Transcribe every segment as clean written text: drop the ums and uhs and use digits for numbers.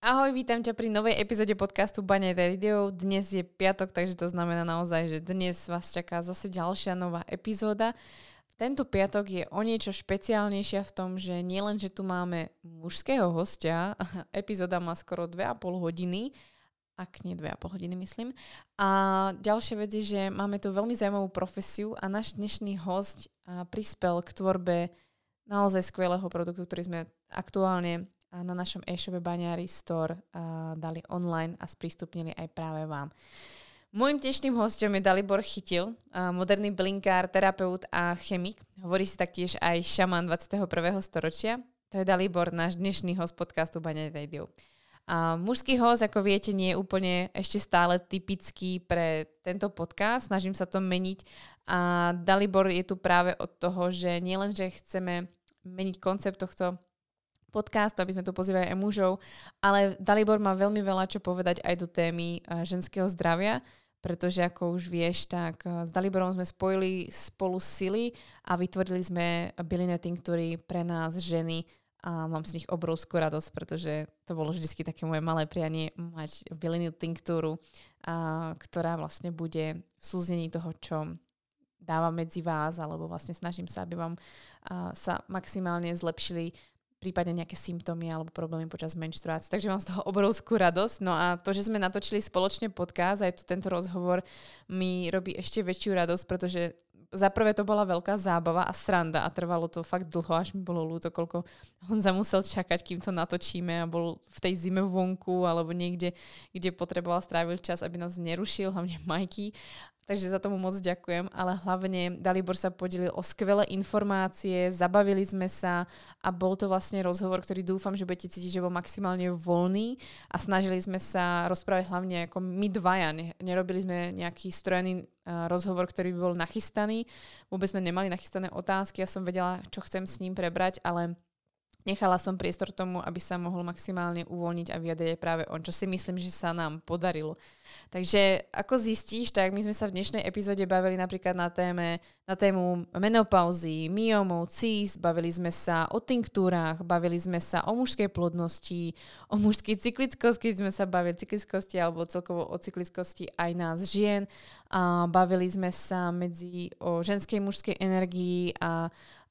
Ahoj, vítam ťa pri novej epizóde podcastu Baňary Radio. Dnes je piatok, takže to znamená naozaj, že dnes vás čaká zase ďalšia nová epizóda. Tento piatok je o niečo špeciálnejšia v tom, že nielen, že tu máme mužského hostia, epizóda má skoro 2,5 hodiny, ak nie 2,5 hodiny myslím. A ďalšia vec je, že máme tu veľmi zaujímavú profesiu a náš dnešný host prispel k tvorbe naozaj skvelého produktu, ktorý sme aktuálne na našom e-shope Baňary Store dali online a sprístupnili aj práve vám. Mojím dnešným hosťom je Dalibor Chytil, moderný bylinkár, terapeut a chemik. Hovorí si taktiež aj šaman 21. storočia. To je Dalibor, náš dnešný host podcastu Baňary Radio. A mužský host, ako viete, nie je úplne ešte stále typický pre tento podcast. Snažím sa to meniť. A Dalibor je tu práve od toho, že nielen, že chceme meniť koncept tohto podcastu, aby sme tu pozývali aj mužov, ale Dalibor má veľmi veľa čo povedať aj do témy ženského zdravia, pretože ako už vieš, tak s Daliborom sme spojili spolu sily a vytvorili sme bylinné tinktúry pre nás ženy a mám z nich obrovskú radosť, pretože to bolo vždy také moje malé prianie mať bylinnú tinktúru, ktorá vlastne bude v súznení toho, čo dávam medzi vás, alebo vlastne snažím sa, aby vám sa maximálne zlepšili prípadne nejaké symptómy alebo problémy počas menštruácie. Takže mám z toho obrovskú radosť. No a to, že sme natočili spoločne podcast a aj tu tento rozhovor mi robí ešte väčšiu radosť, pretože za prvé to bola veľká zábava a sranda a trvalo to fakt dlho, až mi bolo ľúto, koľko Honza musel čakať, kým to natočíme a bol v tej zime vonku alebo niekde, kde potreboval stráviť čas, aby nás nerušil, hlavne Majky. Takže za tomu moc ďakujem, ale hlavne Dalibor sa podelil o skvelé informácie, zabavili sme sa a bol to vlastne rozhovor, ktorý dúfam, že budete cítiť, že bol maximálne voľný a snažili sme sa rozprávať hlavne ako my dvaja. Nerobili sme nejaký strojený rozhovor, ktorý by bol nachystaný. Vôbec sme nemali nachystané otázky, ja som vedela, čo chcem s ním prebrať, ale nechala som priestor tomu, aby sa mohol maximálne uvoľniť a vyjadriť aj práve on, čo si myslím, že sa nám podarilo. Takže ako zistíš, tak my sme sa v dnešnej epizóde bavili napríklad na tému menopauzy, myomov, cís, bavili sme sa o tinktúrach, bavili sme sa o mužskej plodnosti, o mužskej cyklickosti, keď sme sa bavili o cyklickosti alebo celkovo o cyklickosti aj nás žien. A bavili sme sa o ženskej mužskej energii a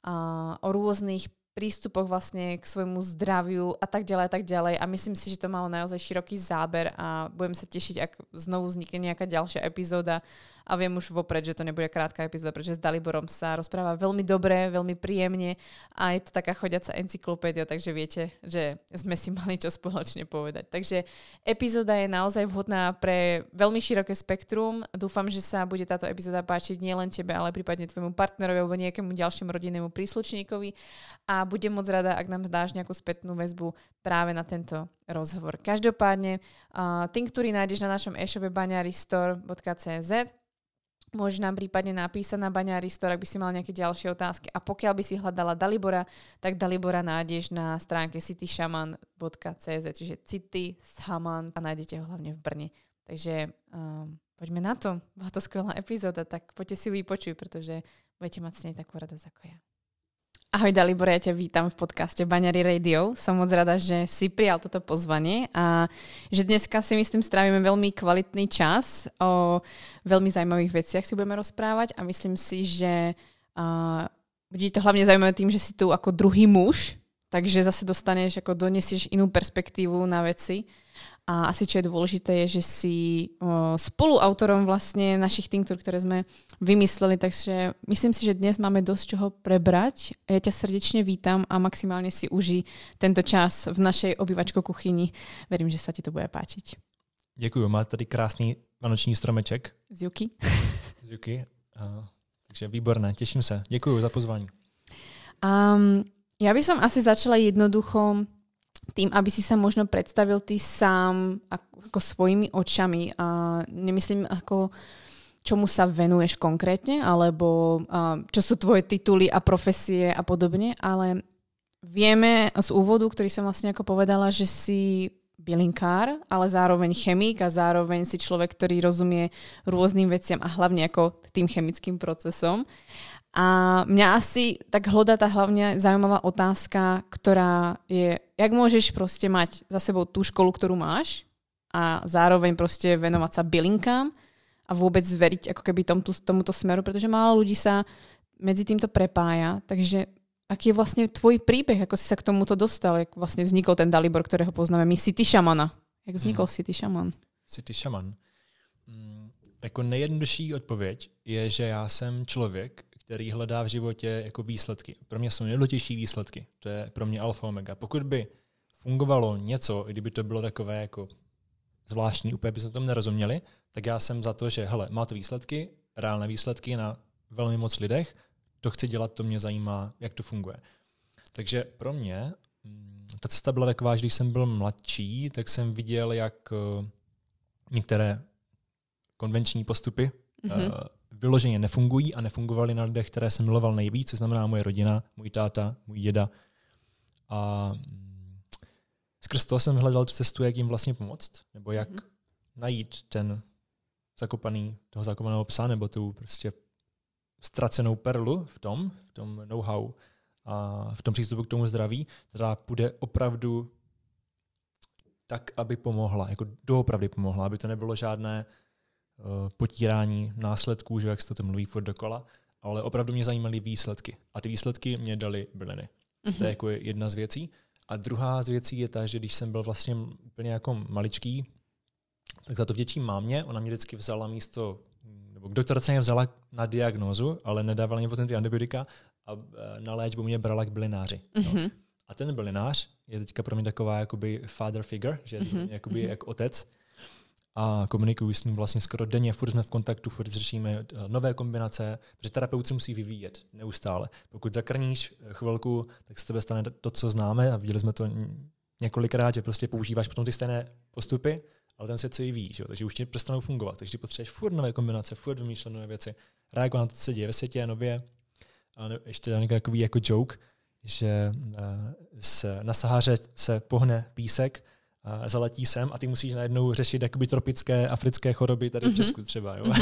o rôznych prístupoch vlastne k svojmu zdraviu a tak ďalej. A myslím si, že to malo naozaj široký záber a budem sa tešiť, ak znovu vznikne nejaká ďalšia epizóda a viem už vopred, že to nebude krátka epizóda, pretože s Daliborom sa rozpráva veľmi dobre, veľmi príjemne a je to taká chodiaca encyklopédia, takže viete, že sme si mali čo spoločne povedať. Takže epizóda je naozaj vhodná pre veľmi široké spektrum. Dúfam, že sa bude táto epizóda páčiť nielen tebe, ale prípadne tvojmu partnerovi alebo nejakému ďalšiemu rodinnému príslušníkovi a budem moc rada, ak nám dáš nejakú spätnú väzbu práve na tento rozhovor. Každopádne, tinktúry nájdeš na našom e-shope baňarystore.cz. Môžeš nám prípadne napísať na Baňary Store, ak by si mal nejaké ďalšie otázky. A pokiaľ by si hľadala Dalibora, tak Dalibora nájdeš na stránke cityshaman.cz, čiže City Shaman a nájdete ho hlavne v Brne. Takže poďme na to. Bola to skvelá epizóda, tak poďte si ju vypočuť, pretože budete mať s nej takú radosť ako ja. Ahoj Dalibor, ja ťa vítam v podcaste Baňary Radio. Som moc rada, že si prijal toto pozvanie a že dneska si myslím strávime veľmi kvalitný čas. O veľmi zaujímavých veciach si budeme rozprávať a myslím si, že bude to hlavne zaujímavé tým, že si tu ako druhý muž, takže zase donesieš inú perspektívu na veci. A asi čo je dôležité je, že si spoluautorom vlastne našich tinktúr, ktoré sme vymysleli, takže myslím si, že dnes máme dosť čoho prebrať. Ja ťa srdečne vítam a maximálne si uži tento čas v našej obývačko kuchyni. Verím, že sa ti to bude páčiť. Děkuju, máte tady krásný vánoční stromeček. Z Juky. Z Juky. Takže výborné, teším sa. Děkuju za pozvání. Ja by som asi začala jednoducho tým, aby si sa možno predstavil ty sám ako svojimi očami a nemyslím ako čomu sa venuješ konkrétne, alebo čo sú tvoje tituly a profesie a podobne, ale vieme z úvodu, ktorý som vlastne ako povedala, že si bylinkár, ale zároveň chemik a zároveň si človek, ktorý rozumie rôznym veciam a hlavne ako tým chemickým procesom. A mňa asi tak hlodá tá hlavne zaujímavá otázka, ktorá je, jak môžeš proste mať za sebou tú školu, ktorú máš a zároveň proste venovať sa bylinkám a vôbec veriť ako keby tomuto smeru, pretože málo ľudí sa medzi týmto prepája. Takže aký je vlastne tvoj príbeh, ako si sa k tomuto dostal, jak vlastne vznikol ten Dalibor, ktorého poznáme my, City Shamana. Jak vznikol City Shaman? City Shaman. Jako nejjednodušší odpověď je, že já jsem člověk, který hledá v životě jako výsledky. Pro mě jsou nejdůležitější výsledky. To je pro mě alfa omega. Pokud by fungovalo něco, kdyby to bylo takové jako zvláštní, úplně by se tomu nerozuměli, tak já jsem za to, že hele, má to výsledky, reálné výsledky na velmi moc lidech, to chci dělat, to mě zajímá, jak to funguje. Takže pro mě ta cesta byla taková, že když jsem byl mladší, tak jsem viděl, jak některé konvenční postupy vyloženě nefungují a nefungovaly na lidech, které jsem miloval nejvíc, co znamená moje rodina, můj táta, můj děda. A skrz toho jsem hledal tu cestu, jak jim vlastně pomoct, nebo jak najít toho zakopaného psa, nebo tu prostě ztracenou perlu v tom know-how a v tom přístupu k tomu zdraví, která půjde opravdu tak, aby pomohla, jako doopravdy pomohla, aby to nebylo žádné potírání následků, že jak se to mluví furt dokola, ale opravdu mě zajímaly výsledky. A ty výsledky mě daly byliny. To je jako jedna z věcí. A druhá z věcí je ta, že když jsem byl vlastně úplně jako maličký, tak za to vděčím mámě, ona mě vždycky vzala místo, nebo doktorce mě vzala na diagnózu, ale nedávala mě potom ty antibiotika a na léčbu mě brala k bylináři. No. A ten bylinář je teďka pro mě taková jakoby father figure, že jakoby jak otec. A komunikuju s ním vlastně skoro denně, furt jsme v kontaktu, furt řešíme nové kombinace, protože terapeut se musí vyvíjet neustále. Pokud zakrníš chvilku, tak z tebe stane to, co známe a viděli jsme to několikrát, že prostě používáš potom ty stejné postupy, ale ten svět se vyvíjí, že? Takže už ti přestanou fungovat. Takže potřebuješ furt nové kombinace, furt vymýšlet nové věci, reagovat na to, co se děje ve světě nově. A ještě dám takový jako joke, že na Sahaře se pohne písek, zaletí sem a ty musíš najednou řešit jakoby tropické africké choroby tady v Česku třeba. Jo?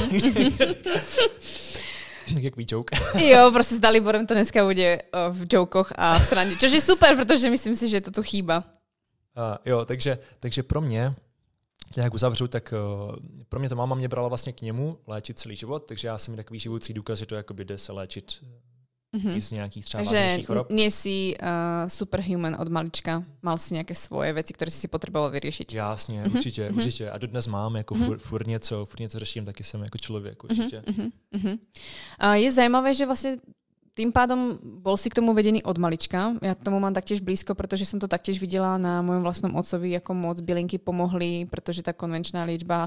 Takový joke. Jo, prostě s Daliborem to dneska bude v jokoch a v srande. Což je super, protože myslím si, že to tu chýba. Jo, takže pro mě, jak uzavřu, tak pro mě to máma mě brala vlastně k němu léčit celý život, takže já jsem takový živoucí důkaz, že to jakoby jde se léčit i z nějakých třeba vážnějších chorob. Takže nie si superhuman od malička, mal si nějaké svoje věci, které si potřeboval vyřešit. Jasně, určitě. A dodnes mám, jako furt něco řeším, taky jsem jako člověk, určitě. Je zajímavé, že vlastně tým pádom bol si k tomu vedený od malička. Ja tomu mám taktiež blízko, pretože som to taktiež videla na mojom vlastnom otcovi, ako moc bylinky pomohli, pretože tá konvenčná liečba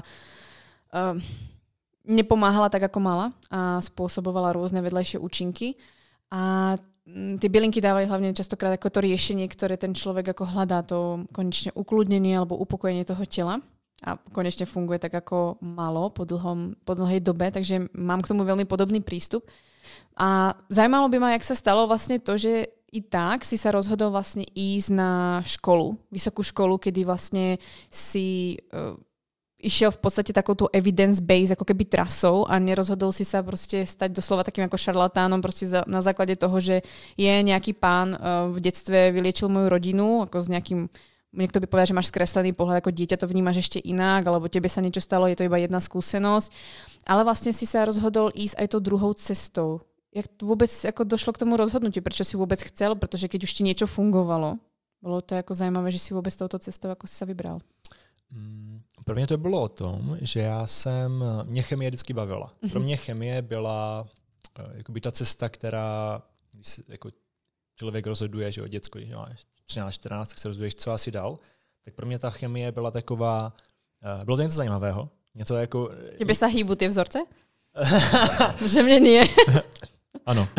nepomáhala tak, ako mala a spôsobovala rôzne vedľajšie účinky. A tie bylinky dávali hlavne častokrát ako to riešenie, ktoré ten človek ako hľadá, to konečne ukludnenie alebo upokojenie toho tela. A konečne funguje tak, ako malo po dlhej dobe, takže mám k tomu veľmi podobný prístup. A zajímalo by ma, jak sa stalo vlastne to, že i tak si sa rozhodol vlastne ísť na školu, vysokú školu, kedy vlastne si išiel v podstate takouto evidence-based ako keby trasou a nerozhodol si sa proste stať doslova takým ako šarlatánom proste na základe toho, že je nejaký pán v detstve vyliečil moju rodinu, ako s nejakým, niekto by povedal, že máš skreslený pohľad, ako dieťa to vnímaš ešte inak, alebo tebe sa niečo stalo, je to iba jedna skúsenosť. Ale vlastne si sa rozhodol ísť aj tou druhou cestou. Jak vôbec ako došlo k tomu rozhodnutiu? Prečo si vôbec chcel? Pretože keď už ti niečo fungovalo, bolo to ako zajímavé, že si vôbec touto cestou ako si sa vybral. Pro mě to bylo o tom, že mě chemie vždycky bavila. Pro mě chemie byla jakoby ta cesta, která, když se jako člověk rozhoduje, že o děcku, když máš 13-14, tak se rozhoduješ, co asi dál, tak pro mě ta chemie byla taková, bylo to něco zajímavého. Něco jako... Tebe sa hýbu tie vzorce? Že mne nie. Ano.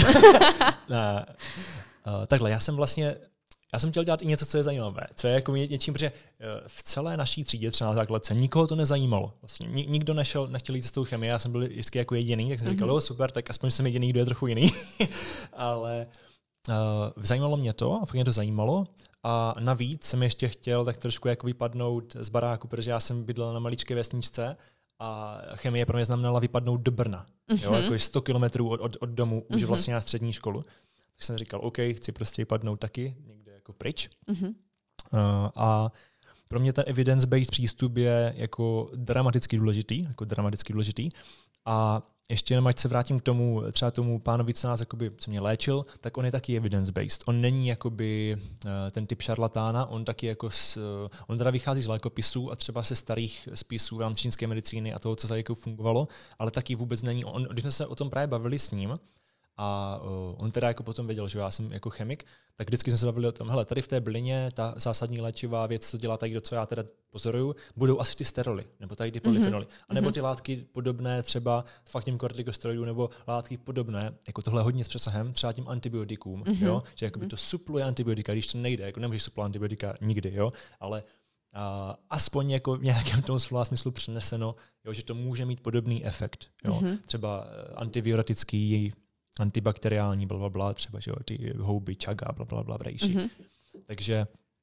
Takhle, já jsem chtěl dělat i něco, co je zajímavé. Co je jako něčím, protože v celé naší třídě, třeba na základce, nikoho to nezajímalo. Vlastně nikdo nechtěl jít cestou chemie, já jsem byl vždycky jako jediný, tak jsem říkal, super, tak aspoň jsem jediný, kdo je trochu jiný. Ale zajímalo mě to, a fakt mě to zajímalo. A navíc jsem ještě chtěl tak trošku jako vypadnout z baráku, protože já jsem bydlel na maličké vesničce a chemie pro mě znamenala vypadnout do Brna. Jo, jako 100 kilometrů od domu, už vlastně na střední školu. Tak jsem říkal, OK, chci prostě vypadnout taky někde jako pryč. A pro mě ten evidence-based přístup je jako dramaticky důležitý. A ještě jenom, ať se vrátím k tomu, třeba tomu pánovi, co mě léčil, tak on je taky evidence-based. On není jakoby ten typ šarlatána, on taky jako on teda vychází z lékopisů a třeba se starých spisů v rámci čínské medicíny a toho, co tady jako fungovalo, ale taky vůbec není. Když jsme se o tom právě bavili s ním, a on teda jako potom věděl, že já jsem jako chemik, tak vždycky jsme se bavili o tom, hele, tady v té bylině ta zásadní léčivá věc, co dělá tady, co já teda pozoruju, budou asi ty steroly, nebo tady ty polyfenoly, anebo ty látky podobné třeba fakt těm kortikosteroidům, nebo látky podobné, jako tohle hodně s přesahem, třeba tím antibiotikům, jo, že jakoby to supluje antibiotika, když to nejde, jako nemůžeš suplovat antibiotika nikdy, jo, ale aspoň jako v nějakém tom slova smyslu přeneseno, jo, že to může mít podobný efekt, jo, třeba antivirotický, antibakteriální, blablabla, třeba že jo, ty houby, čaga, blablabla, brejší. Takže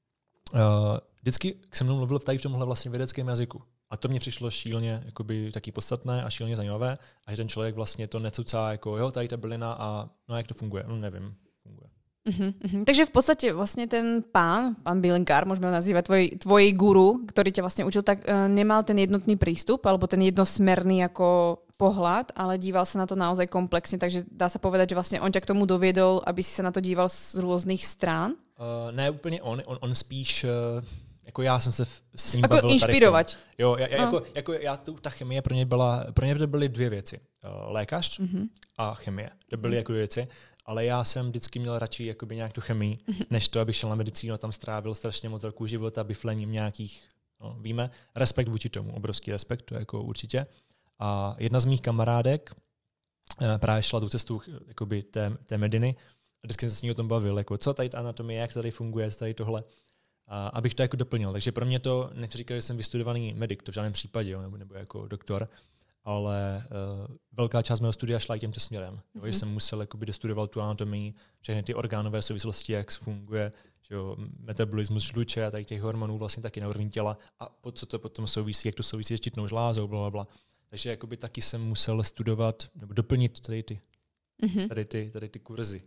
vždycky se mnou mluvil tady v tomhle vlastně vědeckém jazyku. A to mě přišlo šíleně jakoby, taky podstatné a šíleně zajímavé. A že ten člověk vlastně to necucá jako, jo, tady ta bylina a no jak to funguje? No nevím, funguje. Takže v podstate vlastne ten pán bylinkár, môžeme ho nazývať, tvoj guru, ktorý ťa vlastne učil, tak nemal ten jednotný prístup, alebo ten jednosmerný ako pohľad, ale díval sa na to naozaj komplexne, takže dá sa povedať, že vlastne on ťa k tomu doviedol, aby si sa na to díval z rôznych strán? Ne úplně on spíš... Jako já jsem se s ním jako bavil inšpirovat. Jo, ta chemie pro mě to byly dvě věci. Lékař a chemie. To byly jako dvě věci. Ale já jsem vždycky měl radši jakoby nějak tu chemii, než to, abych šel na medicínu, tam strávil strašně moc roků života biflením nějakých, no, víme, respekt vůči tomu, obrovský respekt, to jako určitě. A jedna z mých kamarádek právě šla tu cestu jakoby té mediny a vždycky jsem se s ní o tom bavil, jako co tady ta anatomie, jak tady funguje, tady tohle, a abych to jako doplnil. Takže pro mě to, nechci říkat, že jsem vystudovaný medic, to v žádném případě, jo, nebo jako doktor, ale velká část mého studia šla i tímto směrem. Že jsem musel jakoby dostudovat tu anatomii, všechny ty orgánové souvislosti, jak funguje, že jo, metabolismus žluče a tady těch hormonů vlastně taky na úrovni těla a co to potom souvisí, jak to souvisí s štítnou žlázou, blablabla. Takže jakoby taky jsem musel studovat nebo doplnit tady ty kurzy.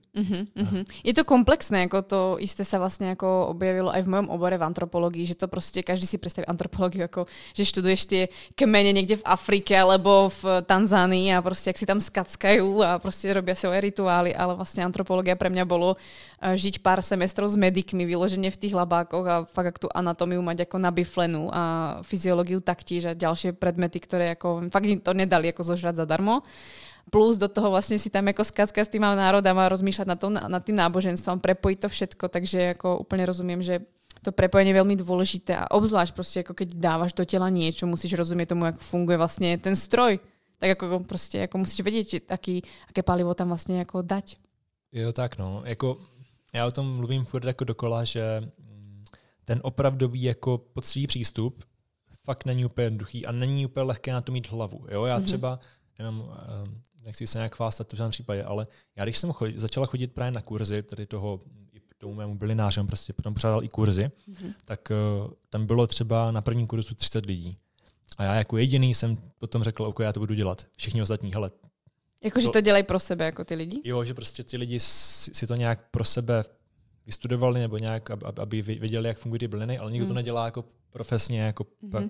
Je to komplexné, ako to isté sa vlastne ako objavilo aj v mojom obore v antropológii, že to proste každý si predstaví antropológiu ako, že študuješ tie kmene niekde v Afrike alebo v Tanzánii a proste ak si tam skackajú a proste robia svoje rituály, ale vlastne antropológia pre mňa bolo žiť pár semestrov s medikmi, vyloženie v tých labákoch a fakt tú anatómiu mať ako nabiflenú a fyziológiu taktiež a ďalšie predmety, ktoré ako fakt to nedali ako zožrať zadarmo. Plus do toho vlastne si tam ako skacka s tým národom a rozmýšľať nad tým náboženstvom, prepojiť to všetko, takže ako úplne rozumiem, že to prepojenie je veľmi dôležité a obzvlášť proste ako keď dávaš do tela niečo, musíš rozumieť tomu, ako funguje vlastne ten stroj. Tak ako proste, ako musíš vedieť, aké palivo tam vlastne ako dať. Jo, tak no. Jako, já o tom mluvím furt jako dokola, že ten opravdový jako poctivý přístup fakt není úplně jednoduchý a není úplně lehké na to mít hlavu. Jo, já třeba jenom nechci se nějak chvástat v žádném případě, ale já když jsem začala chodit právě na kurzy, tady tomu mému bylinářem, prostě potom pořádal i kurzy, tak tam bylo třeba na prvním kurzu 30 lidí. A já jako jediný jsem potom řekl, OK, já to budu dělat. Všichni ostatní, hele. Jakože to dělají pro sebe, jako ty lidi? Jo, že prostě ty lidi si to nějak pro sebe vystudovali, nebo nějak, aby věděli, jak fungují ty byliny, ale nikdo to nedělá jako profesně, jako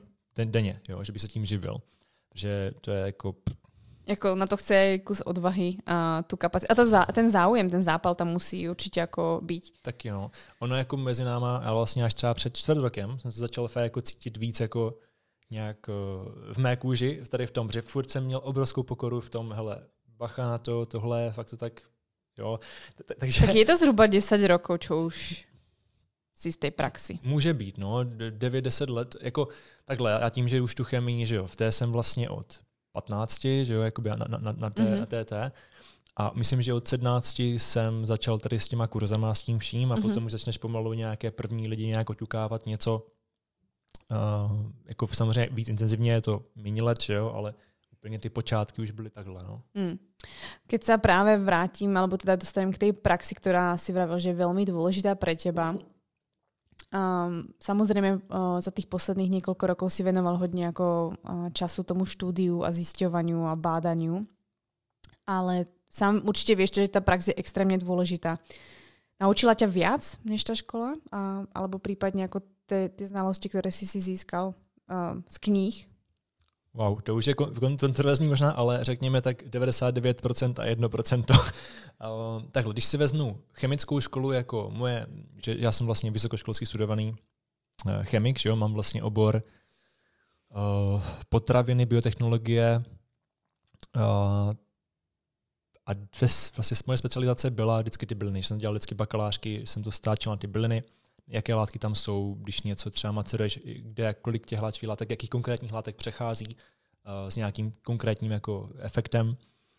denně, jo, že by se tím živil. Že to je jako... Jako na to chce aj kus odvahy a tu kapacitu. A ten záujem, ten zápal tam musí určitě jako být. Taky no. Ono jako mezi náma, ale vlastně až třeba před 4 rokem jsem se začal jako cítit víc jako nějak v mé kůži, tady v tom, že furt jsem měl obrovskou pokoru v tom, hele, bacha na to, tohle, fakt to tak, jo. Takže... Tak je to zhruba 10 rokov, čo už si z té praxi. Může být, no, 9-10 let, jako takhle, já tím, že už tu chemii, že jo, v té jsem vlastně od 15, že jo, jakoby na TT. A myslím, že od 17 jsem začal tady s těma kurzama, s tím vším a potom už začneš pomalu nějaké první lidi nějak oťukávat něco. Jako samozřejmě víc intenzivně je to méně let, že jo, ale úplně ty počátky už byly takhle. No. Keď sa práve vrátim, alebo teda dostanem k tej praxi, ktorá si vravel, že je veľmi dôležitá pre teba, Samozrejme, za tých posledných niekoľko rokov si venoval hodne ako času tomu štúdiu a zisťovaniu a bádaniu. Ale sám určite vieš, že tá prax je extrémne dôležitá. Naučila ťa viac než tá škola? Alebo prípadne ako tie znalosti, ktoré si získal z kníh? Wow, to už je kontroverzní možná, ale řekněme tak 99% a 1%. Takhle, když si veznu chemickou školu jako moje, že já jsem vlastně vysokoškolský studovaný chemik, že jo, mám vlastně obor potraviny, biotechnologie a vlastně moje specializace byla vždycky ty byliny. Jsem dělal vždycky bakalářky, jsem to stáčel na ty byliny, jaké látky tam jsou, když něco třeba maceruješ, kde kolik těch hláčových látek, jakých konkrétních látek přechází s nějakým konkrétním jako efektem.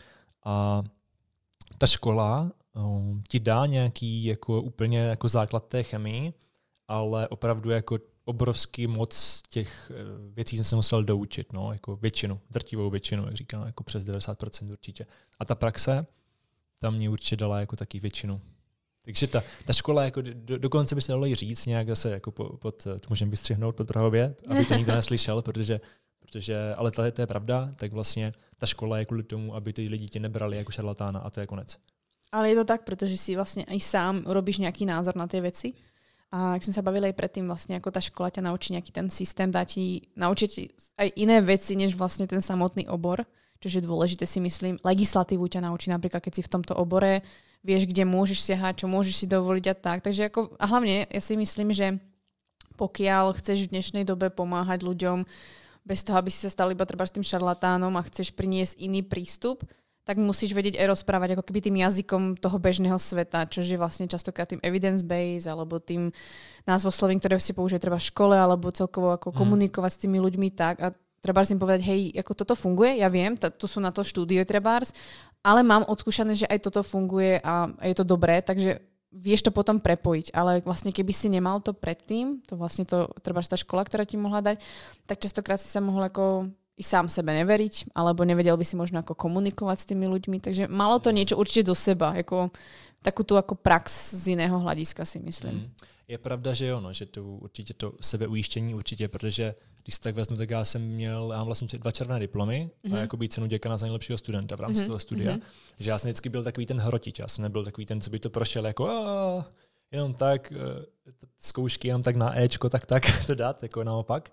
A ta škola ti dá nějaký jako úplně jako základ té chemii, ale opravdu jako obrovský moc těch věcí jsem se musel doučit, no, jako většinu, drtivou většinu, jak říkám, jako přes 90% určitě. A ta praxe tam mě určitě dala jako taky většinu. Takže ta škola, jako dokonce by se dalo jí říct, nějak zase jako to můžeme vystřihnout pod Prahově, aby to nikdo neslyšel, protože ale to je pravda, tak vlastně ta škola je kvůli tomu, aby ty lidi tě nebrali jako šarlatána a to je konec. Ale je to tak, protože si vlastně i sám robíš nějaký názor na ty věci. A jak sme sa bavili aj predtým, vlastne ako tá škola ťa naučí nejaký ten systém, naučiť aj iné veci, než vlastne ten samotný obor, čo je dôležité si myslím. Legislatívu ťa naučí napríklad, keď si v tomto obore, vieš, kde môžeš siahať, čo môžeš si dovoliť a tak. Takže a hlavne ja si myslím, že pokiaľ chceš v dnešnej dobe pomáhať ľuďom bez toho, aby si sa stal iba treba s tým šarlatánom a chceš priniesť iný prístup, tak musíš vedieť aj rozprávať ako keby tým jazykom toho bežného sveta, čo je vlastne častokrát tým evidence-based alebo tým názvoslovím, ktoré si použije treba v škole alebo celkovo ako komunikovať s tými ľuďmi tak a treba si im povedať, hej, ako toto funguje, ja viem, tu sú na to štúdie trebárs, ale mám odskúšané, že aj toto funguje a je to dobré, takže vieš to potom prepojiť, ale vlastne keby si nemal to predtým, to vlastne to trebárs tá škola, ktorá ti mohla dať, tak častokrát si sa mohol ako i sám sebe neveriť, alebo nevedel by si možno ako komunikovať s tými ľuďmi, takže malo to niečo určite do seba, jako takú tú ako prax z iného hľadiska si myslím. Je pravda, že jo, no, že to určitě to sebeujištění určitě, protože když si tak vezmu, tak já mám vlastně 2 červené diplomy a jakoby cenu děkana za nejlepšího studenta v rámci toho studia. Že já jsem vždycky byl takový ten hrotič, já jsem nebyl takový ten, co by to prošel jako jenom tak, zkoušky jenom tak na Ečko, tak to dát, jako naopak.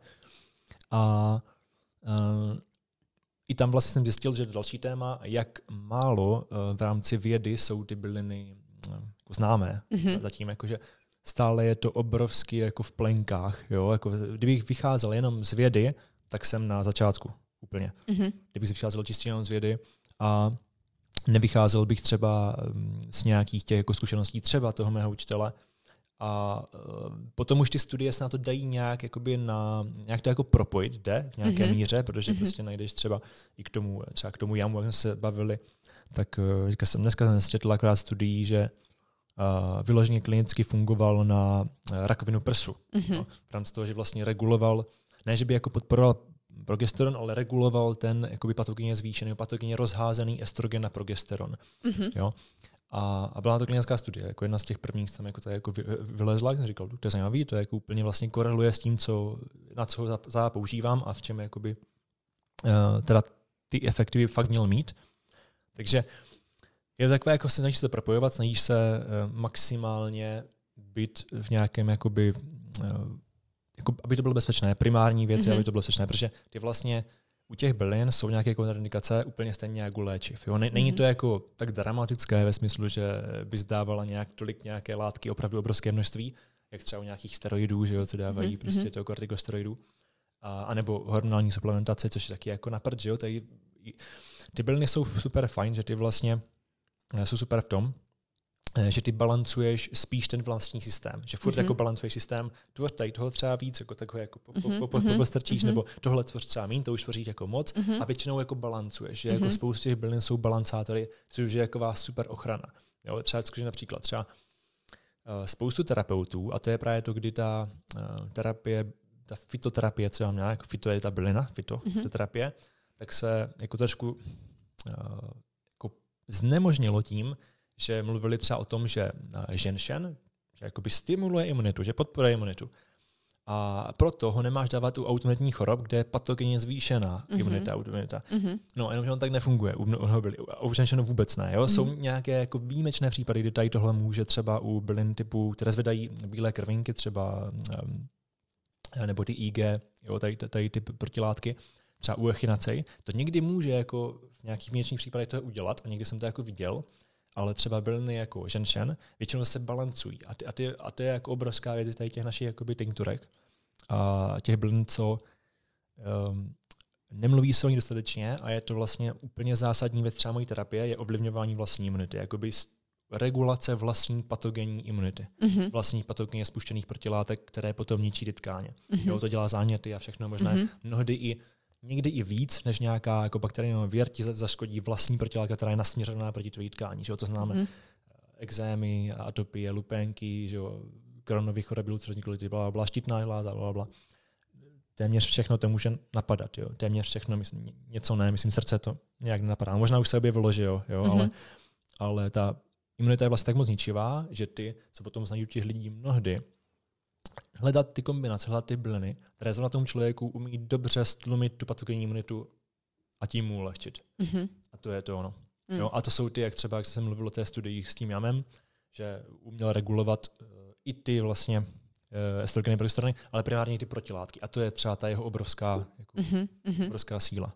A i tam vlastně jsem zjistil, že další téma, jak málo v rámci vědy jsou ty byliny jako známé. Zatím jakože stále je to obrovsky jako v plenkách. Jo? Jako, kdybych vycházel jenom z vědy, tak jsem na začátku úplně. Kdybych vycházel čistě jenom z vědy a nevycházel bych třeba z nějakých těch jako zkušeností třeba toho mého učitele, a potom už ty studie se na to dají nějak to jako propojit, jde v nějaké míře, protože prostě najdeš třeba i k tomu jamu, jak jsme se bavili, tak dneska jsem četl akorát studií, že vyloženě klinicky fungoval na rakovinu prsu. No, v rámci toho, že vlastně reguloval, ne že by jako podporoval progesteron, ale reguloval ten jakoby patogenně zvýšený, patogenně rozházený estrogen na progesteron. Jo? A byla to klinická studie, jako jedna z těch prvních, tam jako to jako vylezla, jak jsem říkal, to je zajímavý, to jako úplně vlastně koreluje s tím, na co ho používám a v čem jakoby, teda ty efekty by fakt měl mít. Takže je to takové, jako snažíš se to propojovat, snažíš se maximálně být v nějakém, jakoby, jako, aby to bylo bezpečné, primární věci, aby to bylo bezpečné, protože ty vlastně u těch bylin jsou nějaké kontraindikace úplně stejně jako u léčiv. Jo? Není to jako tak dramatické ve smyslu, že by zdávala tolik nějaké látky, opravdu obrovské množství, jak třeba u nějakých steroidů, že jo, co dávají prostě toho kortikosteroidů, a nebo hormonální suplementace, což je taky jako na prd, že jo. Ty byliny jsou super fajn, že ty vlastně jsou super v tom, že ty balancuješ spíš ten vlastní systém. Že furt jako balancuješ systém, tady toho třeba víc, jako takové jako postrčíš, nebo tohle tvoř třeba míň, to už tvoříš jako moc a většinou jako balancuješ. Že jako spoustu těch bylin jsou balancátory, což je jako vás super ochrana. Jo, třeba například spoustu terapeutů, a to je právě to, kdy ta terapie, ta fytoterapie, co já mám nějak, fyto je ta bylina, fytoterapie, tak se jako trošku jako znemožnilo tím, že mluvili třeba o tom, že ženšen, že jakoby stimuluje imunitu, že podporuje imunitu. A proto ho nemáš dávat u autoimunitních chorob, kde je patogenně zvýšená imunita. No, jenomže on tak nefunguje. U ženšen vůbec ne. Jo? Jsou nějaké jako výjimečné případy, kdy tady tohle může třeba u bylin typu, které zvedají bílé krvinky, třeba nebo ty IG, jo, tady ty protilátky, třeba u echinacej. To někdy může jako v nějakých výjimečných případech to udělat a někdy jsem to jako viděl, ale třeba byliny jako ženšen většinou se balancují. A to je jako obrovská věc tady těch našich jakoby tinkturek a těch bylin, co nemluví se o ní dostatečně a je to vlastně úplně zásadní věc třeba mojí terapie, je ovlivňování vlastní imunity, jakoby regulace vlastní patogenní imunity. Vlastních patogenně spuštěných protilátek, které potom ničí ty tkáně. Jo, to dělá záněty a všechno možné. Někdy i víc, než nějaká jako bakteriální věr ti zaškodí vlastní protilátka, která je nasměřená proti tvojí tkání. Že jo? To známe exémy, atopie, lupénky, že jo? Kronový choroby, ulcerózní kolity, blablabla, štítná žláza, blablabla. Téměř všechno to může napadat. Jo? Téměř všechno, myslím, něco ne, myslím, srdce to nějak nenapadá. Možná už se objevilo, že jo? Ale ta imunita je vlastně tak moc ničivá, že ty, co potom znají u těch lidí mnohdy, hledat ty kombinace, hledat ty byliny, které zrovna tomu člověku umí dobře stlumit tu patogenní imunitu a tím mu ulehčit. A to je to ono. Jo, a to jsou ty, jak třeba, jak jsem mluvil o té studii s tím jamem, že uměl regulovat i ty vlastně estrogeny, progesterony, ale primárně ty protilátky. A to je třeba ta jeho obrovská, obrovská síla.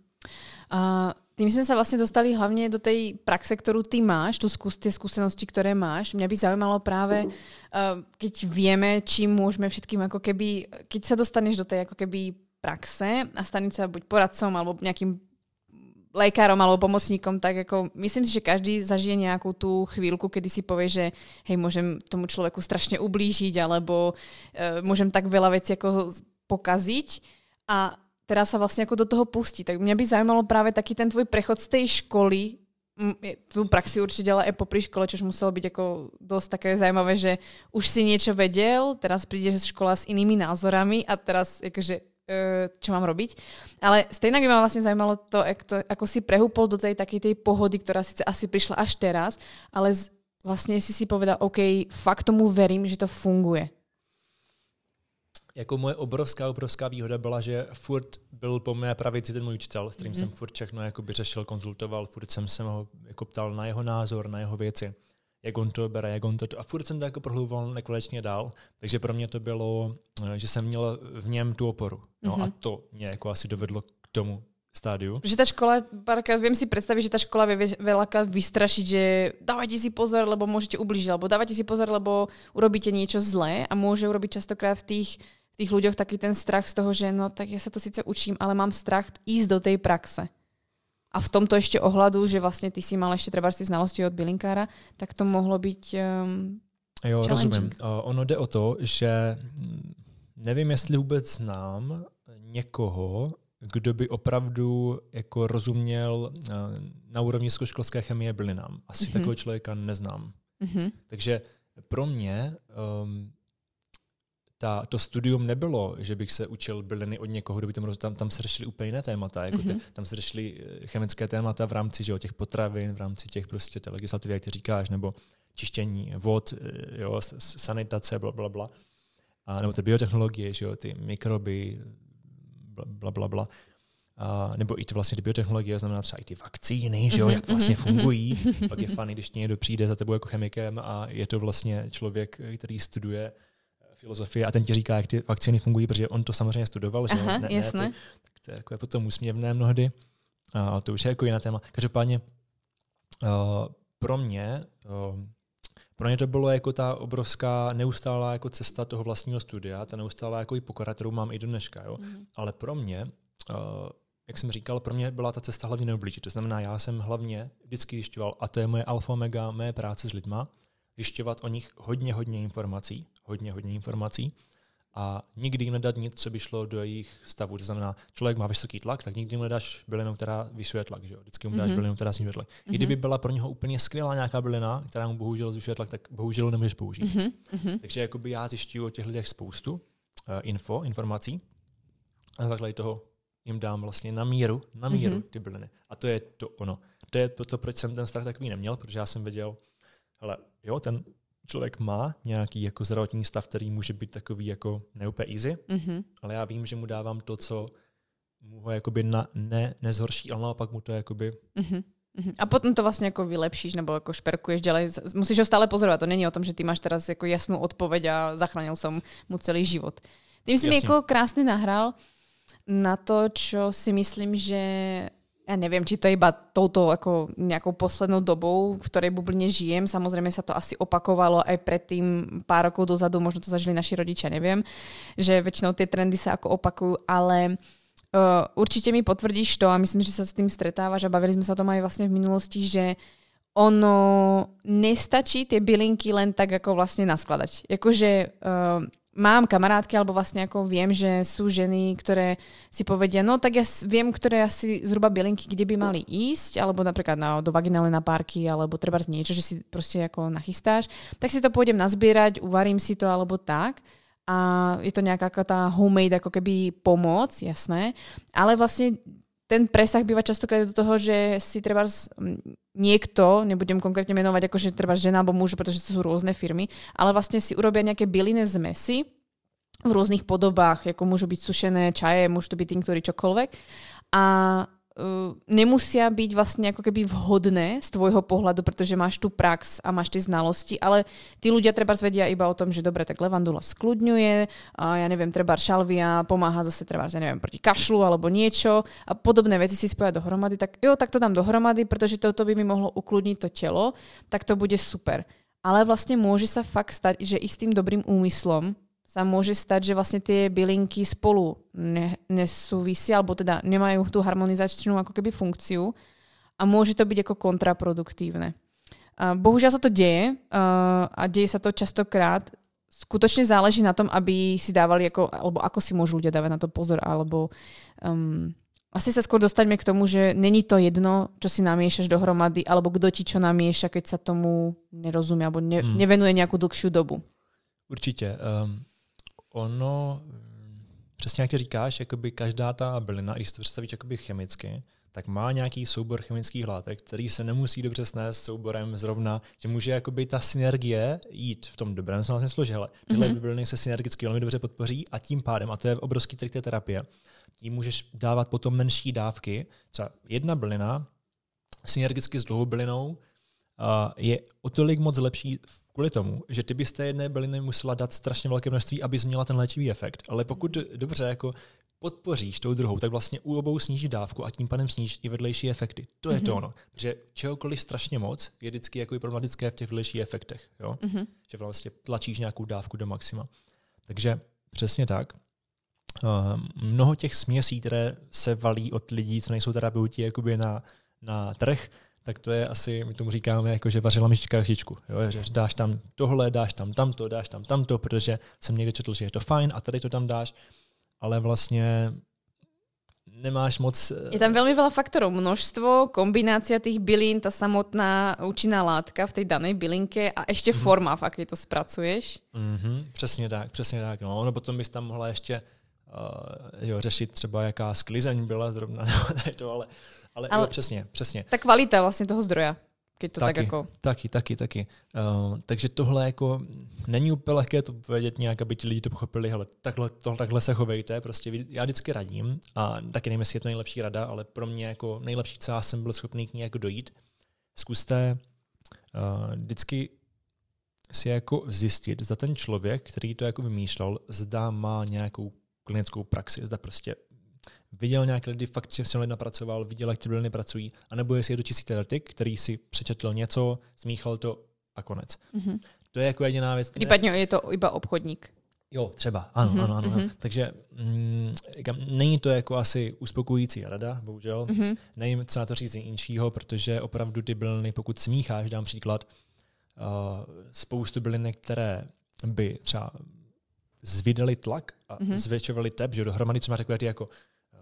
Tým sme sa vlastne dostali hlavne do tej praxe, ktorú ty máš, tie skúsenosti, ktoré máš. Mňa by zaujímalo práve, keď vieme, čím môžeme všetkým, ako keby, keď sa dostaneš do tej ako keby praxe a staneš sa buď poradcom alebo nejakým lékárom alebo pomocníkom, tak ako myslím si, že každý zažije nejakú tú chvíľku, kedy si povie, že hej, môžem tomu človeku strašne ublížiť alebo môžem tak veľa vecí ako pokaziť a teraz sa vlastne ako do toho pustí. Tak mňa by zaujímalo práve taký ten tvoj prechod z tej školy, tú praxi určite, ale aj popri škole, čož muselo byť ako dosť také zaujímavé, že už si niečo vedel, teraz prídeš z škola s inými názorami a teraz akože, čo mám robiť. Ale stejnak by ma vlastne zaujímalo to, ako si prehúpol do tej takej tej pohody, ktorá síce asi prišla až teraz, ale vlastne si povedal, OK, fakt tomu verím, že to funguje. Jako moje obrovská výhoda byla, že furt byl po mé pravici ten můj učitel, s kterým jsem furt všechno jakoby řešil, konzultoval, furt jsem se ho jako ptal na jeho názor, na jeho věci, jak on to bere, jak on to... A furt jsem to jako prohluboval nekonečně dál, takže pro mě to bylo, že jsem měl v něm tu oporu. No a to mě jako asi dovedlo k tomu stádiu. Že tá škola, párkrát viem si predstaviť, že tá škola vie veľakrát vystrašiť, že dávajte si pozor, lebo môžete ublížiť, alebo dávajte si pozor, lebo urobíte niečo zlé a môže urobiť častokrát v tých ľuďoch taký ten strach z toho, že no tak ja sa to síce učím, ale mám strach ísť do tej praxe. A v tomto ešte ohľadu, že vlastne ty si mal ešte trebárs ty znalosti od bylinkára, tak to mohlo byť jo, rozumím. Ono jde o to, že nevím, jestli vůbec znám někoho, kdo by opravdu jako rozuměl na úrovni vysokoškolské chemie bylinám. Asi takového člověka neznám. Takže pro mě to studium nebylo, že bych se učil byliny od někoho, kdo by tam se řešili úplně jiné témata. Jako tam se řešili chemické témata v rámci že, těch potravin, v rámci těch prostě té legislativy, jak ty říkáš, nebo čištění vod, jo, sanitace, blablabla. Nebo ty biotechnologie, že jo, ty mikroby, blablabla. Nebo i ty vlastně ty biotechnologie, znamená třeba i ty vakcíny, že jo, jak vlastně fungují. Pak je fajn, když někdo přijde za tebou jako chemikem a je to vlastně člověk, který studuje filozofie a ten ti říká, jak ty vakcíny fungují, protože on to samozřejmě studoval, že ne, jasné. Tak to je jako potom úsměvné mnohdy. A to už je jako jiné téma. Každopádně pro mě to bylo jako ta obrovská neustálá jako cesta toho vlastního studia, ta neustálá jako i pokora, kterou mám i do dneška. Jo? Ale pro mě, jak jsem říkal, pro mě byla ta cesta hlavně neublížit. To znamená, já jsem hlavně vždycky zjišťoval, a to je moje alfa omega, mé práce s lidma, zjišťovat o nich hodně informací a nikdy jim nedat nic, co by šlo do jejich stavu. To znamená, člověk má vysoký tlak, tak nikdy mu nedáš bylinu, která vyšuje tlak. Že jo? Vždycky mu dáš bylinu, která snižuje tlak. I kdyby byla pro něho úplně skvělá nějaká bylina, která mu bohužel zvyšuje tlak, tak bohužel nemůžeš použít. Takže jakoby já zjišťuju o těch lidech spoustu informací a na základě toho jim dám vlastně na míru ty byliny. A to je to ono. To je to, proč jsem ten strach takový neměl, protože já jsem věděl, hele, jo, ten člověk má nějaký jako zdravotní stav, který může být takový jako neúplně easy, ale já vím, že mu dávám to, co mu ho jakoby nezhorší, ale naopak mu to jakoby... A potom to vlastně jako vylepšíš nebo jako šperkuješ ďalej. Musíš ho stále pozorovat. To není o tom, že ty máš teraz jako jasnou odpoveď a zachránil som mu celý život. Tým si mi jako krásne nahral na to, čo si myslím, že ja neviem, či to je iba touto ako nejakou poslednou dobou, v ktorej bubline žijem. Samozrejme sa to asi opakovalo aj predtým pár rokov dozadu, možno to zažili naši rodičia, neviem, že väčšinou tie trendy sa ako opakujú, ale určite mi potvrdíš to a myslím, že sa s tým stretávaš a bavili sme sa o tom aj vlastne v minulosti, že ono nestačí tie bylinky len tak ako vlastne naskladať. Jakože mám kamarátky, alebo vlastne ako viem, že sú ženy, ktoré si povedia, no tak ja viem, ktoré asi zhruba bylinky, kde by mali ísť, alebo napríklad do vaginálnej napárky, alebo treba niečo, že si proste ako nachystáš, tak si to pôjdem nazbierať, uvarím si to, alebo tak. A je to nejaká tá homemade ako keby pomoc, jasné, ale vlastne ten presah býva častokrát do toho, že si treba niekto, nebudem konkrétne menovať akože treba žena alebo muž, pretože to sú rôzne firmy, ale vlastne si urobia nejaké bylinné zmesy v rôznych podobách, ako môžu byť sušené čaje, môžu to byť tinktury, čokoľvek a nemusia byť vlastne ako keby vhodné z tvojho pohľadu, pretože máš tú prax a máš tie znalosti, ale tí ľudia treba vedia iba o tom, že dobre, tak levandula skľudňuje, a ja neviem, treba šalvia pomáha zase treba, ja neviem, proti kašlu alebo niečo a podobné veci si spojať dohromady, tak jo, tak to dám dohromady, pretože toto by mi mohlo ukludniť to telo, tak to bude super. Ale vlastne môže sa fakt stať, že i s tým dobrým úmyslom sa môže stať, že vlastne tie bylinky spolu nesúvisia, alebo teda nemajú tú harmonizačnú ako keby funkciu a môže to byť ako kontraproduktívne. Bohužiaľ sa to deje a deje sa to častokrát. Skutočne záleží na tom, aby si dávali, alebo ako si môžu ľudia dávať na to pozor, alebo asi sa skôr dostaňme k tomu, že není to jedno, čo si namiešaš dohromady, alebo kto ti čo namieša, keď sa tomu nerozumie, alebo nevenuje nejakú dlhšiu dobu. Určitě. Ono, přesně jak ty říkáš, jakoby každá ta bylina, když si to představíš jakoby chemicky, tak má nějaký soubor chemických látek, který se nemusí dobře snést souborem zrovna, že může jakoby ta synergie jít v tom dobrém slova smyslu, že hele, tyhle byliny se synergicky velmi dobře podpoří a tím pádem, a to je obrovský trik té terapie, tím můžeš dávat potom menší dávky. Třeba jedna bylina synergicky s druhou bylinou je o tolik moc lepší kvůli tomu, že ty bys té jedné byliny musela dát strašně velké množství, abys měla ten léčivý efekt. Ale pokud dobře jako podpoříš tou druhou, tak vlastně u obou sníží dávku a tím pádem sníží i vedlejší efekty. To je to ono. Že čehokoliv strašně moc je vždycky jako problematické v těch vedlejších efektech. Jo? Že vlastně tlačíš nějakou dávku do maxima. Takže přesně tak. Mnoho těch směsí, které se valí od lidí, co nejsou terapeuti jakoby na trh, tak to je asi, my tomu říkáme, jako že vařila myšička chřičku. Jo? Že dáš tam tohle, dáš tam tamto, protože jsem někde četl, že je to fajn a tady to tam dáš, ale vlastně nemáš moc... Je tam veľmi veľa faktorov, množstvo, kombinácia tých bylín, tá samotná účinná látka v tej danej bylinke a ešte forma, v akej to spracuješ. Přesně tak. No. Ono potom bys tam mohla ještě řešit třeba jaká sklizeň byla zrovna, ale jo, přesně. Ta kvalita vlastně toho zdroja, keď to taky, tak jako... Taky. Takže tohle jako není úplně lehké to vědět nějak, aby ti lidi to pochopili, hele, takhle se chovejte, prostě já vždycky radím a taky nevím, jestli je to nejlepší rada, ale pro mě jako nejlepší, co já jsem byl schopný k ní jako dojít, zkuste vždycky si jako zjistit, zda ten člověk, který to jako vymýšlel, zda má nějakou klinickou praxi, zda prostě viděl nějaké lidi, fakt si lidi napracoval, viděl, jak ty byliny pracují, anebo jestli je to čistý teoretik, který si přečetl něco, smíchal to a konec. To je jako jediná věc. Případně je to iba obchodník. Jo, třeba, ano. Takže není to jako asi uspokojící rada, bohužel. Nevím, co na to říct jinšího, protože opravdu ty byliny, pokud smícháš, dám příklad, spoustu bylinek, které by třeba zvydaly tlak a zvětšovaly tep, že dohromady třeba takové ty jako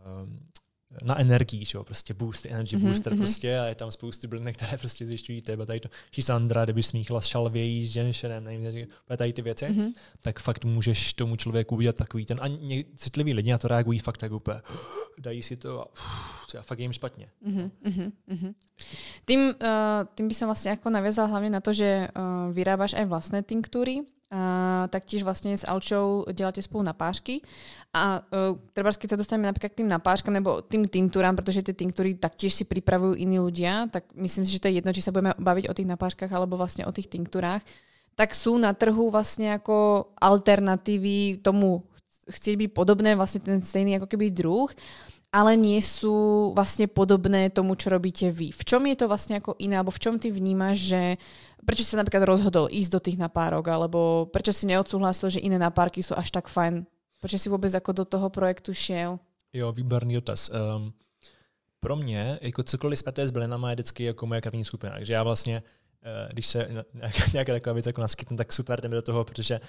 na energii, že jo, prostě energy booster prostě a je tam spoustu bylinek, které prostě zvyšťují tep a tady to šisandra, kdyby smíchala s šalvějí, s ženšenem, nevím, tady ty věci, tak fakt můžeš tomu člověku udělat takový ten, a citliví lidi na to reagují fakt tak úplně, dají si to a já fakt jím špatně. Tým by som vlastne ako naviazala hlavne na to, že vyrábaš aj vlastné tinktúry, taktiež vlastne s Alčou deláte spolu napážky a treba, keď sa dostaneme napríklad k tým napážkam nebo tým tinktúram, pretože tie tinktúry taktiež si pripravujú iní ľudia, tak myslím si, že to je jedno, či sa budeme baviť o tých napážkach alebo vlastne o tých tinktúrách, tak sú na trhu vlastne ako alternatívy tomu chcieť byť podobné, vlastne ten stejný ako keby druh, ale nie sú vlastne podobné tomu, čo robíte vy. V čom je to vlastne ako iné, alebo v čom ty vnímaš, že prečo si sa napríklad rozhodol ísť do tých napárok, alebo prečo si neodsúhlasil, že iné napárky sú až tak fajn? Prečo si vôbec ako do toho projektu šiel? Jo, výborný dotaz. Pro mě, jako cokoliv zpěté s bylinama je vždycky jako moje krvní skupina. Takže já vlastně, když se nějaká taková věc jako naskytne, tak super jdeme do toho, protože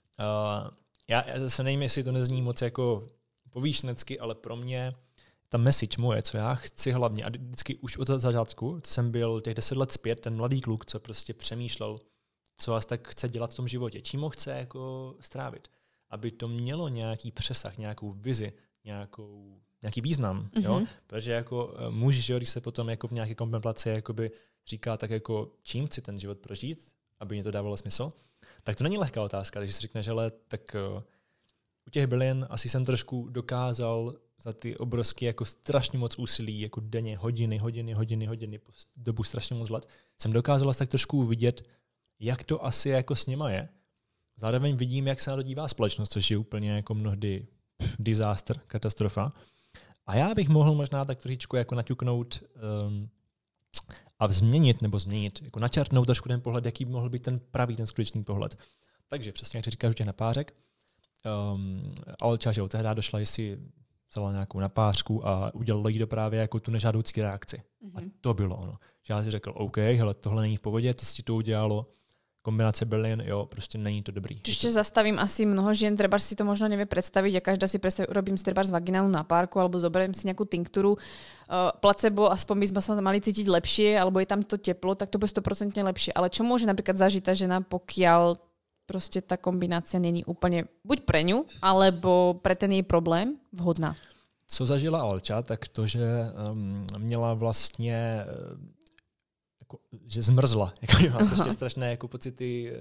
já zase nevím, jestli to nezní moc jako povýšenecky, ale pro mě ta message moje, co já chci hlavně, a vždycky už od začátku jsem byl těch 10 let zpět, ten mladý kluk, co prostě přemýšlel, co vás tak chce dělat v tom životě, čím ho chce jako strávit, aby to mělo nějaký přesah, nějakou vizi, nějaký význam, jo? Protože jako muž, že když se potom jako v nějaké kontemplaci jakoby říká tak jako čím chci ten život prožít, aby mě to dávalo smysl, tak to není lehká otázka, takže si řekne, že ale tak u těch bylin asi jsem trošku dokázal za ty obrovské jako strašně moc úsilí, jako denně, hodiny, po dobu strašně moc let, jsem dokázal tak trošku vidět, jak to asi jako s nima je. Zároveň vidím, jak se na to dívá společnost, což je úplně jako mnohdy disaster, katastrofa. A já bych mohl možná tak trošičku jako naťuknout a změnit, jako načrtnout trošku ten pohled, jaký by mohl být ten pravý, ten skutečný pohled. Takže přesně, jak říkáš, těch napářek, Alča, že tehdy došla, jestli vzala nějakou napářku a udělala jí to právě jako tu nežádoucí reakci. A to bylo ono. Že já si řekl, OK, hele, tohle není v pohodě, to si to udělalo, kombinace bylin, jo, prostě není to dobrý. Čiže zastavím asi mnoho žien, treba si to možno nevie predstaviť a každá si predstaví, urobím si treba z vaginálnu napárku alebo zoberiem si nejakú tinktúru, placebo, aspoň by sme sa mali cítiť lepšie, alebo je tam to teplo, tak to bude 100% lepšie. Ale čo môže napríklad zažiť tá žena, pokiaľ proste tá kombinácia není úplne buď pre ňu, alebo pre ten jej problém vhodná? Co zažila Alča, tak to, že měla vlastně že zmrzla, jako má strašné jako pocity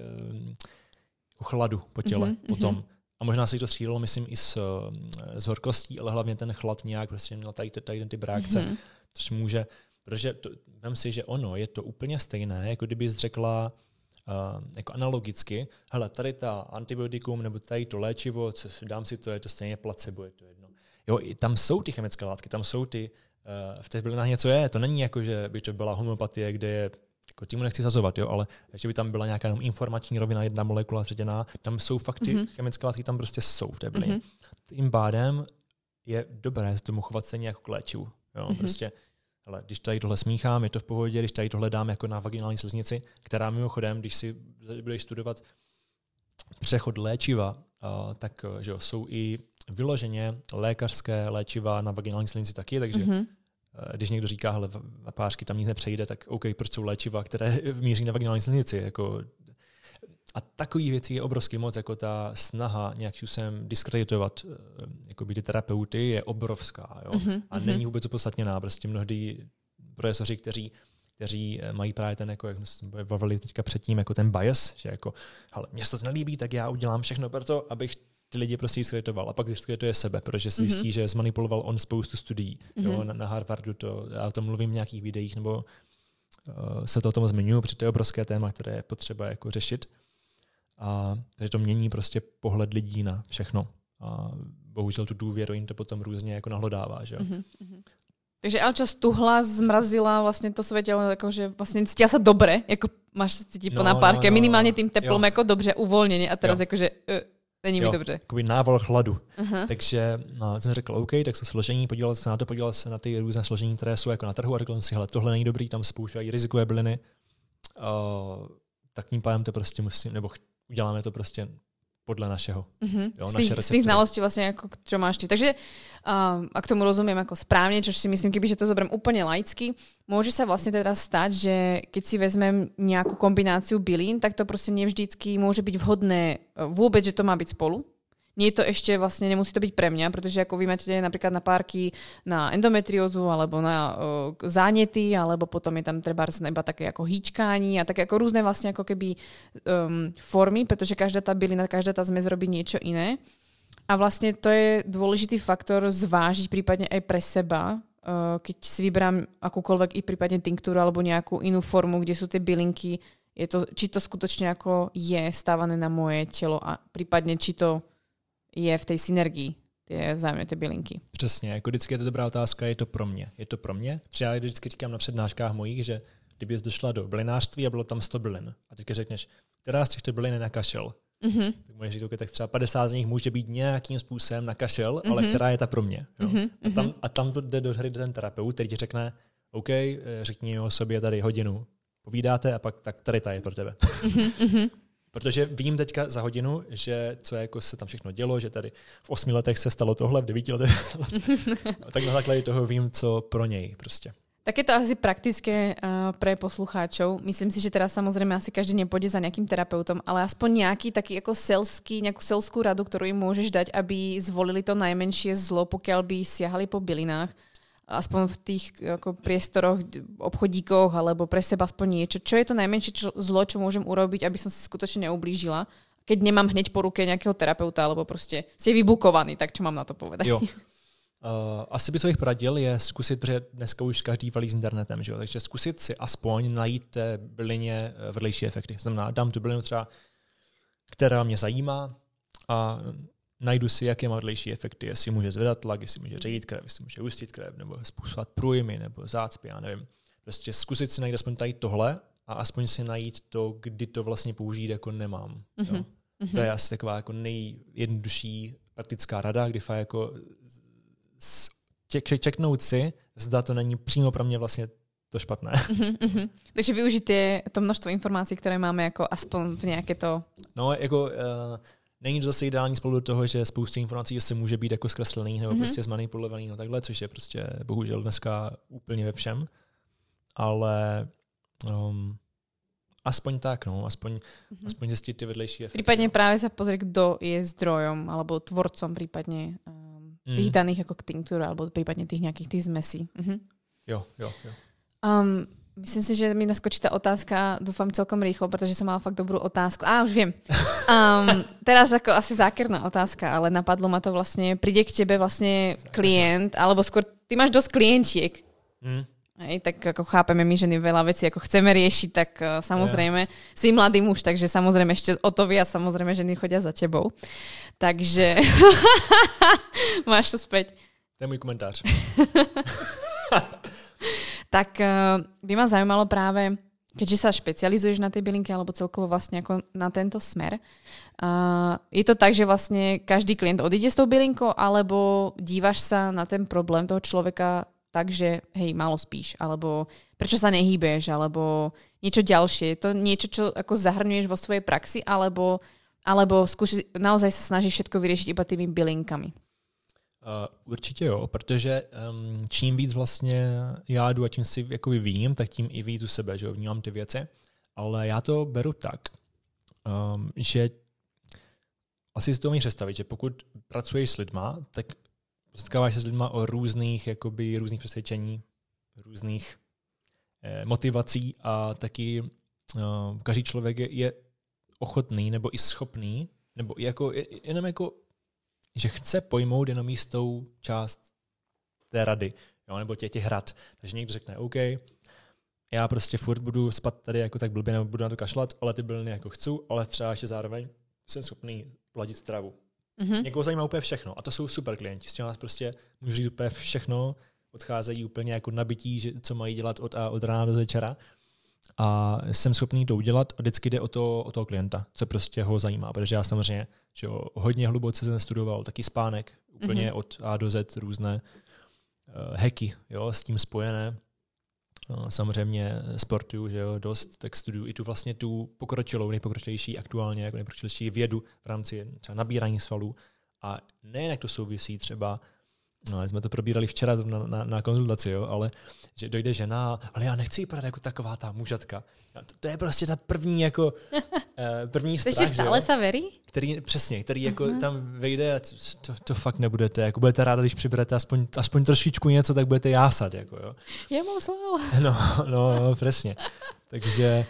jako chladu po těle potom. A možná se to střídalo, myslím, i s horkostí, ale hlavně ten chlad nějak prostě měl tady ty reakce, což může, protože vem si, že ono je to úplně stejné, jako kdyby jsi řekla jako analogicky, hele, tady ta antibiotikum nebo tady to léčivo, dám si to, je to stejně placebo, je to jedno. Jo, tam jsou ty chemické látky, tam jsou ty v těch bylinách něco je. To není jako, že by to byla homeopatie, kde je, jako tímu nechci zazovat, jo, ale že by tam byla nějaká jenom informační rovina, jedna molekula třetěná, tam jsou fakt ty chemické látky, tam prostě jsou v té bylině. Tím pádem je dobré se tomu chovat stejně jako k léčivu. Jo, prostě, hele, když tady tohle smíchám, je to v pohodě, když tady tohle dám jako na vaginální sliznici, která mimochodem, když si budeš studovat přechod léčiva, tak že jo, jsou i vyloženě lékařské léčiva na vaginální sliznici taky, takže když někdo říká, hele, napářky tam nic nepřejde, tak OK, proč jsou léčiva, které míří na vaginální sliznici. Jako. A takových věcí je obrovský moc, jako ta snaha nějak způsobem diskreditovat jakoby ty terapeuty je obrovská. Jo? A není vůbec opodstatněná. Prostě mnohdy profesoři, kteří mají právě ten, jako, jak jsme se bavili teďka předtím, jako ten bias, že jako, hele, mně se to nelíbí, tak já udělám všechno pro to, abych ty lidi prostě diskreditoval a pak diskredituje sebe, protože si zjistí, že zmanipuloval on spoustu studií. Jo, na Harvardu já o tom mluvím v nějakých videích, nebo se to o tom zmiňuji, protože to je obrovské téma, které je potřeba jako řešit. A takže to mění prostě pohled lidí na všechno. A bohužel tu důvěru jim to potom různě jako nahlodává. Že? Takže Alča stuhla, zmrazila vlastně to svoje tělo, jakože vlastně cítila se dobre, jako máš se cítit po napárke, minimálně tím teplom jako dobře, uvolněně a teraz jakože není mi dobře. Jakoby nával chladu. Takže jsem řekl OK, tak se složení, podíval se na ty různé složení, které jsou jako na trhu a řekl jsem si, hele, tohle není dobrý, tam spouštějí rizikové byliny, tak tím pádem to prostě musím, nebo uděláme to prostě podle našeho. Jo, z tých znalostí vlastne, ako, čo máš ty. Takže ak tomu rozumiem ako správne, čo si myslím, kebyže to zoberiem úplne laicky, môže sa vlastne teda stať, že keď si vezmem nejakú kombináciu bylín, tak to proste nevždycky môže byť vhodné vôbec, že to má byť spolu. nie je to ešte vlastne, nemusí to byť pre mňa, pretože ako vy máte napríklad na párky na endometriózu alebo na zánety, alebo potom je tam trebárs iba také ako hýčkání a také ako rôzne vlastne ako keby formy, pretože každá tá bylina, každá tá zmes robí niečo iné. A vlastne to je dôležitý faktor zvážiť prípadne aj pre seba, keď si vyberám akúkoľvek i prípadne tinktúru alebo nejakú inú formu, kde sú tie bylinky, či to skutočne ako je stávané na moje telo a prípadne či to je v tej synergii vzájemně ty bylinky. Přesně, jako vždycky je to dobrá otázka, je to pro mě. Je to pro mě? Protože já vždycky říkám na přednáškách mojich, že kdybys došla do bylinářství a bylo tam 100 bylin a teďka řekneš, která z těchto bylin je na kašel, tak můžeš říct, tak třeba 50 z nich může být nějakým způsobem na kašel, ale která je ta pro mě. Jo? A tam jde do hry ten terapeut, který ti řekne, OK, řekni o sobě tady hodinu, povídáte a pak tak tady ta je pro tebe. Protože vím teďka za hodinu, že co jako se tam všechno dělo, že tady v 8 letech se stalo tohle, v 9 letech. Tak na základě toho vím, co pro něj prostě. Tak je to asi praktické pre poslucháčov. Myslím si, že teraz samozrejme asi každý nepôjde za nejakým terapeutom, ale aspoň nejaký taký ako nejakú selskú radu, ktorú im môžeš dať, aby zvolili to najmenšie zlo, pokiaľ by siahali po bylinách. Aspoň v tých ako priestoroch, obchodíkoch alebo pre seba aspoň niečo. Čo je to najmenšie zlo, čo môžem urobiť, aby som si skutočne neublížila, keď nemám hneď po ruke nejakého terapeuta alebo proste ste vybukovaní, tak čo mám na to povedať? Jo. Asi by co bych poradil je zkusit, protože dneska už každý valí s internetem, že jo? Takže zkusit si aspoň najít té bylině vedlejší efekty. Znamená, dám tu bylinu třeba, která mě zajímá a najdu si, jaké má vedlejší efekty, jestli může zvedat tlak, jestli může ředit krev, jestli může hustit krev, nebo způsobovat průjmy, nebo zácpy, já nevím. Prostě zkusit si najít aspoň tady tohle a aspoň si najít to, kdy to vlastně použít jako nemám. Jo? To je asi taková jako nejjednodušší praktická rada, kdy fakt jako čeknout si, zda to není přímo pro mě vlastně to špatné. Takže využít to množstvo informací, které máme jako aspoň v nějaké to... No, jako není to zase ideální spolu do toho, že spousta informací se může být jako zkreslený nebo prostě zmanipulovaný no takhle, což je prostě bohužel dneska úplně ve všem. Ale aspoň tak, no, aspoň zjistit ty vedlejší efekty. Prípadne práve sa pozrieť, kto je zdrojom alebo tvorcom prípadne tých daných ako tinktúr alebo prípadne tých nejakých tých zmesí. Jo. Myslím si, že mi naskočí tá otázka, dúfam celkom rýchlo, pretože som mala fakt dobrú otázku. Už viem. Teraz ako asi zákerná otázka, ale napadlo ma to vlastne, príde k tebe vlastne klient, alebo skôr, ty máš dosť klientiek. Hej, tak ako chápeme my ženy veľa vecí, ako chceme riešiť, tak samozrejme si mladý muž, takže samozrejme ešte o to viac, samozrejme ženy chodia za tebou. Takže máš to späť. To je môj komentář. Tak by ma zaujímalo práve, keďže sa špecializuješ na tej bylinky alebo celkovo vlastne ako na tento smer. Je to tak, že vlastne každý klient odíde s tou bylinkou, alebo dívaš sa na ten problém toho človeka takže hej, málo spíš, alebo prečo sa nehýbeš, alebo niečo ďalšie. Je to niečo, čo ako zahrňuješ vo svojej praxi, alebo naozaj sa snažíš všetko vyriešiť iba tými bylinkami? Určitě jo, protože čím víc vlastně já jdu a čím si jako vyvíjím, tak tím i víc u sebe, že jo, vnímám ty věci. Ale já to beru tak, že asi si to umíš představit, že pokud pracuješ s lidma, tak setkáváš se s lidma o různých přesvědčení, různých motivací a taky každý člověk je ochotný nebo i schopný, nebo jenom jako že chce pojmout jenom jistou část té rady, jo, nebo těch rad. Takže někdo řekne, OK, já prostě furt budu spat tady jako tak blbě, nebo budu na to kašlat, ale ty byliny jako chci, ale třeba ještě zároveň jsem schopný pladit stravu. Někoho zajímá úplně všechno a to jsou super klienti, s těmi vás prostě můžu říct úplně všechno, odcházejí úplně jako nabití, že co mají dělat od rána do večera a jsem schopný to udělat a vždycky jde o toho klienta, co prostě ho zajímá, protože já samozřejmě že jo, hodně hluboce jsem studoval taky spánek, úplně od A do Z různé hacky, jo, s tím spojené. Samozřejmě sportuju, že jo, dost, tak studuju i tu nejpokročilejší aktuálně, jako nejpokročilejší vědu v rámci třeba nabírání svalů. A nejen jak to souvisí třeba, jsme to probírali včera na konzultaci, jo, ale že dojde žena, ale já nechci vypadat jako taková ta mužatka. To je prostě ta první jako první strach, ešte stále sa verí? Který jako tam vejde a to fakt nebudete. Jako budete ráda, když přiberete aspoň trošičku něco, tak budete jásat. Jako, jo. Je musel. No, přesně. Takže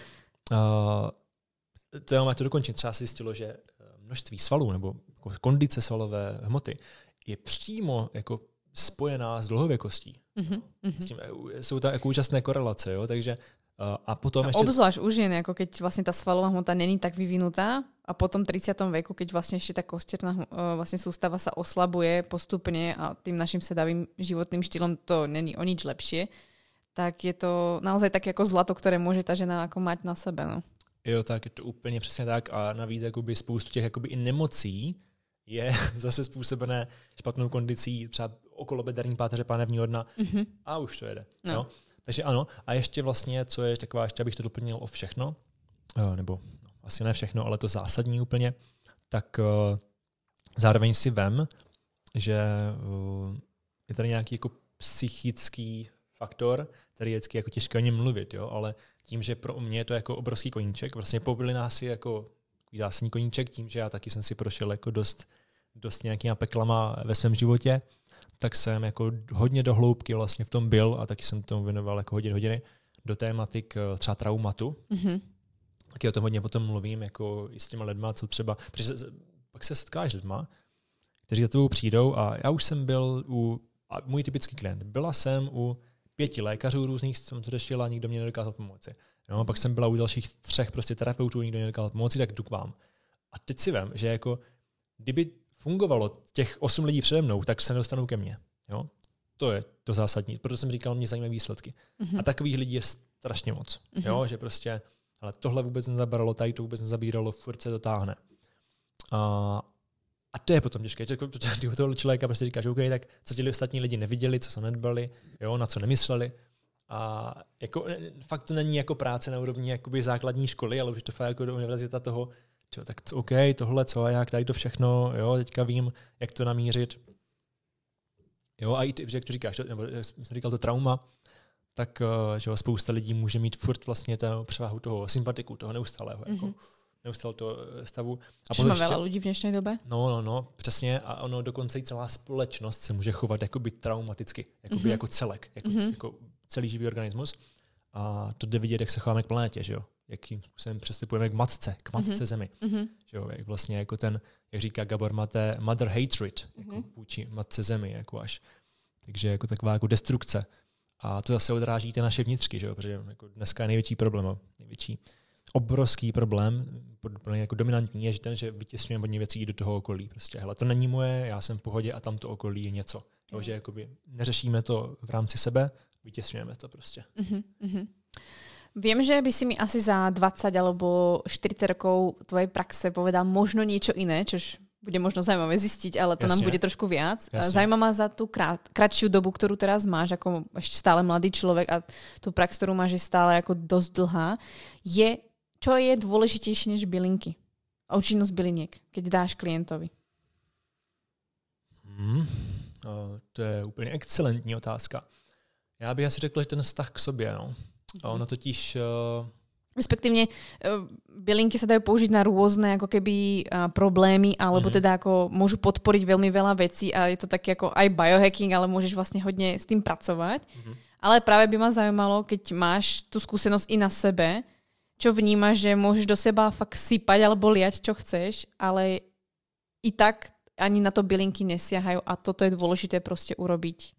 to já to dokončit. Třeba se zjistilo, že množství svalů nebo kondice svalové hmoty je přímo jako spojená s dlouhověkostí. S tím, jsou tam jako úžasné korelace, jo? Takže a potom ešte... Obzvlášť u žien, ako keď vlastne tá svalová hmota není tak vyvinutá a potom 30. veku, keď vlastne ešte tá kostierná vlastne sústava sa oslabuje postupne a tým našim sedavým životným štýlom to není o nič lepšie, tak je to naozaj také ako zlato, ktoré môže tá žena ako mať na sebe. No. Jo, tak je to úplně přesně tak a navíc jakoby spoustu těch jakoby i nemocí je zase způsobené špatnou kondicí, třeba okolobederní páteře pánevního dna a už to jede. No. Jo? Takže ano, a ještě vlastně, co je taková, ještě abych to doplnil o všechno, nebo asi ne všechno, ale to zásadní úplně, tak zároveň si vem, že je tady nějaký jako psychický faktor, který je vždycky jako těžké o něm mluvit, jo? Ale tím, že pro mě je to jako obrovský koníček, vlastně pobili nás jako zásadní koníček, tím, že já taky jsem si prošel jako dost nějakýma peklama ve svém životě, tak jsem jako hodně do hloubky vlastně v tom byl a taky jsem tomu věnoval jako hodiny do tématik třeba traumatu. Taky o tom hodně potom mluvím jako i s těma lidma, co třeba, protože pak se setkáš s lidma, kteří za tebou přijdou a já už jsem byl a můj typický klient, byla jsem u 5 lékařů různých, jsem to řešila a nikdo mě nedokázal pomoci. No, pak jsem byla u dalších 3 prostě terapeutů, nikdo nedokázal pomoci, tak jdu k vám. A teď si vem, že jako kdyby fungovalo těch 8 lidí přede mnou, tak se nedostanou ke mně. Jo? To je to zásadní. Proto jsem říkal, mě zajímavé výsledky. A takových lidí je strašně moc. Jo? Že prostě, ale tohle vůbec nezabralo, tady to vůbec nezabíralo, furt se to táhne. A to je potom těžké. Protože u toho člověka prostě říkáš, OK, tak co ti ostatní lidi neviděli, co se nedbali, jo? Na co nemysleli. A jako, fakt to není jako práce na úrovni jakoby základní školy, ale už to fakt jako do univerzita toho, čo, tak OK, tohle co a jak, tady to všechno, jo, teďka vím, jak to namířit. Jo, a i ty, jak to říkáš, nebo jsem říkal to trauma, tak že spousta lidí může mít furt vlastně tu převahu toho sympatiku, toho neustálého, jako neustále toho stavu. A Čiže má veľa ľudí v dnešnej dobe? No, přesně. A ono dokonce i celá společnost se může chovat jakoby traumaticky, jakoby jako celek, jako celý živý organismus. A to jde vidět, jak se chováme k planetě, že jo? Jakým způsobem přestupujeme k matce Zemi. Že jo? Jak vlastně jako ten, jak říká Gabor Maté, mother hatred, jako vůči matce Zemi, jako až. Takže jako taková jako destrukce. A to zase odráží ty naše vnitřky, že jo? Protože jako dneska je největší problém, obrovský problém, jako dominantní je, že ten, že vytěsňujeme hodně věcí do toho okolí. Prostě, hele, to není moje, já jsem v pohodě a tam to okolí je něco. Jo, že jakoby neřešíme to v rámci sebe, vytěsňujeme to prostě. Viem, že by si mi asi za 20 alebo 40 rokov tvojej praxe povedal možno niečo iné, čož bude možno zaujímavé zistiť, ale to nám bude trošku viac. Zaujíma ma za tú kratšiu dobu, ktorú teraz máš, ako ešte stále mladý človek a tú prax, ktorú máš, je stále ako dosť dlhá. Čo je dôležitejšie než bylinky? A účinnosť byliniek, keď dáš klientovi? To je úplně excelentní otázka. Já bych asi řekl, že ten vztah k sobě, no. A ono totiž... Respektívne bylinky sa dajú použiť na rôzne ako keby problémy, alebo teda ako môžu podporiť veľmi veľa vecí a je to taký ako aj biohacking, ale môžeš vlastne hodne s tým pracovať. Ale práve by ma zaujímalo, keď máš tú skúsenosť i na sebe, čo vnímaš, že môžeš do seba fakt sypať alebo liať, čo chceš, ale i tak ani na to bylinky nesiahajú a toto je dôležité proste urobiť.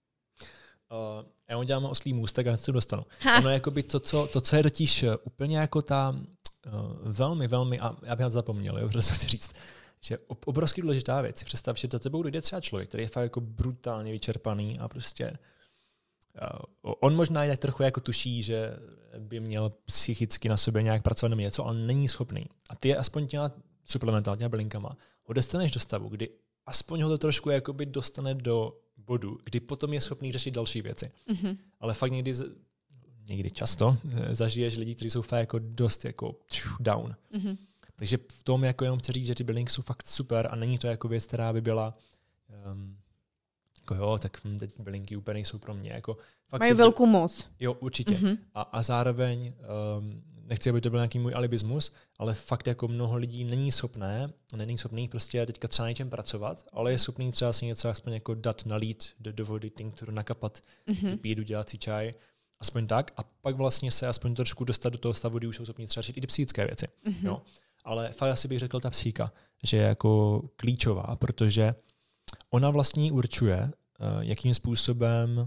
Já mu dělám oslý můstek a se dostanu. Ono je jakoby to, co je totiž úplně jako ta velmi, velmi, a já bych to zapomněl, jo, protože chci říct, že obrovský důležitá věc. Představ, že do tebou dojde třeba člověk, který je fakt jako brutálně vyčerpaný a prostě on možná i tak trochu jako tuší, že by měl psychicky na sobě nějak pracovat nebo něco, ale není schopný. A ty je aspoň těma suplementama, těma bylinkama, ho dostaneš do stavu, kdy aspoň ho to trošku jakoby dostane do bodu, kdy potom je schopný řešit další věci. Ale fakt někdy často zažiješ lidi, kteří jsou fakt jako dost jako down. Takže v tom jako jenom chci říct, že ty bylinky jsou fakt super a není to jako věc, která by byla Jako jo, tak teď bylinky úplně nejsou pro mě. Jako, fakt mají velkou moc. Jo, určitě. A zároveň, nechci, aby to byl nějaký můj alibismus, ale fakt jako mnoho lidí není schopný prostě teďka třeba něčem pracovat, ale je schopný třeba si něco aspoň jako dát, nalít do vody, tinkturu nakapat, pít, udělat si čaj, aspoň tak. A pak vlastně se aspoň trošku dostat do toho stavu, kdy už jsou schopni třeba řešit i ty psychické věci. Jo. Ale fakt asi bych řekl ta psychika, že je jako klíčová, protože ona vlastně určuje, jakým způsobem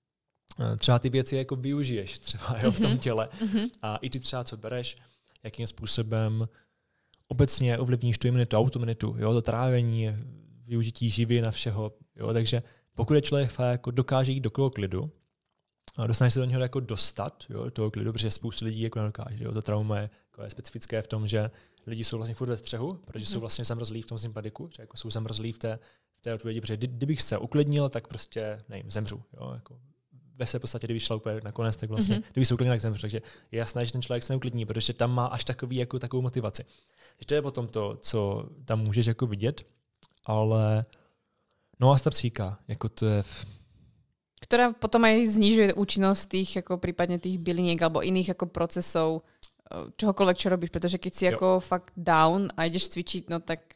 třeba ty věci jako využiješ třeba v tom těle. A i ty třeba, co bereš, jakým způsobem obecně ovlivníš tu imunitu, autoimunitu, jo, to trávení, využití živin a všeho. Jo, takže pokud je člověk fakt jako dokáže jít do toho klidu a dostane se do něho jako dostat, jo, do toho klidu, protože spoustu lidí jako nedokáže. Jo, to trauma je specifické v tom, že lidi jsou vlastně furt ve střehu, protože jsou vlastně zamrzlí v tom sympatiku, že jako jsou zamrzlí v té odpovědi, protože kdybych se uklidnil, tak prostě nevím, zemřu. Jo, jako ve své podstatě, kdyby šla úplně nakonec, tak vlastně, kdyby se uklidnil, tak zemřu. Takže je jasné, že ten člověk se neuklidní, protože tam má až takovou motivaci. To je potom to, co tam můžeš jako vidět, ale no a ta psychika, jako to je... Ktorá potom aj znižuje účinnosť tých, ako prípadne tých byliniek alebo iných ako procesov, čohokoľvek, čo robíš, pretože keď si ako fakt down a ideš cvičiť, no tak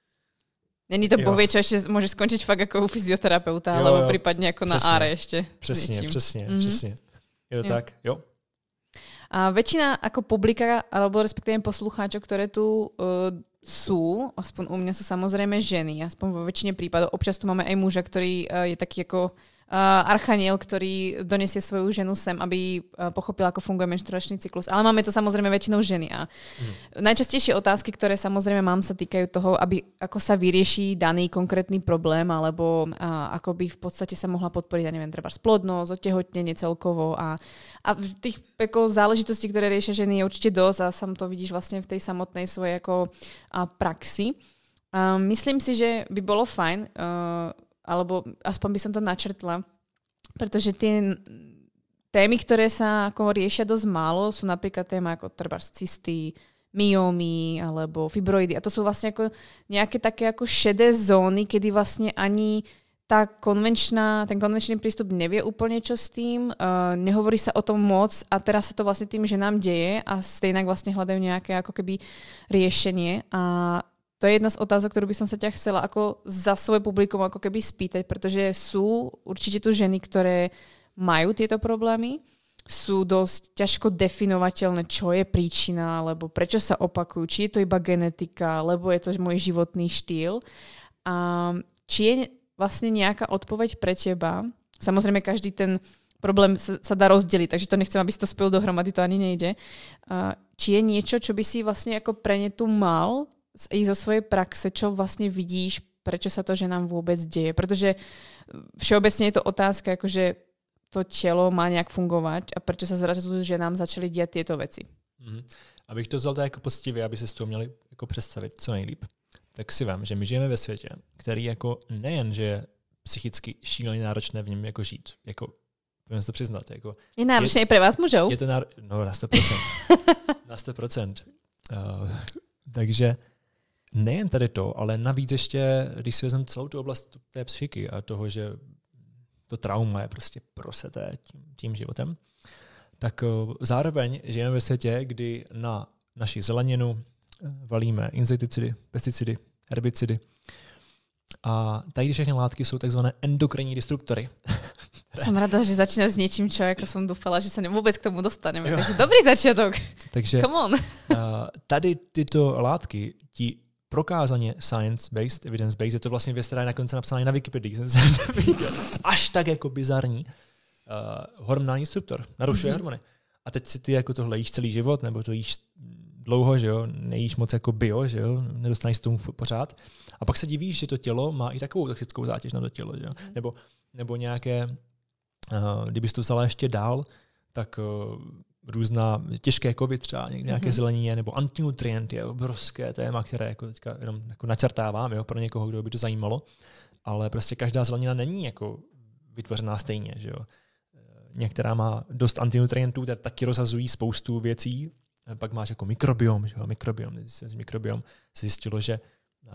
není to bohvie, čo ešte môže skončiť fakt ako u fyzioterapeuta, alebo prípadne ako na áre ešte. Přesně. Je to tak, jo. A väčšina ako publika, alebo respektíve poslucháčov, ktoré tu sú, aspoň u mňa sú samozrejme ženy, aspoň vo väčšine prípadov. Občas tu máme aj muža, ktorý je taký ako archaniel, ktorý donesie svoju ženu sem, aby pochopila, ako funguje menštruačný cyklus. Ale máme to samozrejme väčšinou ženy. A najčastejšie otázky, ktoré samozrejme mám, sa týkajú toho, ako sa vyrieši daný konkrétny problém, alebo ako by v podstate sa mohla podporiť, ja neviem, treba splodnosť, otehotnenie celkovo. A tých ako záležitostí, ktoré riešia ženy, je určite dosť a sam to vidíš vlastne v tej samotnej svojej ako praxi. Myslím si, že by bolo fajn, alebo aspoň by som to načrtla, pretože tie témy, ktoré sa ako riešia dosť málo, sú napríklad téma ako trebárs cysty, myómy alebo fibroidy. A to sú vlastne ako nejaké také ako šedé zóny, kedy vlastne ani ten konvenčný prístup nevie úplne čo s tým, nehovorí sa o tom moc a teraz sa to vlastne tým ženám deje a stejnak vlastne hľadajú nejaké ako keby riešenie. A to je jedna z otázok, ktorú by som sa ťa chcela ako za svoje publikum ako keby spýtať, pretože sú určite tu ženy, ktoré majú tieto problémy, sú dosť ťažko definovateľné, čo je príčina, alebo prečo sa opakujú, či je to iba genetika, alebo je to môj životný štýl. A či je vlastne nejaká odpoveď pre teba. Samozrejme, každý ten problém sa dá rozdeliť, takže to nechcem, aby si to spojil dohromady, to ani nejde. Či je niečo, čo by si vlastne ako pre ne tu mal i zo svojej praxe, čo vlastne vidíš, prečo sa to ženám vôbec deje. Pretože všeobecne je to otázka, akože to telo má nejak fungovať a prečo sa zrazu ženám začali diať tieto veci. Abych to vzal tak jako poctivě, aby si s toho měli jako představit co nejlíp, tak si vem, že my žijeme ve světě, který jako nejen, že je psychicky šíleně náročné v něm jako žít, jako budeme si to přiznat. Jako, je náročné i pre vás mužov? Je to no na 100%. Na 100%. Takže nejen tady to, ale navíc ještě, když si vezmeme celou tu oblast té psychiky a toho, že to trauma je prostě proseté tím životem, tak zároveň žijeme ve světě, kdy na naši zeleninu valíme insekticidy, pesticidy, herbicidy. A tady všechny látky jsou takzvané endokrinní disruptory. Som rada, že začína s niečím, čo ako som dúfala, že sa vôbec k tomu dostaneme. Takže dobrý začiatok. Takže come on. Tady tyto látky ti prokázaně science-based, evidence-based, je to vlastně věc, která je nakonec napsaná na Wikipedii. Až tak jako bizarní. Hormonální disruptor. Narušuje hormony. A teď si ty jako tohle jíš celý život, nebo to jíš dlouho, že jo, nejíš moc jako bio, že jo, nedostaneš tomu pořád. A pak se divíš, že to tělo má i takovou toxickou zátěž na to tělo, že jo. Nebo nějaké, kdybys to vzala ještě dál, tak různá těžké kovy třeba, nějaké zelenině, nebo antinutrienty je obrovské téma, které jako teďka jenom jako načrtávám, jo, pro někoho, kdo by to zajímalo. Ale prostě každá zelenina není jako vytvořená stejně, že jo. Některá má dost antinutrientů, které taky rozhazují spoustu věcí. Pak máš jako mikrobiom, že jo, mikrobiom se zjistilo, že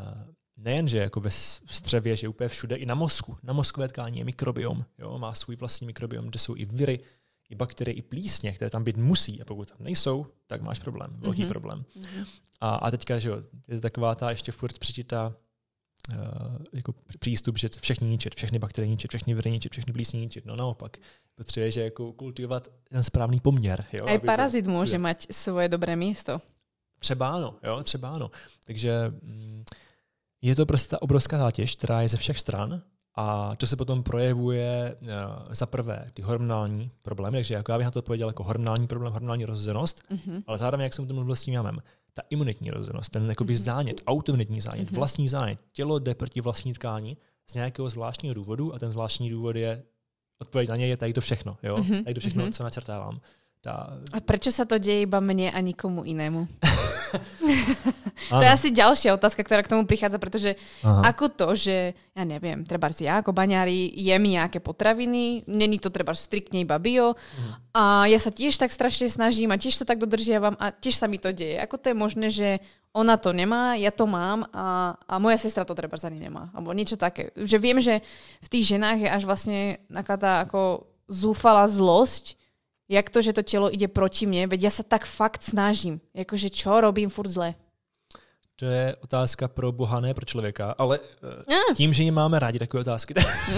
nejenže jako ve střevě, že úplně všude, i na mozku. Na mozkové tkání je mikrobiom, jo, má svůj vlastní mikrobiom, kde jsou i viry, i bakterie, i plísně, které tam být musí. A pokud tam nejsou, tak máš problém, velký problém. A teďka, že jo, je to taková ta ještě furt přečitá jako přístup, že všechny ničit, všechny bakterie ničit, všechny viry ničit, všechny plísně ničit. No naopak, potřebuje, že jako kultivovat ten správný poměr. Jo, aj parazit může mať svoje dobré místo. Třeba ano. Takže je to prostě ta obrovská zátěž, která je ze všech stran a to se potom projevuje za prvé ty hormonální problémy, takže jako já bych na to odpověděl jako hormonální problém, hormonální rozhozenost, ale zároveň, jak jsem to mluvil s tím jámem, ta imunitní rozhozenost, ten jakoby zánět, autoimunitní zánět, vlastní zánět, tělo jde proti vlastní tkání z nějakého zvláštního důvodu a ten zvláštní důvod je, odpověď na něj je tady to všechno, jo? Tady to všechno, co načrtávám. A prečo sa to deje iba mne a nikomu inému? To je asi ďalšia otázka, ktorá k tomu prichádza, pretože ako to, že ja neviem, trebárs ja ako baňári jem nejaké potraviny, není to trebárs striktne iba bio a ja sa tiež tak strašne snažím a tiež to tak dodržiavam a tiež sa mi to deje. Ako to je možné, že ona to nemá, ja to mám a moja sestra to trebárs ani nemá. Alebo niečo také. Že viem, že v tých ženách je až vlastne taká tá ako zúfalá zlosť, jak to, že to tělo ide proti mne, veď ja sa tak fakt snažím. Jakože čo robím furt zle? To je otázka pro Boha, ne pro člověka, ale tím, že máme rádi takové otázky.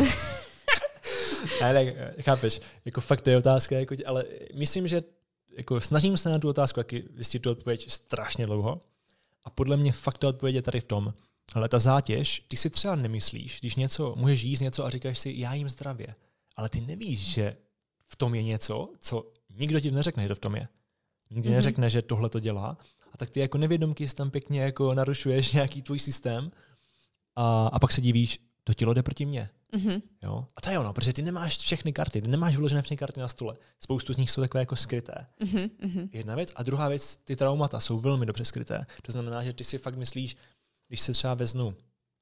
Ne, chápeš, jako fakt to je otázka, jako, ale myslím, že jako snažím se na tu otázku taky zjistit tu odpověď strašně dlouho a podle mě fakt ta odpověď je tady v tom, ale ta zátěž, ty si třeba nemyslíš, když něco, můžeš jíst něco a říkáš si, já jím zdravě, ale ty nevíš, že v tom je něco, co nikdo ti neřekne, že to v tom je. Nikdy neřekne, že tohle to dělá. A tak ty jako nevědomky si tam pěkně jako narušuješ nějaký tvůj systém a pak se divíš, to tělo jde proti mně. Jo? A to je ono, protože ty nemáš všechny karty, ty nemáš vyložené všechny karty na stole. Spoustu z nich jsou takové jako skryté. Jedna věc. A druhá věc, ty traumata jsou velmi dobře skryté. To znamená, že ty si fakt myslíš, když se třeba veznu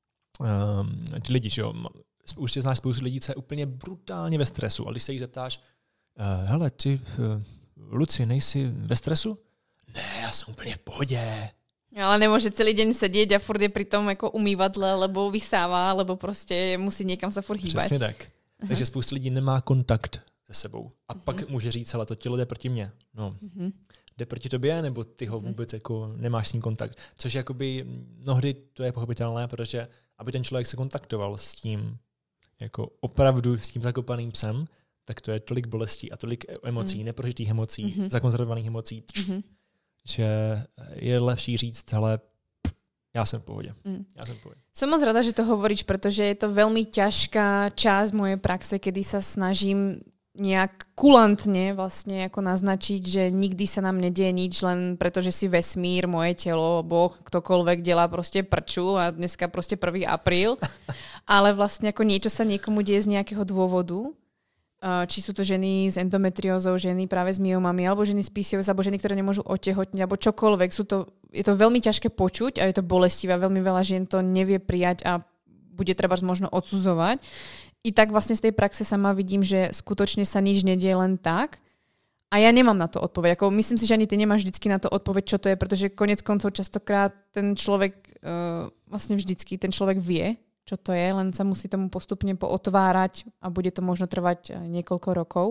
ty lidi, že jo, určitě znáš spoustu lidí, co je úplně brutálně ve stresu. A když se jich zeptáš, hele, ty, Luci, nejsi ve stresu? Ne, já jsem úplně v pohodě. Ale nemůže celý den sedět a furt je pri tom jako umývadle, lebo vysává, lebo prostě musí někam se furt hýbat. Přesně tak. Takže spoustu lidí nemá kontakt se sebou. A pak může říct, hele, to tělo jde proti mně. No, jde proti tobě, nebo ty ho vůbec jako nemáš s ním kontakt. Což jakoby mnohdy to je pochopitelné, protože aby ten člověk se kontaktoval s tím jako opravdu s tím zakopaným psem, tak to je tolik bolestí a tolik emocí, neprožitých emocí, zakonzervovaných emocí, že je lepší říct, hele, já jsem v pohodě. Som moc rada, že to hovoríš, pretože je to veľmi ťažká časť mojej praxe, kedy sa snažím nejak kulantne vlastne ako naznačiť, že nikdy sa nám nedieje nič, len pretože si vesmír, moje telo, Boh, ktokoľvek delá proste prču a dneska proste 1. apríl. Ale vlastne ako niečo sa niekomu deje z nejakého dôvodu. Či sú to ženy s endometriózou, ženy práve s myomami, alebo ženy s PCOS, alebo ženy, ktoré nemôžu otehotniť, alebo čokoľvek. Je to veľmi ťažké počuť a je to bolestivé. Veľmi veľa žien to nevie prijať a bude treba možno odsudzovať. I tak vlastne z tej praxe sama vidím, že skutočne sa nič nedieje len tak. A ja nemám na to odpoveď. Ako myslím si, že ani ty nemáš vždycky na to odpoveď, čo to je, pretože konec koncov častokrát ten človek, vlastne vždycky ten človek vie, čo to je, len sa musí tomu postupne pootvárať a bude to možno trvať niekoľko rokov.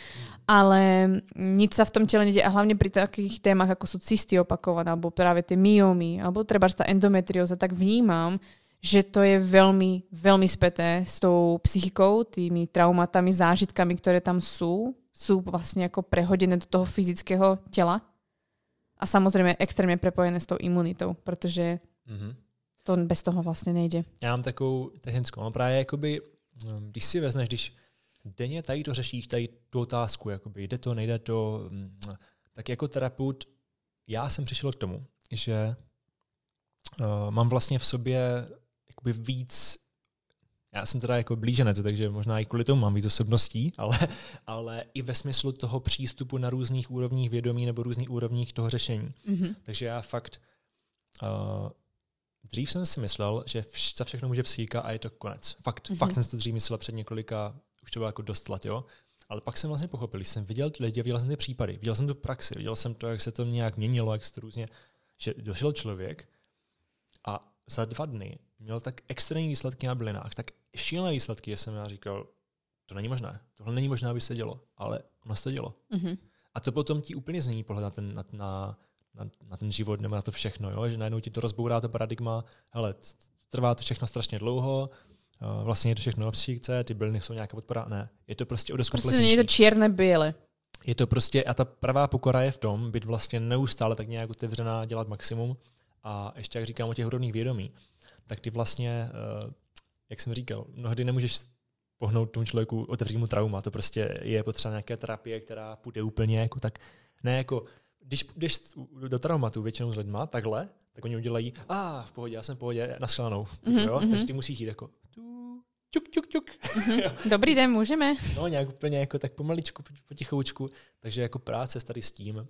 Ale nič sa v tom tele nedie a hlavne pri takých témach, ako sú cysty opakované, alebo práve tie myomy, alebo treba tá endometrióza, tak vnímam, že to je veľmi, veľmi späté s tou psychikou, tými traumatami, zážitkami, ktoré tam sú vlastne ako prehodené do toho fyzického tela a samozrejme extrémne prepojené s tou imunitou, protože to bez toho vlastně nejde. Já mám takovou technickou, no právě jakoby, když si vezneš, když denně tady to řešíš, tady tu otázku, jakoby jde to, nejde to, tak jako terapeut já jsem přišel k tomu, že mám vlastně v sobě jakoby víc, já jsem teda jako blíženec, takže možná i kvůli tomu mám víc osobností, ale i ve smyslu toho přístupu na různých úrovních vědomí nebo různých úrovních toho řešení. Takže já fakt dřív jsem si myslel, že za všechno může psychika a je to konec. Fakt jsem si to dřív myslel před několika, už to bylo jako dost let, jo. Ale pak jsem vlastně pochopil, když jsem viděl ty lidi, viděl jsem ty případy, viděl jsem tu praxi, viděl jsem to, jak se to nějak měnilo, jak se to různě, že došel člověk a za 2 dny měl tak extrémní výsledky na bylinách, tak šílené výsledky, že jsem já říkal, to není možné, tohle není možné, aby se dělo, ale ono se to dělo. Mm-hmm. A to potom ti úplně změní pohled na ten život nebo na to všechno, jo? Že najednou ti to rozbourá to paradigma, hele, trvá to všechno strašně dlouho, vlastně je to všechno na psychice, ty byliny jsou nějaká podpora, ne. Je to prostě o dost komplexnější. Prostě není to černé bílé. Je to prostě, a ta pravá pokora je v tom, být vlastně neustále tak nějak otevřená, dělat maximum a ještě jak říkám o těch úrovních vědomí, tak ty vlastně, jak jsem říkal, mnohdy nemůžeš pohnout tomu člověku, otevřít mu trauma, to prostě je potřeba nějaké terapie, která půjde úplně jako tak, ne jako, když jdeš do traumatu většinou s lidma, takhle, tak oni udělají, v pohodě, já jsem v pohodě, naschledanou, jo? Takže ty musíš jít jako, ťuk. Dobrý den, můžeme? No, nějak úplně jako tak pomaličku, potichoučku, takže jako práce tady s tím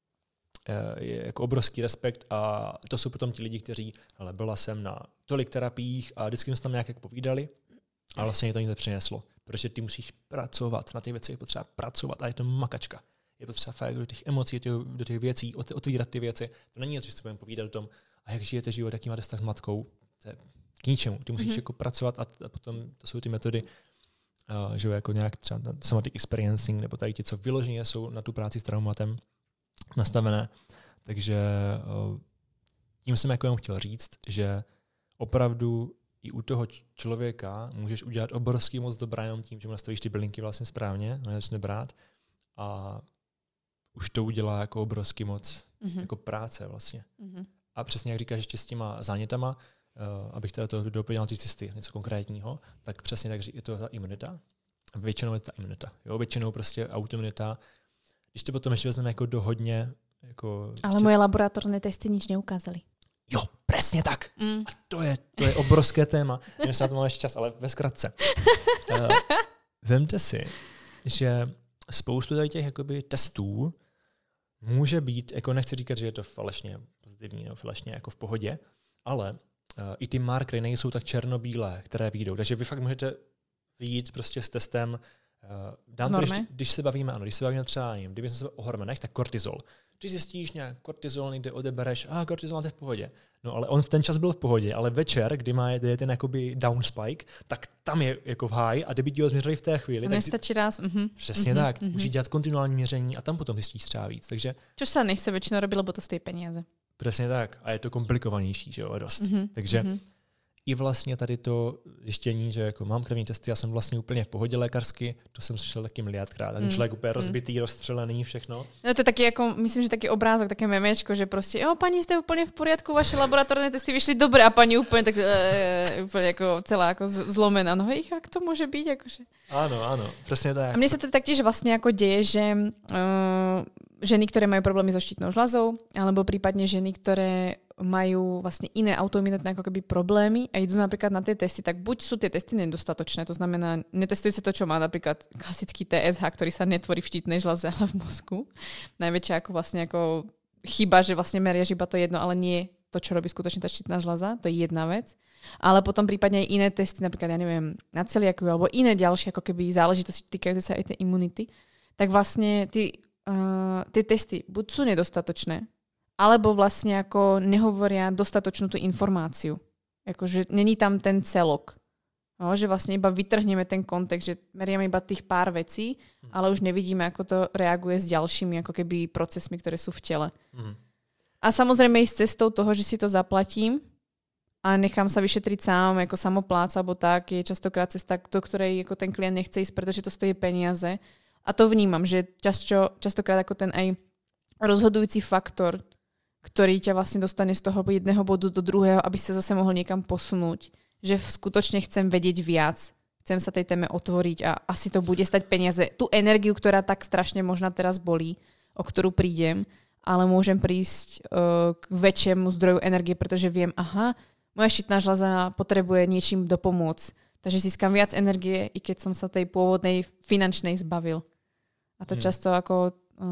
je jako obrovský respekt a to jsou potom ti lidi, kteří, ale byla jsem na tolik terapiích a vždycky jsme tam nějak jako povídali a vlastně to nic nepřineslo, protože ty musíš pracovat, na těch věcech je potřeba pracovat a je to makačka. Je potřeba fakt do těch emocí, do těch věcí, otvírat ty věci. To není něco, že si budeme povídat o tom, a jak žijete život, jaký máte vztah s matkou. To je k ničemu. Ty musíš jako pracovat a potom to jsou ty metody, že jako nějak třeba somatic experiencing, nebo tady ti, co vyloženě jsou na tu práci s traumatem nastavené. Takže tím jsem jako jenom chtěl říct, že opravdu i u toho člověka můžeš udělat obrovský moc dobrá jenom tím, že mu nastavíš ty bylinky vlastně správně, začne brát a už to udělá jako obrovský moc jako práce vlastně. A přesně jak říkáš ještě s těma zánětama, abych teda to doplnil ty cysty, něco konkrétního, tak přesně tak je to ta imunita. Většinou je ta imunita. Jo? Většinou prostě autoimunita. Když to potom ještě vezmeme jako do hodně... Jako ale moje laboratorné testy nič neukázali. Jo, přesně tak. A to je obrovské téma. Nevím, jestli na to máme ještě čas, ale ve zkratce. Vemte si, že spoustu těch jakoby testů může být, jako nechci říkat, že je to falešně pozitivní nebo falešně jako v pohodě, ale i ty markery nejsou tak černobílé, které vyjdou. Takže vy fakt můžete vyjít prostě s testem, když se bavíme třeba, kdyby jsme se o hormonech, tak kortizol. Když zjistíš nějak kortizol, někde odebereš, kortizol máte v pohodě. No ale on v ten čas byl v pohodě, ale večer, kdy má ten jakoby down spike, tak tam je jako v high a kdyby ti ho změřili v té chvíli. Nestačí raz. Přesně tak. Musíš dělat kontinuální měření a tam potom zjistíš třeba víc. Takže což se nechce většinou robit, lebo to stojí peníze. Přesně tak. A je to komplikovanější, že jo, dost. Takže i vlastně tady to zjištění, že jako mám krevní testy, já jsem vlastně úplně v pohodě lékařsky, to jsem slyšel taky miliardkrát. A ten člověk úplně rozbitý, rozstřelený, všechno. No to je taky jako, myslím, že taky obrázok, také memečko, že prostě, paní, jste úplně v poriadku, vaše laboratorné testy vyšly dobré a paní úplně tak úplně jako celá jako zlomená. No jak to může být? Jakože? Ano, přesně tak. A mně se to taktiež vlastně jako děje, že ženy, ktoré majú problémy so štítnou žľazou, alebo prípadne ženy, ktoré majú vlastne iné autoimunitné ako keby problémy a idú napríklad na tie testy, tak buď sú tie testy nedostatočné, to znamená, netestuje sa to, čo má napríklad klasický TSH, ktorý sa netvorí v štítnej žľaze, ale v mozgu. Najväčšia ako vlastne ako chyba, že vlastne meriaš iba to jedno, ale nie to, čo robí skutočne tá štítna žľaza, to je jedna vec. Ale potom prípadne aj iné testy, napríklad, ja neviem, na celiakiu alebo iné ďalšie ako keby záležitosti týkajúce sa aj tej imunity, tak vlastne tie testy buď sú nedostatočné, alebo vlastne ako nehovoria dostatočnú tú informáciu. Akože není tam ten celok. No, že vlastne iba vytrhneme ten kontext, že meriame iba tých pár vecí, ale už nevidíme, ako to reaguje s ďalšími ako keby procesmi, ktoré sú v tele. A samozrejme ísť cestou toho, že si to zaplatím a nechám sa vyšetriť sám, ako samopláca, alebo tak, je častokrát cesta, do ktorej ako ten klient nechce ísť, pretože to stojí peniaze. A to vnímam, že častokrát ako ten aj rozhodujúci faktor, ktorý ťa vlastne dostane z toho jedného bodu do druhého, aby sa zase mohol niekam posunúť. Že skutočne chcem vedieť viac, chcem sa tej téme otvoriť a asi to bude stať peniaze. Tú energiu, ktorá tak strašne možno teraz bolí, o ktorú prídem, ale môžem prísť k väčšiemu zdroju energie, pretože viem, moja štítna žľaza potrebuje niečím dopomôcť. Takže získam viac energie, i keď som sa tej pôvodnej finančnej zbavil. A to často ako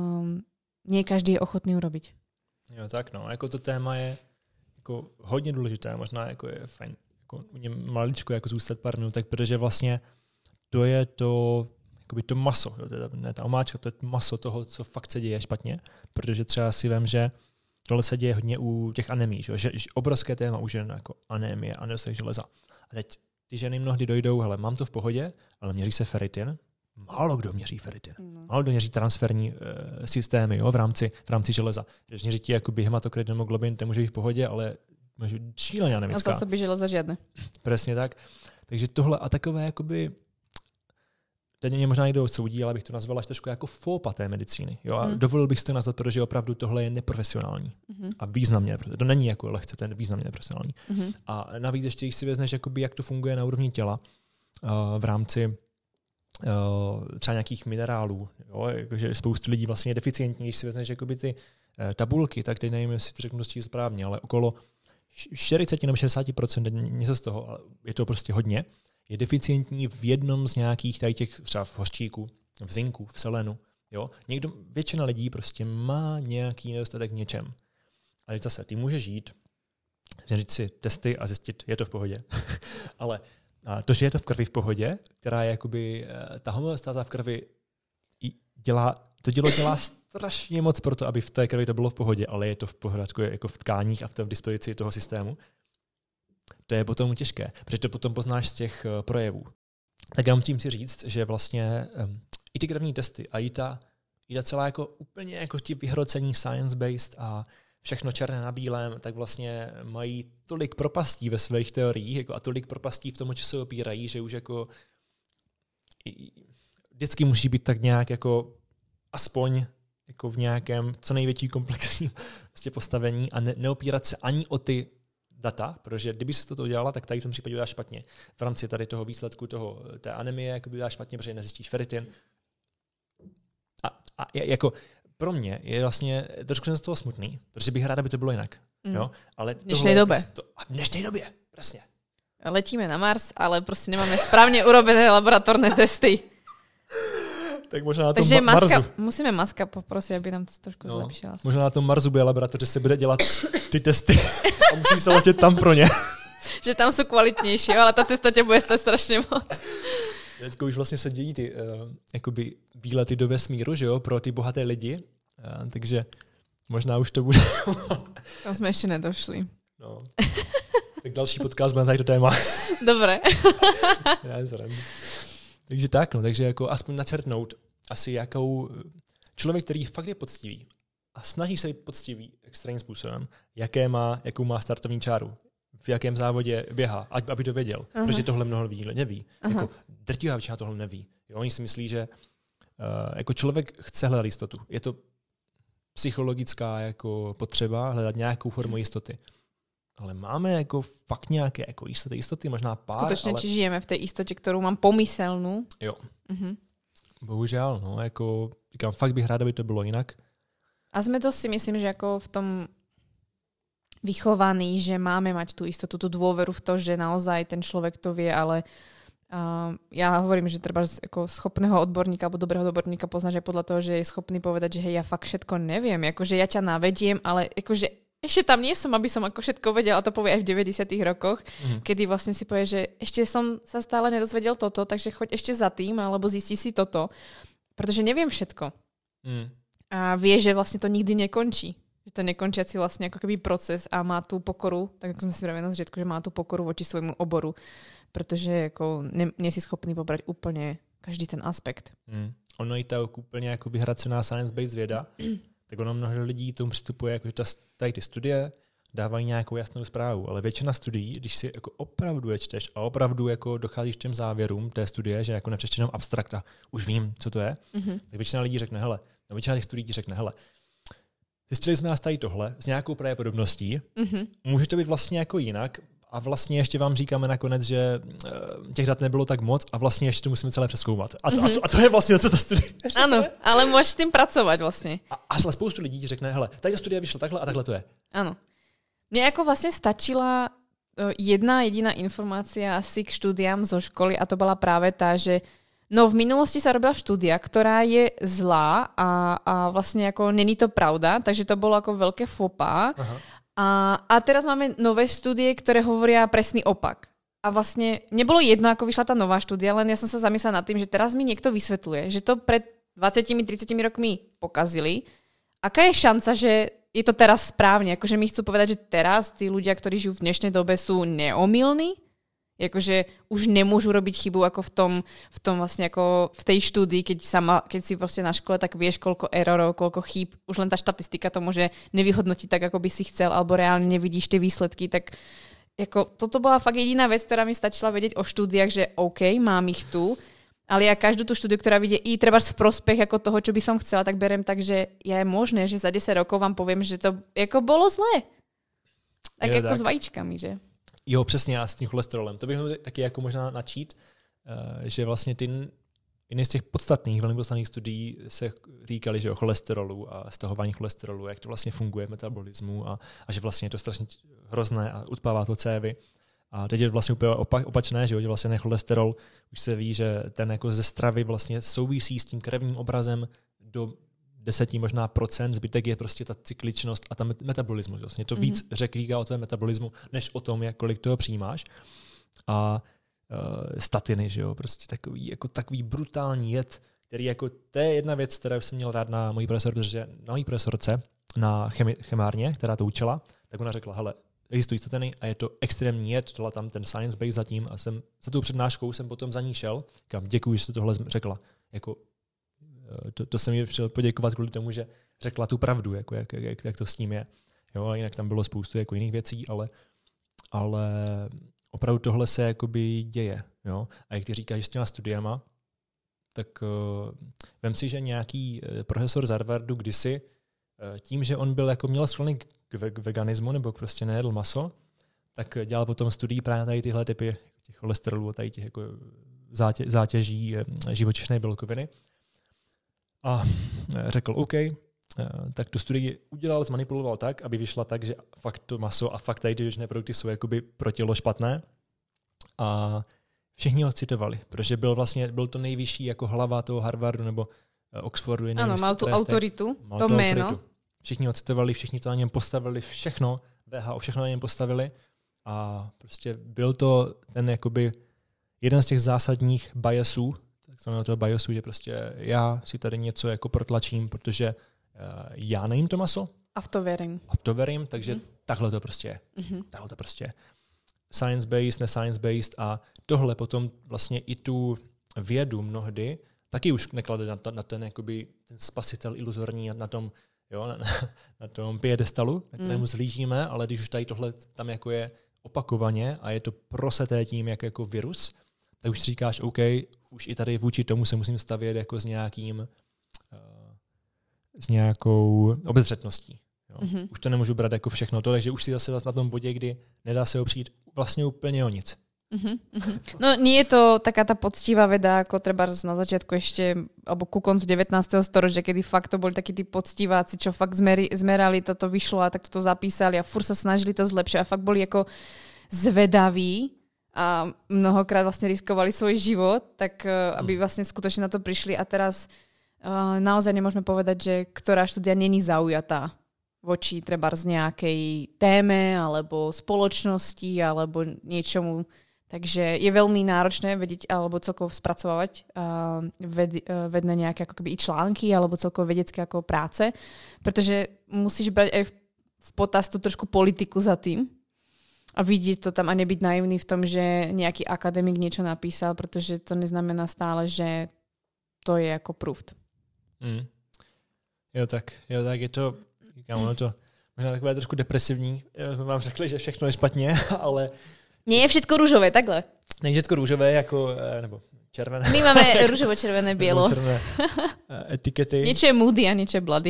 nie každý je ochotný urobiť. Jo, tak no, jako to téma je jako hodně důležité, možná jako je fajn jako u něm maličko jako zůstat pár minutek, protože vlastně to je to, jakoby to maso, jo, ne ta omáčka, to je maso toho, co fakt se děje špatně, protože třeba si vem, že tohle se děje hodně u těch anemí, že obrovské téma u žen jako anémie a nedostatek železa. A teď ty ženy mnohdy dojdou, hele, mám to v pohodě, ale měří se ferritin. Málo kdo měří ferritin. Málo kdo měří transferní systémy, jo, v rámci železa. Když měří ti jakoby hematokrit, hemoglobin, ten může být v pohodě, ale může být šíleně anemická. A zásoby železa žiadne. Přesně tak. Takže tohle a takové jakoby teď mě možná někdo odsoudí, ale bych to nazval až trošku jako fópa té medicíny. Jo? A dovolil bych si to nazvat, protože opravdu tohle je neprofesionální. A významně, to není jako lehce, to je významně neprofesionální. A navíc ještě, když si vezmeš, jakoby, jak to funguje na úrovni těla v rámci třeba nějakých minerálů. Jo? Jakože spoustu lidí vlastně je deficientní, když si vezmeš jakoby ty tabulky, tak teď nevím, jestli to řeknu dost správně, ale okolo 40 nebo 60% něco z toho, ale je to prostě hodně, je deficientní v jednom z nějakých tady těch, třeba v hořčíku, v zinku, v selenu. Jo? Většina lidí prostě má nějaký nedostatek v něčem. Ale zase, ty můžeš žít, říct si testy a zjistit, je to v pohodě. Ale to, že je to v krvi v pohodě, která je jakoby, ta homeostáza v krvi dělá strašně moc pro to, aby v té krvi to bylo v pohodě, ale je to v pořádku jako v tkáních a v té dispozici toho systému. To je potom těžké, protože to potom poznáš z těch projevů. Tak já musím si říct, že vlastně i ty krevní testy a i ta celá jako úplně jako ti vyhrocení science-based a všechno černé na bílém, tak vlastně mají tolik propastí ve svých teoriích jako a tolik propastí v tom, že se opírají, že už jako vždycky musí být tak nějak jako aspoň jako v nějakém co největší komplexním vlastně postavení a neopírat se ani o ty data, protože kdyby se to udělala, tak tady v tom případě uděláš špatně. V rámci tady toho výsledku té anemie jako by uděláš špatně, protože nezjistíš ferritin. A jako pro mě je vlastně trošku jsem z toho smutný, protože bych rád, aby to bylo jinak. Jo? Ale v dnešnej dobe. V dnešnej době, presne. Letíme na Mars, ale prostě nemáme správne urobené laboratórne testy. Tak možná na tom Takže Marsu. Musíme Maska poprosiť, aby nám to trošku zlepšila. Možná na tom Marsu bude laboratoř, že se bude dělat ty testy a musí se letět tam pro ně. Že tam sú kvalitnější, ale ta cesta tě bude stát strašně moc. Teďko už vlastně se dějí ty jakoby výlety do vesmíru, že jo, pro ty bohaté lidi, takže možná už to bude. Tam jsme ještě nedošli. No. Tak další podcast bude na to téma. Dobre. Takže tak, no, takže jako aspoň načrtnout asi jakou člověk, který fakt je poctivý a snaží se být poctivý extrémním způsobem, jakou má startovní čáru, v jakém závodě běhá, aby to věděl, protože tohle mnoho lidí neví. Jako drtivá většina tohle neví. Jo, oni si myslí, že jako člověk chce hledat jistotu. Je to psychologická jako potřeba hledat nějakou formu jistoty. Ale máme jako fakt nějaké jako jistoty, možná pár. Skutečně, ale... či žijeme v té jistotě, kterou mám pomyselnou? Jo. Bohužel, no, jako říkám, fakt bych rád, aby to bylo jinak. A sme to si myslím, že ako v tom vychovaní, že máme mať tú istotu, tú dôveru v to, že naozaj ten človek to vie, ale ja hovorím, že treba ako schopného odborníka alebo dobrého odborníka poznáš aj podľa toho, že je schopný povedať, že hej, ja fakt všetko neviem, akože ja ťa navediem, ale akože ešte tam nie som, aby som ako všetko vedela, a to povie aj v 90. rokoch, kedy vlastne si povie, že ešte som sa stále nedozvedel toto, takže choď ešte za tým, alebo zisti si toto, pretože neviem všetko. A vie, že vlastne to nikdy nekončí. Že to nekončiaci vlastne ako keby proces a má tú pokoru, tak ako sme si vravili na začiatku, že má tú pokoru voči svojmu oboru, pretože ako nie si schopný pobrať úplne každý ten aspekt. Ono je to úplně jako vyhracená science-based věda, tak ono mnoho lidí tomu přistupuje, jako, že tady ty studie dávají nějakou jasnou zprávu, ale většina studií, když si jako opravdu je čteš a opravdu jako docházíš k těm závěrům té studie, že jako nepřečteš jenom abstrakt a už vím, co to je, tak většina lidí řekne, hele, většina těch studií řekne, hele, zjistili jsme nás tady tohle s nějakou pravděpodobností, může to být vlastně jako jinak a vlastně ještě vám říkáme nakonec, že těch dat nebylo tak moc a vlastně ještě to musíme celé přezkoumat. A to je vlastně, co ta studie. Ano, ale můžeš s tím pracovat vlastně. A spoustu lidí ti řekne, hele, tady ta studie vyšla takhle a takhle to je. Ano. Mne jako vlastně stačila jedna jediná informácia asi k štúdiám zo školy a to bola práve tá, že no v minulosti sa robila štúdia, ktorá je zlá a vlastne ako není to pravda, takže to bolo ako veľké fopá. A teraz máme nové štúdie, ktoré hovoria presný opak. A vlastne nebolo jedno, ako vyšla tá nová štúdia, len ja som sa zamyslela nad tým, že teraz mi niekto vysvetľuje, že to pred 20-30 rokmi pokazili. Aká je šanca, že je to teraz správne. Akože mi chcú povedať, že teraz tí ľudia, ktorí žijú v dnešnej dobe, sú neomylní. Akože už nemôžu robiť chybu ako v tom vlastne ako v tej štúdii, keď si proste na škole, tak vieš, koľko errorov, koľko chýb. Už len tá štatistika to môže nevyhodnotiť tak, ako by si chcel, alebo reálne nevidíš tie výsledky. Tak ako, toto bola fakt jediná vec, ktorá mi stačila vedieť o štúdiách, že OK, mám ich tu, ale ja každú tú štúdiu, ktorá vidie i treba v prospech ako toho, čo by som chcela, tak berem tak, že je možné, že za 10 rokov vám poviem, že to ako bolo zlé. Tak jo, ako tak. s vajíčkami, že? Jo, přesně, a s tím cholesterolem. To bych mohl taky jako možná načít, že vlastně ty jedny z těch podstatných, velmi podstatných studií se týkaly, že o cholesterolu a stahování cholesterolu, jak to vlastně funguje v metabolismu a že vlastně je to strašně hrozné a utpává to cévy. A teď je vlastně úplně opačné, že vlastně cholesterol, už se ví, že ten jako ze stravy vlastně souvisí s tím krevním obrazem do 10 možná procent, zbytek je prostě ta cykličnost a ta metabolismus. Vlastně to víc říká o tvém metabolismu, než o tom, kolik toho přijímáš. A statiny, že jo, prostě takový brutální jed, který jako, to je jedna věc, kterou jsem měl rád na mojí profesorce, na chemárně, která to učila, tak ona řekla, hele, existují statiny a je to extrémní jed, dala tam ten science base zatím a jsem za tou přednáškou jsem potom za ní šel, říkám, děkuji, že jste tohle řekla. Jako, to jsem jí přišel poděkovat kvůli tomu, že řekla tu pravdu, jako jak to s ním je. Jo, a jinak tam bylo spoustu jako jiných věcí, ale opravdu tohle se jakoby děje. Jo? A jak ty říkáš, že s těma studiama, tak vem si, že nějaký profesor z Harvardu kdysi tím, že on byl jako měl sklony k veganismu nebo prostě nejedl maso, tak dělal potom studii právě tady tyhle typy těch cholesterolů a tady těch jako zátěží živočišné bílkoviny. A řekl, OK, tak tu studii udělal, zmanipuloval tak, aby vyšla tak, že fakt to maso a fakt tady ty živočišné produkty jsou jakoby pro tělo špatné. A všichni ho citovali, protože byl to nejvyšší jako hlava toho Harvardu nebo Oxfordu. Ano, mal tu autoritu, to jméno. Všichni ho citovali, všichni to na něm postavili, všechno, VHO, všechno na něm postavili a prostě byl to ten jakoby jeden z těch zásadních biasů, takzvaného toho biasu, že prostě já si tady něco jako protlačím, protože já nejím to maso. A v to verím, takže takhle to prostě je. Takhle to prostě je. Science-based, ne-science-based a tohle potom vlastně i tu vědu mnohdy taky už neklade na ten, jakoby, ten spasitel iluzorní na tom, jo, na tom piedestalu, na kterému zhlížíme, ale když už tady tohle tam jako je opakovaně a je to proseté tím jako virus, tak už říkáš, OK, už i tady vůči tomu se musím stavět jako s nějakou obezřetností. Jo. Už to nemůžu brát jako všechno to, takže už si zase na tom bodě, kdy nedá se opřít vlastně úplně o nic. No nie je to taká tá poctivá veda, ako treba na začiatku ešte, alebo ku koncu 19. storočia, kedy fakt to boli takí tí poctiváci, čo fakt zmerali, toto vyšlo a tak toto zapísali a furt sa snažili to zlepšiť a fakt boli ako zvedaví a mnohokrát vlastne riskovali svoj život, tak aby vlastne skutočne na to prišli a teraz naozaj nemôžeme povedať, že ktorá štúdia není zaujatá voči treba z nejakej téme alebo spoločnosti alebo niečomu. Takže je veľmi náročné vedieť alebo celkovo spracovávať vedné nejaké ako keby i články alebo celkovo vedecké ako práce, pretože musíš brať aj v potaz tú trošku politiku za tým a vidieť to tam a nebyť naivný v tom, že nejaký akademik niečo napísal, pretože to neznamená stále, že to je ako proved. Jo, tak je to, říkám, ono to možná takové trošku depresivní. Jsme vám řekli, že všechno je špatně, ale nie je všetko rúžové, takhle. Není všetko rúžové, jako, nebo červené. My máme rúžovo, červené, bielo. Červené etikety. Niečo je moody a niečo je bloody.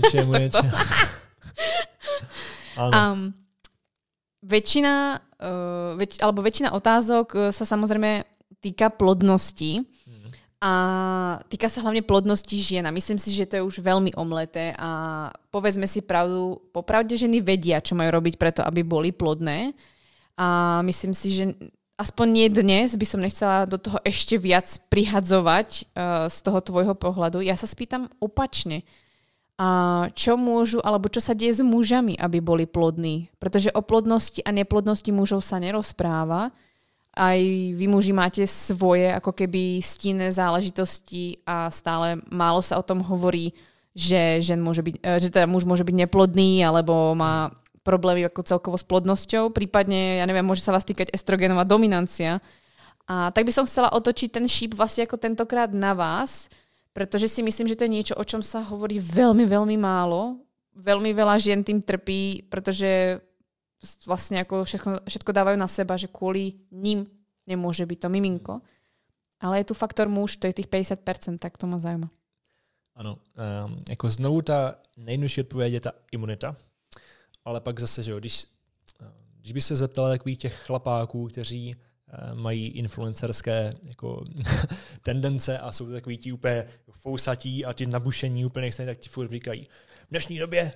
Väčšina otázok sa samozrejme týka plodnosti a týka sa hlavne plodnosti žien. A myslím si, že to je už veľmi omleté a povedzme si pravdu, popravde ženy vedia, čo majú robiť preto, aby boli plodné. A myslím si, že aspoň nie dnes by som nechcela do toho ešte viac prihadzovať z toho tvojho pohľadu. Ja sa spýtam opačne. Čo môžu, alebo čo sa deje s mužami, aby boli plodní? Pretože o plodnosti a neplodnosti mužov sa nerozpráva. Aj vy muži máte svoje ako keby stinné záležitosti a stále málo sa o tom hovorí, že že teda muž môže byť neplodný alebo má problémy ako celkovo s plodnosťou, prípadne, ja neviem, môže sa vás týkať estrogenová dominancia. A tak by som chcela otočiť ten šíp vlastne ako tentokrát na vás, pretože si myslím, že to je niečo, o čom sa hovorí veľmi, veľmi málo. Veľmi veľa žien tým trpí, pretože vlastne ako všetko dávajú na seba, že kvôli ním nemôže byť to miminko. Ale je tu faktor muž, to je tých 50%, tak to ma zaujíma. Ano, jako znovu ta nejjednodušší odpověď je ta imunita, ale pak zase, že jo, když by se zeptala takových těch chlapáků, kteří mají influencerské jako tendence a jsou takový ti úplně fousatí a ti nabušení úplně nechce, tak ti furt říkají, v dnešní době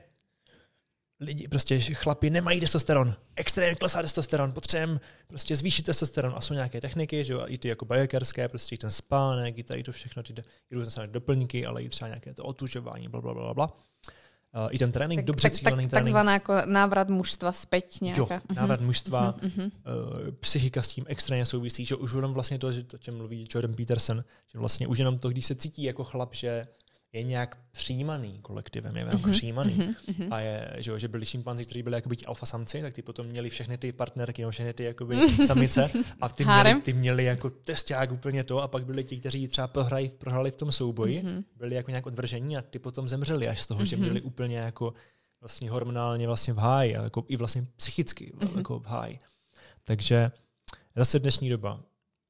lidi, prostě chlapi nemají testosteron, extrémně klesá testosteron, potřebujeme prostě zvýšit testosteron a jsou nějaké techniky, že jo, i ty jako biohackerské, prostě i ten spánek, i tady to všechno, ty různé doplňky, ale i třeba nějaké to otužování, blablabla. I ten trénink, dobře cílený trénink. Takzvaná jako návrat mužstva zpět nějaká. Jo, návrat mužstva, psychika s tím extrémně souvisí, že už jenom vlastně to, že o čem mluví Jordan Peterson, že vlastně už jenom to, když se cítí jako chlap, že je nějak přijímaný kolektivem, je nějak přijímaný. A je, že byli šimpanzi, kteří byli jakoby alfa samci, tak ty potom měli všechny ty partnerky, no všechny ty jakoby samice a ty měli jako testák úplně to a pak byli ti, kteří třeba prohráli v tom souboji, byli jako nějak odvržení a ty potom zemřeli až z toho, že byli úplně jako vlastně hormonálně vlastně v háji, jako i vlastně psychicky jako v háji. Takže zase dnešní doba.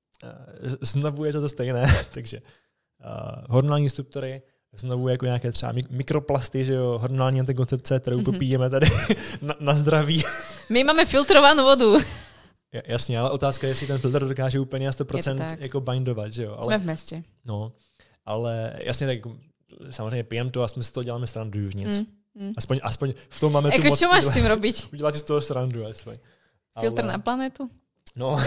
Znovu je to stejné, takže hormonální struktury, znovu jako nějaké třeba mikroplasty, že jo, hormonální antikoncepce, kterou popíjeme tady na zdraví. My máme filtrovanou vodu. Jasně, ale otázka je, jestli ten filtr dokáže úplně na 100% jako bindovat, že jo. Ale, jsme v městě. No, ale jasně, tak samozřejmě pijeme to a jsme si to děláme srandu už nic. Aspoň v tom máme tu moc. Čo máš s tím robiť? Udělat si z toho srandu, aspoň. Filtr na planetu? No,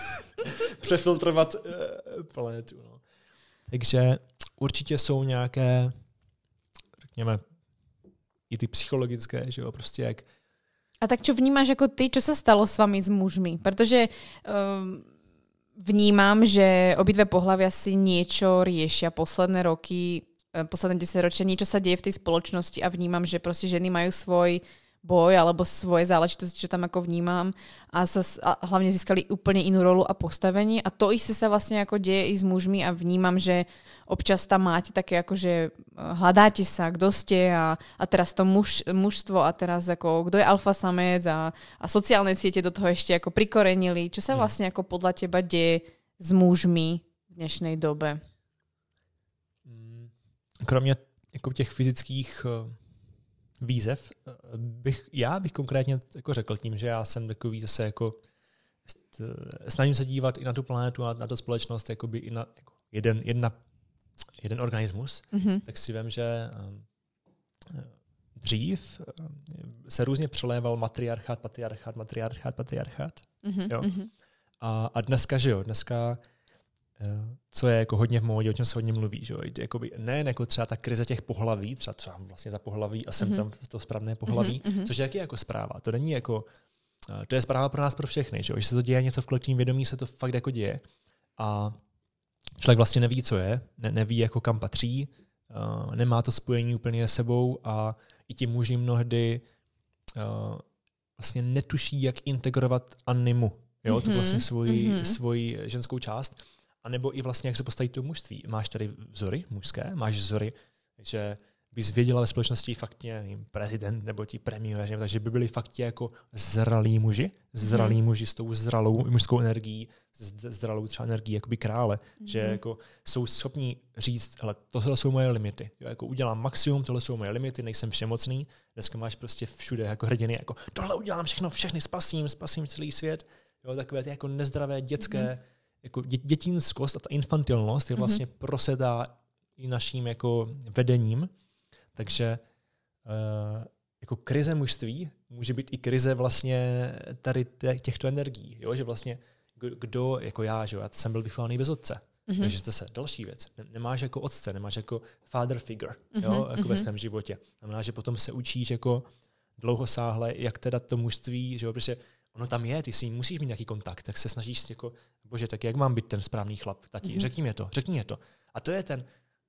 přefiltrovat planetu, no. Takže určitě jsou nějaké, řekněme, i ty psychologické, že jo, prostě jak. A tak čo vnímáš jako ty, čo sa stalo s vami s mužmi? Protože vnímam, že obidve pohlavia si niečo riešia posledné roky, posledné 10 ročia, niečo sa deje v tej spoločnosti a vnímam, že proste ženy majú svoj boj alebo svoje záležitosti, čo tam ako vnímam a hlavne získali úplne inú rolu a postavenie a to isté sa vlastne ako deje i s mužmi a vnímam, že občas tam máte také ako, že hľadáte sa, kto ste a teraz to mužstvo a teraz ako, kto je alfa samec a sociálne siete do toho ešte ako prikorenili. Čo sa vlastne ako podľa teba deje s mužmi v dnešnej dobe? Kromě jako těch fyzických výzev já bych konkrétně jako řekl tím, že já jsem takový zase jako snažím se dívat i na tu planetu a na tu společnost jakoby i na jako jeden organismus, tak si vím, že dřív se různě přeléval matriarchát, patriarchát. Jo? A dneska, že jo, co je jako hodně v módě, o čem se hodně mluví, že jo, jakoby nejen jako třeba ta krize těch pohlaví, třeba co mám vlastně za pohlaví a jsem tam to správné pohlaví, což je jako zpráva. To není jako, to je zpráva pro nás, pro všechny, že jo, že se to děje něco v kolektivním vědomí, se to fakt jako děje a člověk vlastně neví, co je, neví jako kam patří, nemá to spojení úplně s sebou a i ti muži mnohdy vlastně netuší, jak integrovat animu, jo, tu vlastně svoji ženskou část. A nebo i vlastně, jak se postaví to mužství. Máš tady vzory mužské, máš vzory, že bys věděla ve společnosti fakt nevím, prezident nebo ti premiéři, takže by byli fakt jako zralí muži s tou zralou mužskou energií, zralou třeba energií jakoby krále, že jako jsou schopní říct, hele, tohle jsou moje limity. Jo, jako udělám maximum, tohle jsou moje limity, nejsem všemocný. Dneska máš prostě všude jako hrdiny, jako tohle udělám všechny spasím celý svět. Jo, takové ty jako nezdravé dětské jako dětinskost a ta infantilnost je vlastně prosedá i naším jako vedením. Takže jako krize mužství může být i krize vlastně tady těchto energií. Jo? Že vlastně kdo, jako já, že já jsem byl vychovaný bez otce. Takže zase další věc. Nemáš jako otce, nemáš jako father figure jo? Jako ve svém životě. Znamená, že potom se učíš jako dlouhosáhle, jak teda to mužství, že jo? Protože ono tam je, ty si musíš mít nějaký kontakt, tak se snažíš jako, bože, tak jak mám být ten správný chlap, tati, řekni mě to. A to je ten,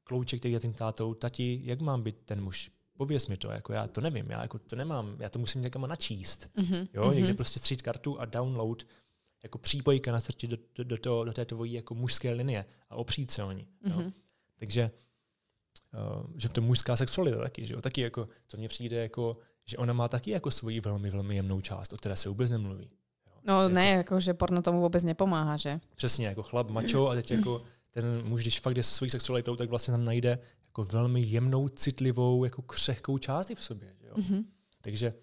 klouček, který je tím tátou, tati, jak mám být ten muž? Pověz mi to, jako já to nevím, já jako to nemám, já to musím někam načíst. Jo, někde prostě střít kartu a download jako přípojka nastrčit do té tvojí jako mužské linie a opřít se o ní. Jo. Takže že to mužská sexualita taky, že jo, taky jako, co mně přijde jako, že ona má taky jako svoji velmi, velmi jemnou část, o které se vůbec nemluví. Jo. No ne, jako, že porno tomu vůbec nepomáhá, že? Přesně, jako chlap, mačo a teď jako ten muž, když fakt jde se svojí sexualitou, tak vlastně tam najde jako velmi jemnou, citlivou, jako křehkou část i v sobě. Že jo? Takže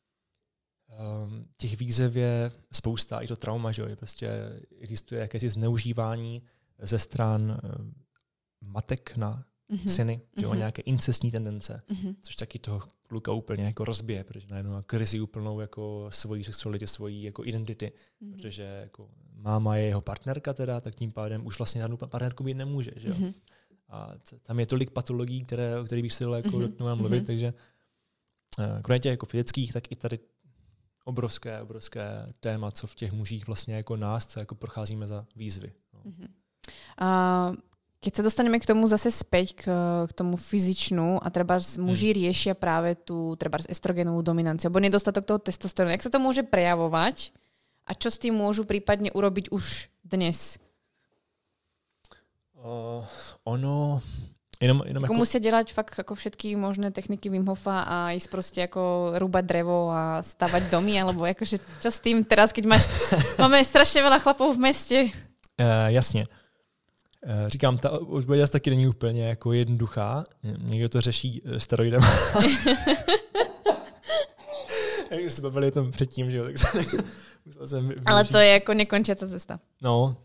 těch výzev je spousta, i to trauma, že jo? Prostě existuje jakési zneužívání ze stran matek na syny, že jo? Nějaké incestní tendence, což taky toho kluka úplně jako rozbije, protože najednou má krizi úplnou jako svojí sexuality, svojí jako identity, protože jako máma je jeho partnerka teda, tak tím pádem už vlastně žádnou partnerku být nemůže, že jo? A tam je tolik patologií, o kterých bych si dal jako dotknout mluvit, takže kromě jako fyzických, tak i tady obrovské téma, co v těch mužích vlastně jako nás, co jako procházíme za výzvy. No. Keď sa dostaneme k tomu zase späť, k tomu fyzičnu a treba muži riešia práve tú treba estrogenovú dominanciu, alebo nedostatok toho testosterónu. Jak sa to môže prejavovať a čo s tým môžu prípadne urobiť už dnes? Jenom jako musia dělat fakt jako všetky možné techniky Wim Hofa a ísť prostě jako rúbať drevo a stavať domy, alebo jakože čo s tým teraz, keď máme strašně veľa chlapov v meste? Jasně. Říkám, ta odpověď taky není úplně jako jednoduchá. Někdo to řeší steroidem. Jak se bavili tom předtím, že jo, tak jsem ale to je jako nekončící cesta. No,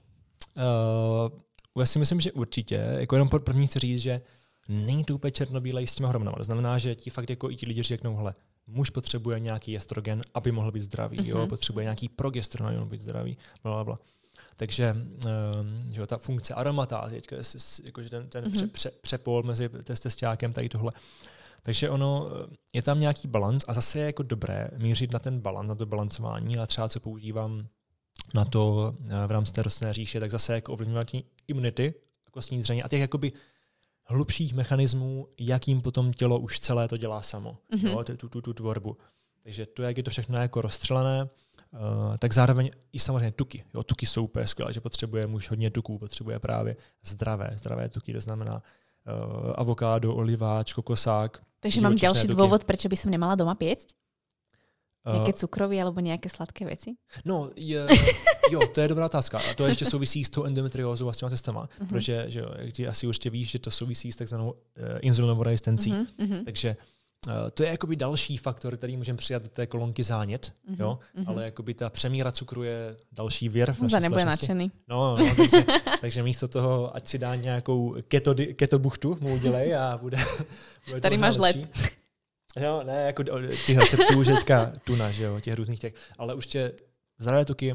já si myslím, že určitě, jako jenom první chci říct, že není to úplně černobílej s těma hormonama. To znamená, že ti fakt jako i ti lidi řeknou, hele, muž potřebuje nějaký estrogen, aby mohl být zdravý, jo, potřebuje nějaký progesteron, aby mohl být zdravý, blablabla. Takže že ta funkce aromatázy, jakože ten přepol mezi testosteránem, tady tohle. Takže ono, je tam nějaký balans a zase je jako dobré mířit na ten balans, na to balancování, a třeba co používám na to v rámci té rostlinné říše, tak zase jako ovlivňování imunity, kostní dřeně a těch jakoby hlubších mechanismů, jakým potom tělo už celé to dělá samo, jo, tu tvorbu. Takže to, jak je to všechno jako rozstřelené, tak zároveň i samozřejmě tuky. Jo, tuky jsou úplně skvělé, že potřebuje muž hodně tuků, potřebuje právě zdravé tuky, to znamená avokádo, oliváč, kokosák. Takže mám další důvod, proč by som nemala doma piecť? Nějaké cukroví alebo nějaké sladké věci? No, jo, to je dobrá otázka. A to ještě souvisí s tou endometriózou a s těma testama, protože že jo, jak ty asi určitě víš, že to souvisí s takzvanou inzulinovou rezistencí. Takže to je jakoby další faktor, který můžeme přijat do té kolonky zánět, jo? Ale jakoby ta přemíra cukru je další věr. Za nebude nadšený. No, takže místo toho, ať si dá nějakou keto buchtu, mu udělej a bude tady máš lep. No, ne, jako těch receptů, že teďka tuna, že jo, těch různých těch, ale určitě zdravé tuky,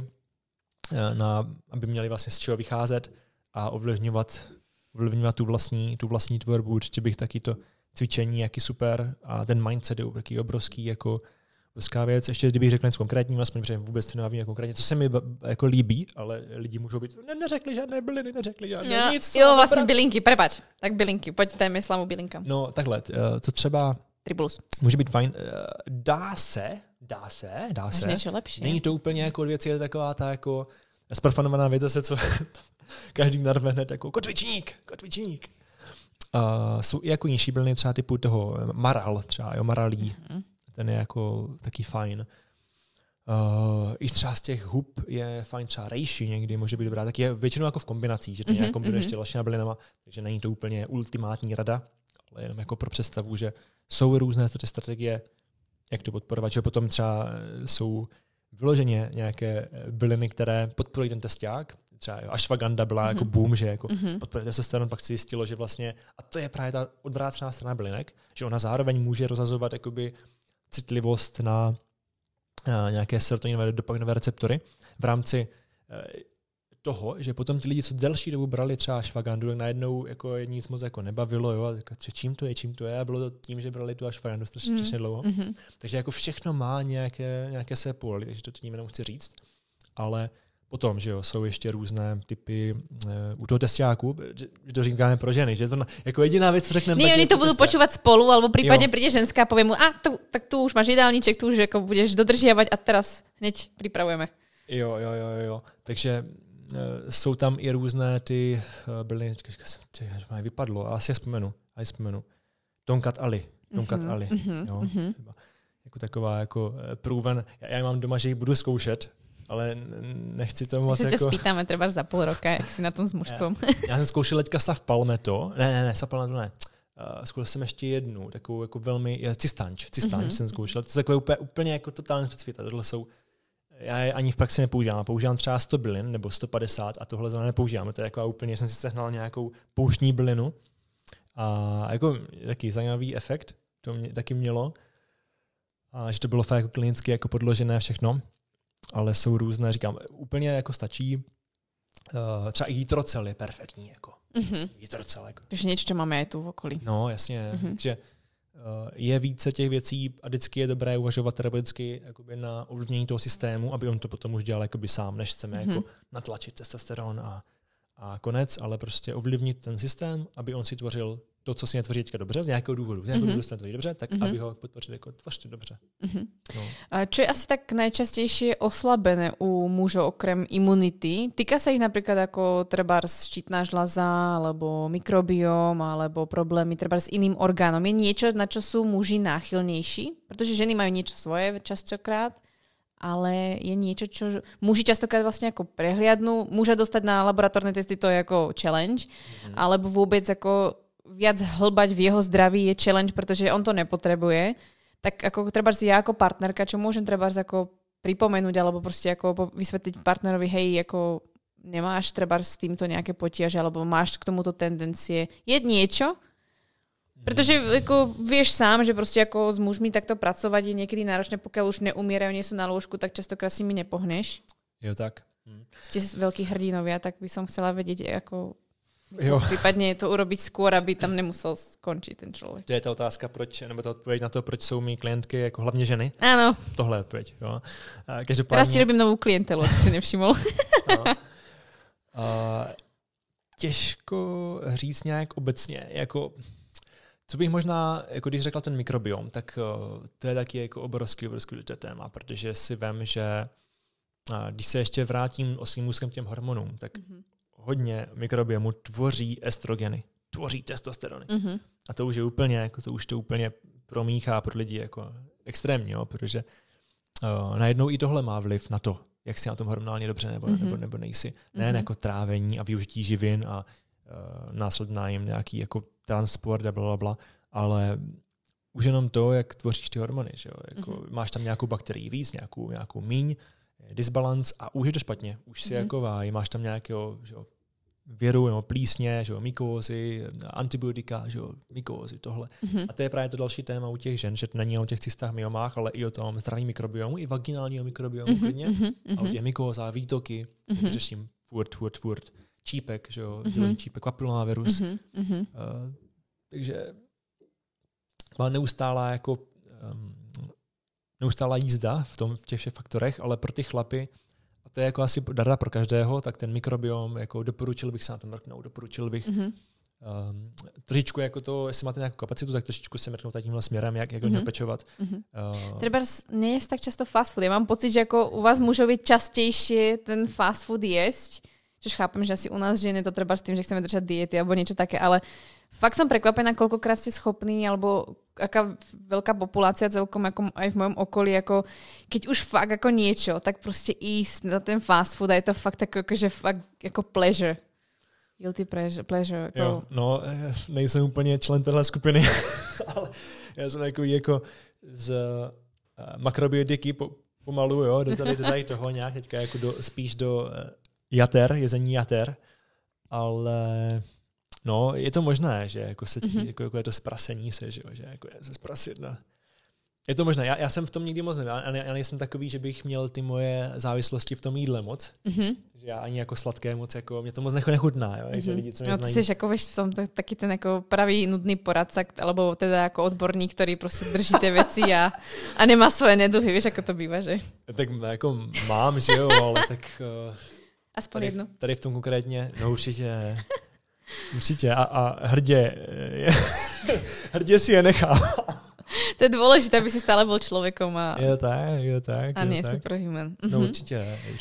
aby měli vlastně z čeho vycházet a ovlivňovat tu vlastní tvorbu, určitě bych taky to cvičení, jaký super, a ten mindset je taky obrovský, jako obrovská věc. Ještě kdybych řekl něco konkrétního, aspoň, protože vůbec se nevím konkrétně, co se mi jako líbí, ale lidi můžou být, neřekli žádné byliny, nic. Jo, vlastně bylinky, prepač. Tak bylinky, pojď, dajme slamu bylinkám. No, takhle, to třeba Tribulus. Může být fajn. Dá se. Máš něco lepší. Není to úplně jako věc, je taková ta jako sprofanovaná věc zase, co každý narve hned jako kotvičník. Jsou i jako nižší byliny třeba typu toho maral, třeba maralí. Ten je jako taky fajn. I třeba z těch hub je fajn třeba rejši někdy, může být dobrá. Tak je většinou jako v kombinacích, že to nějak kombinuje ještě dalšíma bylinama, takže není to úplně ultimátní rada, ale jenom jako pro představu, že jsou různé strategie, jak to podporovat, že potom třeba jsou vyloženě nějaké byliny, které podporují ten testák. Třeba ashwagandha byla jako boom, že jako podporuje testosteron, pak se zjistilo, že vlastně, a to je právě ta odvrácená strana bylinek, že ona zároveň může rozhazovat jakoby citlivost na nějaké serotoninové dopaminové receptory v rámci toho, že potom ti lidi, co delší dobu brali třeba ashwagandu, tak najednou jako nic moc jako nebavilo, jo, a čím to je, a bylo to tím, že brali tu ashwagandu strašně dlouho. Takže jako všechno má nějaké své póly, takže to tím jenom chci říct, ale Potom, že jo, jsou ještě různé typy u toho testiáku, že to říkáme pro ženy, že to jako jediná věc, co řekneme. Nie, oni to budú počúvať spolu, alebo prípadne príde ženská a povie mu, tak tu už máš jedálniček, tu už jako budeš dodržiavať a teraz hneď pripravujeme. Jo. Takže jsou tam i různé ty byly, vypadlo, asi je vzpomenu. Tonkat Ali. Jo. Jako taková jako proven. Já mám doma, že ji budu zkoušet, ale nechci to moc jako... Se spýtáme třeba za půl roka, jak si na tom s mužstvom. Já jsem zkoušel teďka Sav Palmetto. Ne, Sav Palmetto ne. Zkoušel jsem ještě jednu, takovou jako velmi, Cistanč jsem zkoušel. To je takové úplně jako totálně specifika. Tohle jsou, já je ani v praxi nepoužívám. Používám třeba 100 bylin nebo 150 a tohle zrovna nepoužívám. To je jako úplně, jsem si sehnal nějakou pouštní bylinu a jako taký zajímavý efekt to mě taky mělo. A že to bylo fakt jako klinicky jako podložené všechno. Ale jsou různé, říkám, úplně jako stačí. Třeba i jitrocel je perfektní. Jako. Jitrocel. Jako. Takže něco, co máme i tu v okolí. No, jasně. Takže je více těch věcí a vždycky je dobré uvažovat terapeuticky na ovlivnění toho systému, aby on to potom už dělal sám, než chceme jako natlačit testosteron a konec, ale prostě ovlivnit ten systém, aby on si tvořil to, co si netvoří teďka dobře, z nějakého důvodu. Z nějakého důvodu se netvoří dobře, tak aby ho podpořili jako tvořte dobře. No. Čo je asi tak najčastejšie oslabené u mužov okrem imunity? Týka sa ich napríklad ako trebárs štítna žľaza, alebo mikrobióm, alebo problémy trebárs s iným orgánom. Je niečo, na čo sú muži náchylnejší? Pretože ženy majú niečo svoje častokrát, ale je niečo, čo muži častokrát vlastne ako prehliadnú. Muža dostať na laboratórne testy to je ako challenge, alebo vôbec ako viac hlbať v jeho zdraví je challenge, pretože on to nepotrebuje. Tak ako trebárs ja ako partnerka, čo môžem trebárs ako pripomenúť, alebo proste ako vysvetliť partnerovi, hej, ako nemáš trebárs s týmto nejaké potiaže, alebo máš k tomuto tendencie. Je niečo? Pretože ako vieš sám, že proste ako s mužmi takto pracovať je niekedy náročné, pokiaľ už neumierajú, nie sú na lôžku, tak častokrát si mi nepohneš. Jo, tak. Ste veľkí hrdinovia, tak by som chcela vedieť, ako případně to urobiť skôr, aby tam nemusel skončit ten člověk. To je ta otázka, proč, nebo ta odpověď na to, proč jsou mý klientky jako hlavně ženy. Ano. Tohle je odpověď. Jo. Teraz ti robím novou klientelu, ty si nevšiml. Těžko říct nějak obecně. Jako, co bych možná, jako když řekla ten mikrobiom, tak to je taky jako obrovský důležité téma, protože si vem, že když se ještě vrátím o svým úzkem těm hormonům, tak hodně mikrobiomu tvoří estrogeny, tvoří testosterony. A to už je úplně, jako to úplně promíchá pro lidi jako extrémně, jo, protože najednou i tohle má vliv na to, jak si na tom hormonálně dobře nebo nejsi. Nejen jako trávení a využití živin a následná jim nějaký jako transport a blablabla, ale už jenom to, jak tvoříš ty hormony. Že jo? Jako, máš tam nějakou bakterii víc, nějakou míň, disbalans a už je to špatně. Už si jako váj, máš tam nějakého věru, nebo plísně, že jo, mykózy, antibiotika, že jo, mykózy, tohle. A to je právě to další téma u těch žen, že to není o těch cystách, myomách, ale i o tom zdravém mikrobiomu, i vaginálního mikrobiomu klidně. A o těch mykózách, výtoky, řeším furt. Čípek, že jo, děložní čípek, papilomavirus. Takže má neustálá jízda v těch všech faktorech, ale pro ty chlapy, a to je jako asi darda pro každého, tak ten mikrobiom, jako doporučil bych se na to mrknout, doporučil bych trošičku jako to, jestli máte nějakou kapacitu, tak trošičku se mrknout tímhle směrem, jak ho pečovat. Třeba nie je tak často fast food. Já mám pocit, že jako u vás můžou být častější ten fast food jíst, což chápem, že asi u nás ženy to treba s tým, že chceme držať diety alebo niečo také, ale fakt som prekvapená, koľkokrát ste schopní, alebo aká veľká populácia celkom ako aj v mojom okolí, ako keď už fakt ako niečo, tak proste ísť na ten fast food a je to fakt ako, že fakt ako pleasure. Guilty pleasure. Jako... Jo, no, nejsem úplně člen téhle skupiny, ale já jsem jako z makrobiotiky pomalu, jo, do tady toho nějak teďka jako spíš do jezení jater, ale no, je to možné, že jako se jako je to zprasení se, že jako je se zprasit. No. Je to možné. Já jsem v tom nikdy moc nevěděl. Já nejsem takový, že bych měl ty moje závislosti v tom jídle moc. Že já ani jako sladké moc, jako mě to moc nechutná. Jo? Že lidi, co mě znají... Ty jsi jako v tom taky ten jako pravý nudný poradca, alebo teda jako odborník, který prostě drží ty věci a nemá svoje neduhy. Víš, jako to bývá, že? Tak jako mám, že jo, ale tak Aspoň jednu. Tady v tom konkrétně, no určitě. Určitě a hrdě si je nechá. To je dôležité, aby si stále bol človekom. Je tak. A nie superhuman. No určite.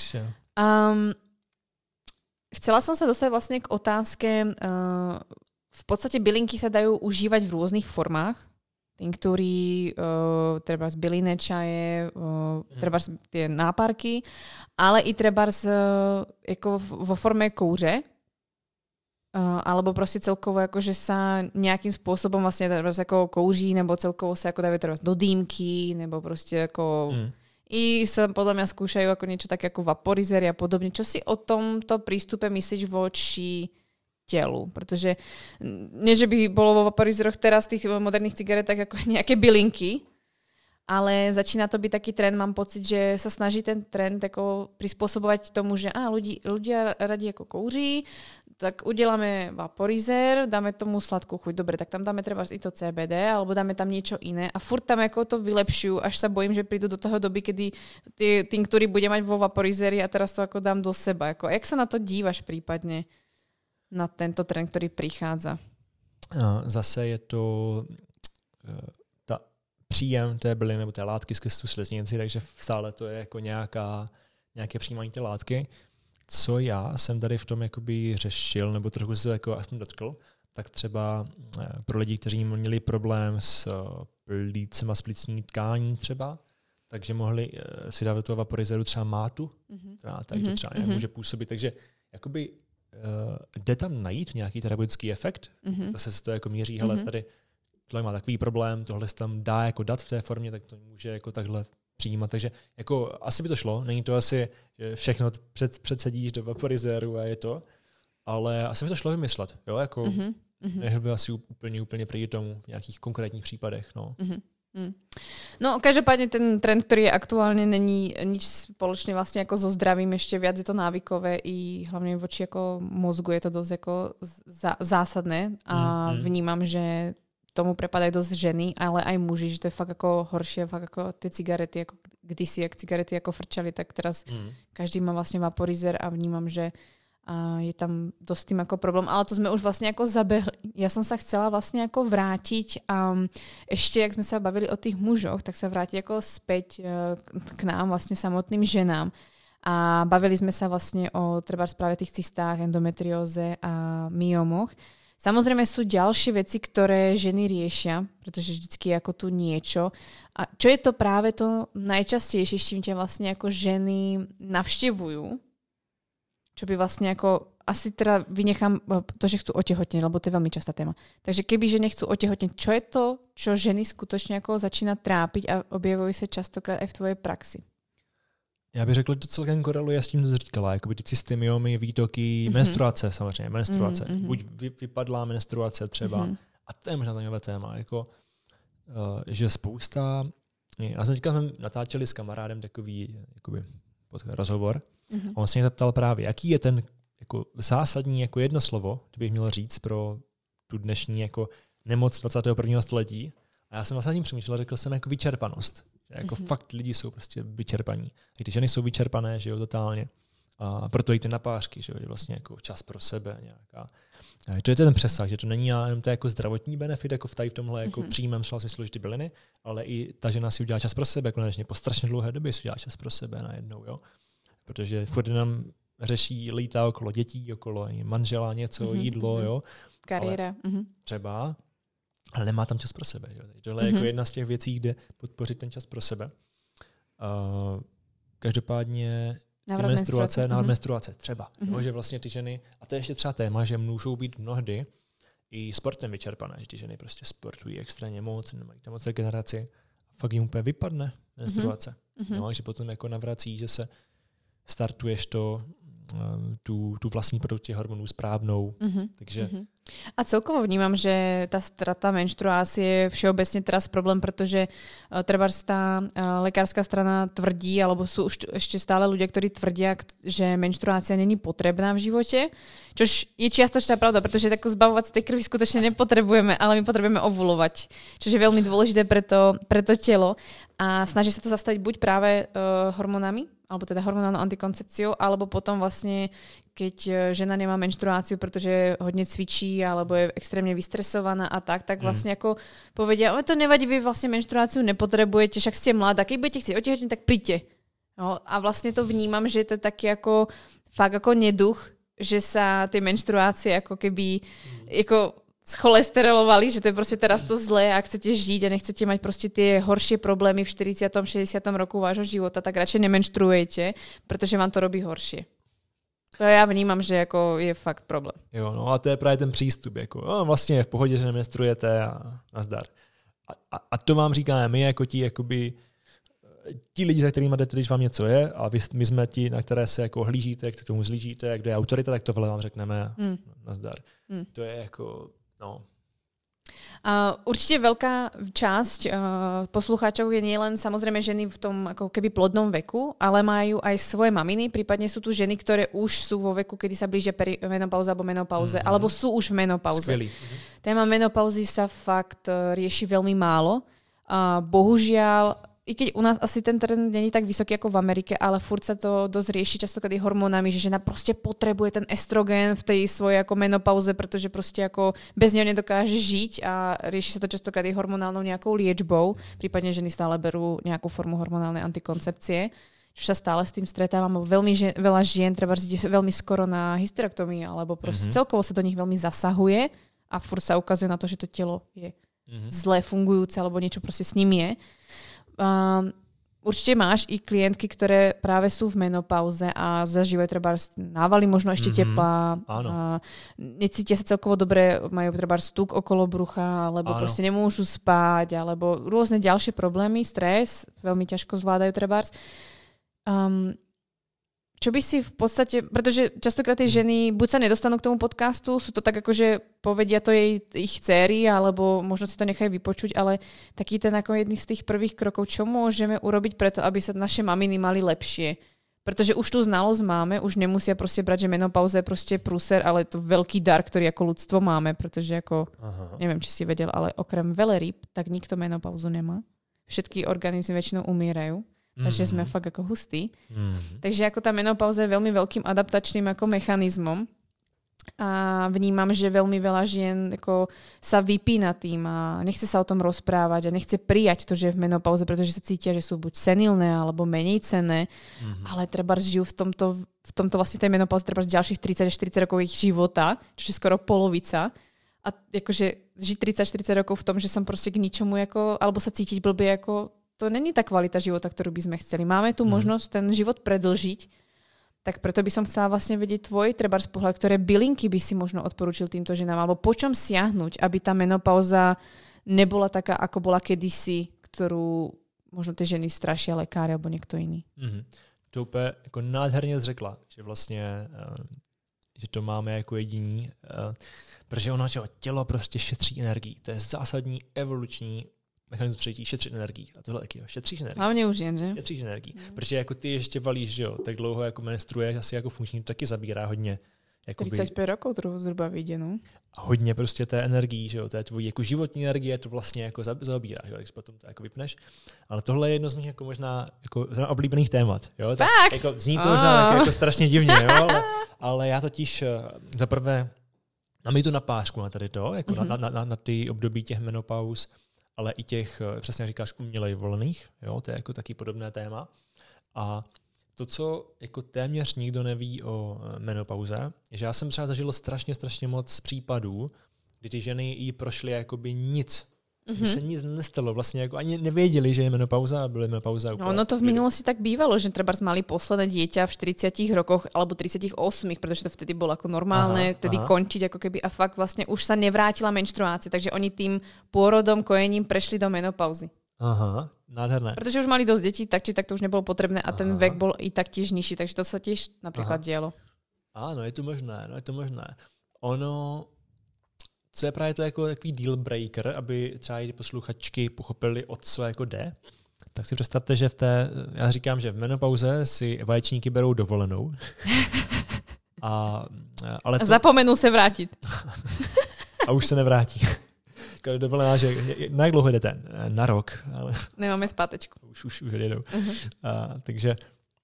Chcela som sa dostať vlastne k otázke. V podstate bylinky sa dajú užívať v rôznych formách. Tinktúry, treba z bylinné čaje, treba tie náparky, ale i treba jako vo forme kouře, alebo prostě celkovo jakože sa nejakým spôsobom vlastne jako kouří, nebo celkovo sa jako dávajú treba do dýmky, nebo prostě jako i sa podľa mňa skúšajú ako niečo také ako vaporizery a podobne. Čo si o tomto prístupe myslíš voči telu? Protože nie, že by bolo vo vaporizeroch teraz v tých moderných cigaretách ako nejaké bylinky, ale začína to byť taký trend, mám pocit, že sa snaží ten trend ako prispôsobovať tomu, že ľudia radi ako kouří, tak uděláme vaporizer, dáme tomu sladkú chuť. Dobre, tak tam dáme treba i to CBD, alebo dáme tam niečo iné a furt tam ako to vylepšujú, až sa bojím, že prídu do toho doby, kedy tí tinktúry bude mať vo vaporizeri a teraz to ako dám do seba. Ako, jak sa na to dívaš prípadne na tento trend, ktorý prichádza? Zase je to příjem té byliny nebo té látky skrz tu sliznici, takže stále to je jako nějaké přijímání té látky. Co já jsem tady v tom jakoby řešil, nebo trochu se jako aspoň dotkl, tak třeba pro lidi, kteří měli problém s plícem a s plicní tkání třeba, takže mohli si dát do toho vaporizeru třeba mátu, která tady to třeba může působit. Takže jakoby jde tam najít nějaký terapeutický efekt, zase se to jako měří, hele, tady tohle má takový problém, tohle se tam dá jako dát v té formě, tak to může jako takhle přijímat. Takže jako asi by to šlo, není to asi, že všechno předsedíš do vaporizeru a je to, ale asi by to šlo vymyslet, jo, jako nehl by asi úplně proti tomu v nějakých konkrétních případech, no. No, každopádne ten trend, ktorý je aktuálne, není nič spoločne vlastne ako so zdravím, ešte viac je to návykové i hlavne voči ako mozgu je to dosť ako zásadné a vnímam, že tomu prepadajú dosť ženy, ale aj muži, že to je fakt ako horšie, fakt ako tie cigarety, ako kdysi, jak cigarety ako frčali, tak teraz každý má vlastne vaporizer a vnímam, že je tam dosť tým ako problém, ale to sme už vlastne ako zabehli. Ja som sa chcela vlastne ako vrátiť a ešte, jak sme sa bavili o tých mužoch, tak sa vrátiť ako späť k nám, vlastne samotným ženám. A bavili sme sa vlastne o treba práve tých cystách, endometrióze a myomoch. Samozrejme sú ďalšie veci, ktoré ženy riešia, pretože vždycky je ako tu niečo. A čo je to práve to najčastejšie, s čím ťa vlastne ako ženy navštevujú? Čo by vlastne ako, asi teda vynechám to, že chcú otehotneť, lebo to je veľmi častá téma. Takže keby ženy chcú otehotneť, čo je to, čo ženy skutočne ako začína trápiť a objevujú sa častokrát aj v tvojej praxi? Já bych řekl, že to celkem koreluje s tím, co jsi říkala, jakoby ty cysty, myomy, výtoky, menstruace samozřejmě, menstruace. Buď vypadlá menstruace třeba, a to je možná zajímavé téma, jako, že spousta, já jsem teďka natáčeli s kamarádem takový jakoby, rozhovor, a on se mě zeptal právě, jaký je ten jako zásadní jako jedno slovo, kdybych měl říct pro tu dnešní jako nemoc 21. století. A já jsem vlastně tím přemýšlel, řekl jsem jako vyčerpanost. Že jako fakt lidi jsou prostě vyčerpaní. I ty ženy jsou vyčerpané, že jo, totálně. A proto jdete na pářky, že jo, je vlastně jako čas pro sebe nějaká. A to je ten přesah, že to není jenom to jako zdravotní benefit, jako v tomhle jako přímém slova smyslu, že ty byliny, ale i ta žena si udělá čas pro sebe, konečně po strašně dlouhé době si udělá čas pro sebe najednou, jo. Protože furt nám řeší, lítá okolo dětí, okolo manžela, něco, jídlo, jo. Kariéra. Třeba, ale nemá tam čas pro sebe. Jo. Tohle je jako jedna z těch věcí, kde podpořit ten čas pro sebe. Každopádně návrat menstruace třeba. Jo, že vlastně ty ženy, a to je ještě třeba téma, že můžou být mnohdy i sportem vyčerpané, že ty ženy prostě sportují extrémně moc, nemají tam moc regeneraci. Fakt jim úplně vypadne menstruace. No, že potom jako navrací, že se startuješ tu vlastní produkci hormonů správnou. Takže... A celkovo vnímam, že tá strata menštruácie je všeobecne teraz problém, pretože trebárs tá lekárska strana tvrdí, alebo sú už ešte stále ľudia, ktorí tvrdia, že menštruácia není potrebná v živote, čož je čiastočná pravda, pretože tako zbavovať z tej krvi skutočne nepotrebujeme, ale my potrebujeme ovulovať, čo je veľmi dôležité pre to telo a snaží sa to zastaviť buď práve hormonami, alebo teda hormonálnou antikoncepciou, alebo potom vlastne, keď žena nemá menštruáciu, pretože hodne cvičí, alebo je extrémne vystresovaná a tak vlastne ako povedia, to nevadí, vy vlastne menštruáciu nepotrebujete, však ste mladá, keď budete chcieť otehotniť, tak príďte. No, a vlastne to vnímam, že je to taký ako fakt ako neduch, že sa tie menštruácie ako keby ako scholesterolovali, že to je proste teraz to zlé, ak chcete žiť a nechcete mať proste tie horšie problémy v 40. 60. roku vášho života, tak radšej nemenštruujete, pretože vám to robí horšie. To já vnímám, že jako je fakt problém. Jo, no a to je právě ten přístup, jako vlastně je v pohodě, že nemenstruujete a nazdar. A to vám říkáme my jako ti lidi, za kterými jdete, když vám něco je a my jsme ti, na které se jako hlížíte, jak k tomu zlížíte, jak kdo je autorita, tak tohle vám řekneme nazdar. To je jako, no. Určite veľká časť poslucháčov je nielen samozrejme ženy v tom ako keby plodnom veku, ale majú aj svoje maminy, prípadne sú tu ženy, ktoré už sú vo veku, kedy sa blížia menopauza alebo menopauze, alebo sú už v menopauze. Skvělý. Téma menopauzy sa fakt rieši veľmi málo. Bohužiaľ, i keď u nás asi ten trend není tak vysoký ako v Amerike, ale furt sa to dosť rieši častokrát hormónami, že žena proste potrebuje ten estrogen v tej svojej ako menopauze, pretože proste ako bez neho nedokáže žiť a rieši sa to častokrát hormonálnou nejakou liečbou, prípadne ženy stále berú nejakú formu hormonálnej antikoncepcie, čo sa stále s tým stretávam. Veľmi veľa žien treba ide veľmi skoro na hysterektomii, alebo proste celkovo sa do nich veľmi zasahuje a furt sa ukazuje na to, že to telo je zle fungujúce, alebo niečo proste s ním je. Určite máš i klientky, ktoré práve sú v menopauze a zažívajú treba návaly, možno ešte tepla, necítia sa celkovo dobre, majú treba stuk okolo brucha, alebo proste nemôžu spať, alebo rôzne ďalšie problémy, stres, veľmi ťažko zvládajú trebárs. Čo by si v podstate, pretože častokrát tie ženy buď sa nedostanú k tomu podcastu, sú to tak akože povedia to ich dcéry, alebo možno si to nechajú vypočuť, ale taký ten ako jedný z tých prvých krokov, čo môžeme urobiť preto, aby sa naše maminy mali lepšie. Pretože už tú znalosť máme, už nemusia proste brať, že menopauza je proste prúser, ale je to veľký dar, ktorý ako ľudstvo máme, pretože ako, neviem, či si vedel, ale okrem veľryb, tak nikto menopauzu nemá. Všetky organizmy väčšinou umierajú. Takže sme fakt ako hustí. Takže ako tá menopauza je veľmi veľkým adaptačným ako mechanizmom a vnímam, že veľmi veľa žien ako sa vypína tým a nechce sa o tom rozprávať a nechce prijať to, že je v menopauze, pretože sa cítia, že sú buď senilné alebo menej cenné, ale treba žijú v tomto vlastne tej menopauze treba ďalších 30 až 40 rokov ich života, čo je skoro polovica. A akože žiť 30-40 rokov v tom, že som proste k ničomu ako, alebo sa cítiť blbie ako to není tá kvalita života, ktorú by sme chceli. Máme tu možnosť ten život predlžiť, tak preto by som chcela vlastne vedieť tvoj trebárs pohľad, ktoré bylinky by si možno odporúčil týmto ženám, alebo po čom siahnuť, aby tá menopauza nebola taká, ako bola kedysi, ktorú možno tie ženy strašia lekári alebo niekto iný. To úplně jako nádherně řekla, že vlastně že to máme jako jediní, protože ono tělo prostě šetří energii. To je zásadní evoluční mechanismus přijetí, šetřit energii. A tohle taky, šetříš energii. Hlavně už jen, že? Šetříš energii. Protože jako ty ještě valíš, že jo, tak dlouho jako menstruuješ, asi jako funkční, to taky zabírá hodně. 35 rokov druhou zhruba vyjde, no. A hodně prostě té energii, že jo, té tvojí jako životní energie, to vlastně jako zabírá, jo, když potom to jako vypneš. Ale tohle je jedno z mých jako možná jako oblíbených témat, jo. Tak, jako zní to možná jako strašně divně, jo, ale já totiž za prvé mám i tu napářku na tady to, jako na ty období těch menopauz, ale i těch, přesně říkáš, uměle volených, jo, to je jako taky podobné téma. A to, co jako téměř nikdo neví o menopauze, je, že já jsem třeba zažil strašně moc případů, kdy ty ženy jí prošly jakoby nic. Se nic nestalo, vlastně jako ani nevěděli, že je menopauza a byly menopauza úplně. No to v minulosti tak bývalo, že trebárs mali posledné dieťa v 40 rokoch alebo 38, pretože to vtedy bolo ako normálne, vtedy končiť ako keby a fakt vlastne už sa nevrátila menštruácia, takže oni tým pôrodom, kojením prešli do menopauzy. Aha, nádherné. Protože už mali dosť detí, tak či tak to už nebolo potrebné a ten vek bol i tak tiež nižší, takže to sa tiež napríklad dialo. Áno, je to možné. Ono, co je právě to jako takový deal breaker, aby třeba i posluchačky pochopili, o co jako jde, tak si představte, že já říkám, že v menopauze si vaječníky berou dovolenou. Ale to... Zapomenul se vrátit. A už se nevrátí. Dovolená, že na jak dlouho jdete? Na rok. Ale... Nemáme zpátečku. Už jedou. Takže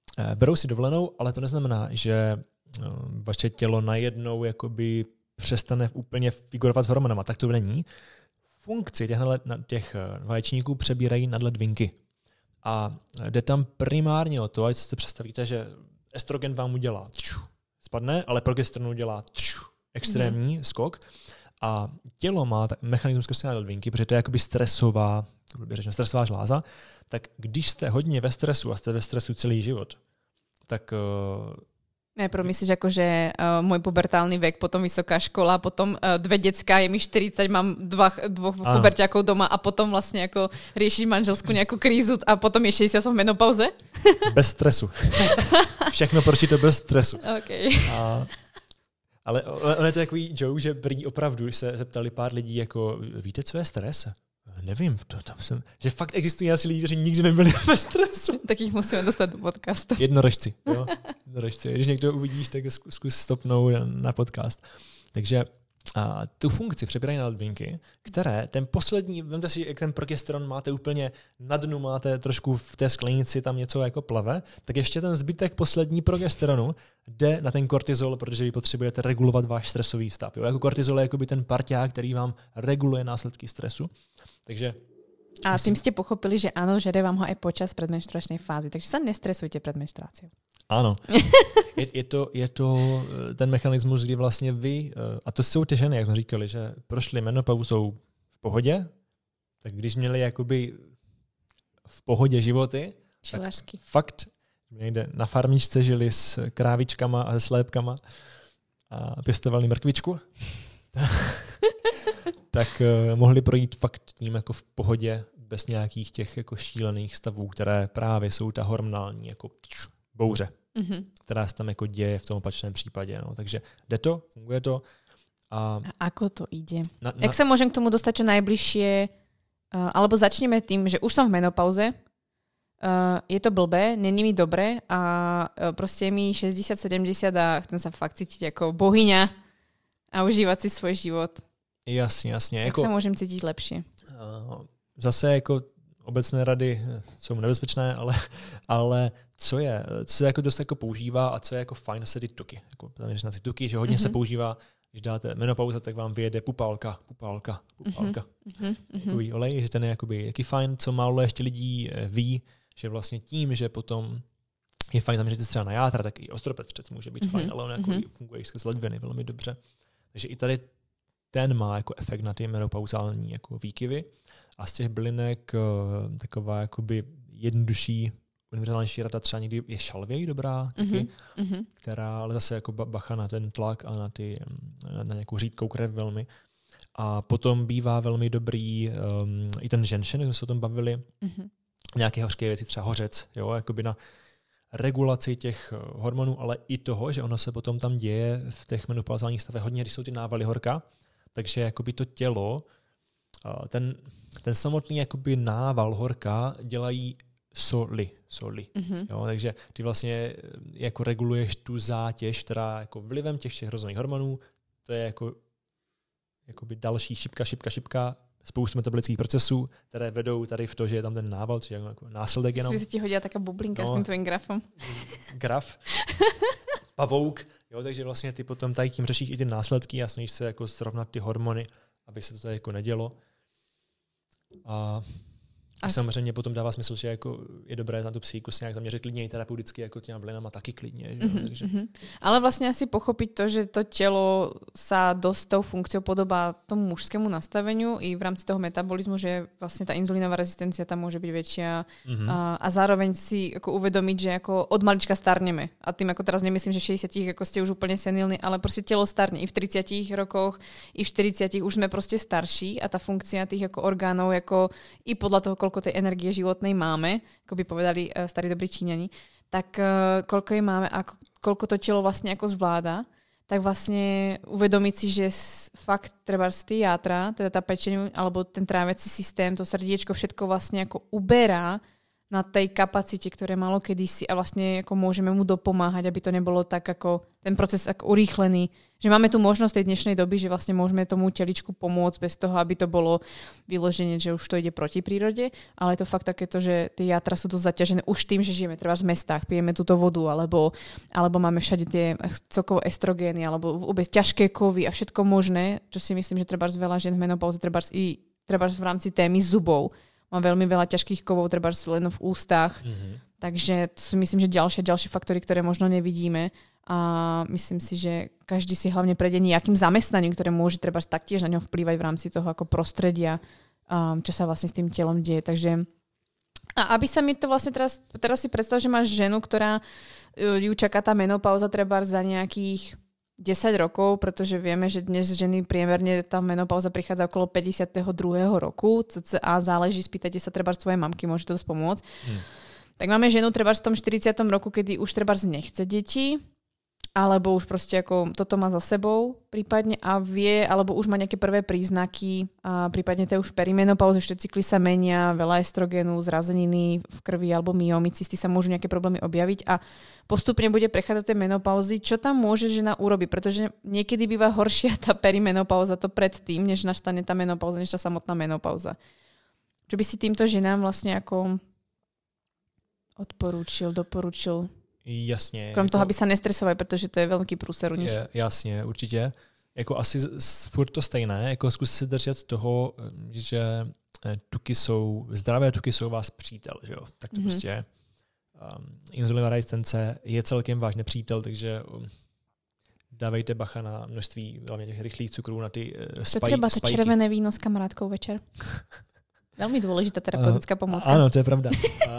berou si dovolenou, ale to neznamená, že vaše tělo najednou jakoby přestane úplně figurovat s hormonama. Tak to není. Funkci těch vaječníků přebírají nadledvinky. A jde tam primárně o to, ať si představíte, že estrogen vám udělá spadne, ale progesteron udělá extrémní skok. A tělo má mechanismus skrze nadledvinky, protože to je jakoby stresová žláza. Tak když jste hodně ve stresu a jste ve stresu celý život, tak Najprv myslíš ako, že môj pubertálny vek, potom vysoká škola, potom 2 decká, je mi 40, mám dvoch puberťákov doma a potom vlastne ako riešiť manželskú nejakú krízu a potom je 60 som v menopauze? Bez stresu. Všechno to bez stresu. Okay. Ale on je to takový joke, že prý opravdu se zeptali pár lidí, jako víte, co je stres? Nevím, že fakt existují asi lidi, kteří nikdy nebyli ve stresu. Tak jich musíme dostat do podcastu. Jednorožci, jo. Jednorožci. Když někdo uvidíš, tak zkus stopnout na podcast. Takže tu funkci přebírají nadledvinky, které ten poslední, vemte si, jak ten progesteron máte úplně na dnu, máte trošku v té sklenici, tam něco jako plave, tak ještě ten zbytek poslední progesteronu jde na ten kortizol, protože vy potřebujete regulovat váš stresový stav. Jo? Jako kortizol je jakoby ten parťák, který vám reguluje následky stresu. Takže a tým ste pochopili, že áno, žere vám ho aj počas predmenštruačnej fázy, takže sa nestresujte pred menštruáciou. Ano. Je to ten mechanismus, kdy vlastně vy, a to jsou ty ženy, jak jsme říkali, že prošly menopauzou v pohodě, tak když měli jakoby v pohodě životy, Čilařky. Tak fakt někde na farmičce žili s krávičkama a se slépkama a pěstovali mrkvičku, tak mohli projít fakt tím jako v pohodě bez nějakých těch jako šílených stavů, které právě jsou ta hormonální jako bouře, která se tam jako děje v tom opačném případě. No. Takže jde to, funguje to. A ako to ide? Jak sa môžem k tomu dostať čo najbližšie? Alebo začneme tým, že už som v menopauze, je to blbé, není mi dobre a proste je mi 60-70 a chcem sa fakt cítiť ako bohyňa a užívať si svoj život. Jasně. Jak jako, se můžem cítit lepší? Zase jako obecné rady jsou nebezpečné, ale co se jako dost jako používá a co je jako fajn, se ty tuky. Jako, na ty tuky, že hodně se používá, když dáte menopauza, tak vám vyjede pupálka. Takový olej, že ten je jakoby jaký fajn, co málo ještě lidí ví, že vlastně tím, že potom je fajn zaměřit se třeba na játra, tak i ostropetřec může být fajn, ale on jako funguje skrz ledviny velmi dobře. Takže i tady ten má jako efekt na ty menopauzální jako výkyvy a z těch bylinek taková jakoby jednodušší, univerzálnější rada třeba někdy je šalvěj dobrá, taky, která ale zase jako bacha na ten tlak a na nějakou řídkou krev velmi. A potom bývá velmi dobrý i ten ženšen, jak jsme se o tom bavili, nějaké hořké věci, třeba hořec, jo, jakoby na regulaci těch hormonů, ale i toho, že ono se potom tam děje v těch menopauzálních stavech hodně, když jsou ty návaly horka, takže jakoby to tělo, ten samotný jakoby nával horka dělají soli. Jo, takže ty vlastně jako reguluješ tu zátěž, která jako vlivem těch všech rozhodných hormonů, to je jakoby další šipka, spoustu metabolických procesů, které vedou tady v to, že je tam ten nával, či jako následek jenom. Se ti hodila taká bublinka s tím tvojím grafem. Graf. Pavouk. Jo, takže vlastně ty potom tady tím řešíš i ty následky a snažíš se jako srovnat ty hormony, aby se to tady jako nedělo. A samozřejmě potom dává smysl, že jako je dobré na tu psychiku se nějak zaměřit klidně i terapeuticky, jako těma bylinama taky klidně. Takže. Ale vlastně asi pochopiť to, že to tělo sa dosť tou funkciou podobá tomu mužskému nastaveniu i v rámci toho metabolizmu, že vlastně ta inzulínová rezistencia tam môže byť väčšia a zároveň si ako uvedomiť, že ako od malička starneme. A tým ako teraz nemyslím, že v 60 ako ste už úplne senilní, ale prostě tělo starne. I v 30 rokoch, i v 40 už sme prostě starší a ta funkcia tých ako orgánov jako i podľa toho, koľko tej energie životnej máme, ako by povedali starí dobrí Číňani, tak koľko jej máme a koľko to telo vlastne ako zvláda, tak vlastne uvedomiť si, že fakt treba z ty játra, teda tá pečeň alebo ten tráviaci systém, to srdiečko, všetko vlastne ako uberá na tej kapacite, ktoré malo kedysi a vlastne ako môžeme mu dopomáhať, aby to nebolo tak ako ten proces ako urýchlený. Že máme tu možnosť tej dnešnej doby, že vlastne môžeme tomu teličku pomôcť bez toho, aby to bolo vyloženie, že už to ide proti prírode, ale je to fakt takéto, že tie játra sú dosť zaťažené už tým, že žijeme treba v mestách, pijeme túto vodu, alebo máme všade tie celkovo estrogény, alebo vôbec ťažké kovy a všetko možné, čo si myslím, že treba veľa žien v menopauze, treba v rámci témy zubov. Mám veľmi veľa ťažkých kovov, treba len v ústach. Takže to sú myslím, že ďalšie faktory, ktoré možno nevidíme. A myslím si, že každý si hlavne prejde nejakým zamestnaním, ktoré môže treba taktiež na ňo vplývať v rámci toho ako prostredia, čo sa vlastne s tým telom deje. Takže a aby sa mi to vlastne teraz si predstav, že máš ženu, ktorá ju čaká tá menopauza treba za nejakých 10 rokov, pretože vieme, že dnes ženy priemerne tá menopauza prichádza okolo 52. roku, cca záleží, spýtajte sa treba svojej mamky, môže to pomôcť. Tak máme ženu treba v tom 40. roku, kedy už treba nechce deti, alebo už proste ako toto má za sebou prípadne a vie, alebo už má nejaké prvé príznaky a prípadne to je už perimenopauzy, všetci cykly sa menia, veľa estrogénu, zrazeniny v krvi alebo myomycysty sa môžu nejaké problémy objaviť a postupne bude prechádzať tej menopauzy. Čo tam môže žena urobiť? Pretože niekedy býva horšia tá perimenopauza to predtým, než nastane tá menopauza, než tá samotná menopauza. Čo by si týmto ženám vlastne ako doporučil? Jasně. Krom toho, aby se nestresovali, protože to je velký průser u nich. Jasně, určitě. Jako asi furt to stejné, jako zkus si držet toho, že zdravé tuky jsou vás přítel, že jo. Tak to prostě inzulinová rezistence je celkem váš nepřítel, takže dávejte bacha na množství hlavně těch rychlých cukrů, na ty spajky. Třeba to červené víno s kamarádkou večer. Velmi důležitá terapeutická pomůcka. Ano, to je pravda.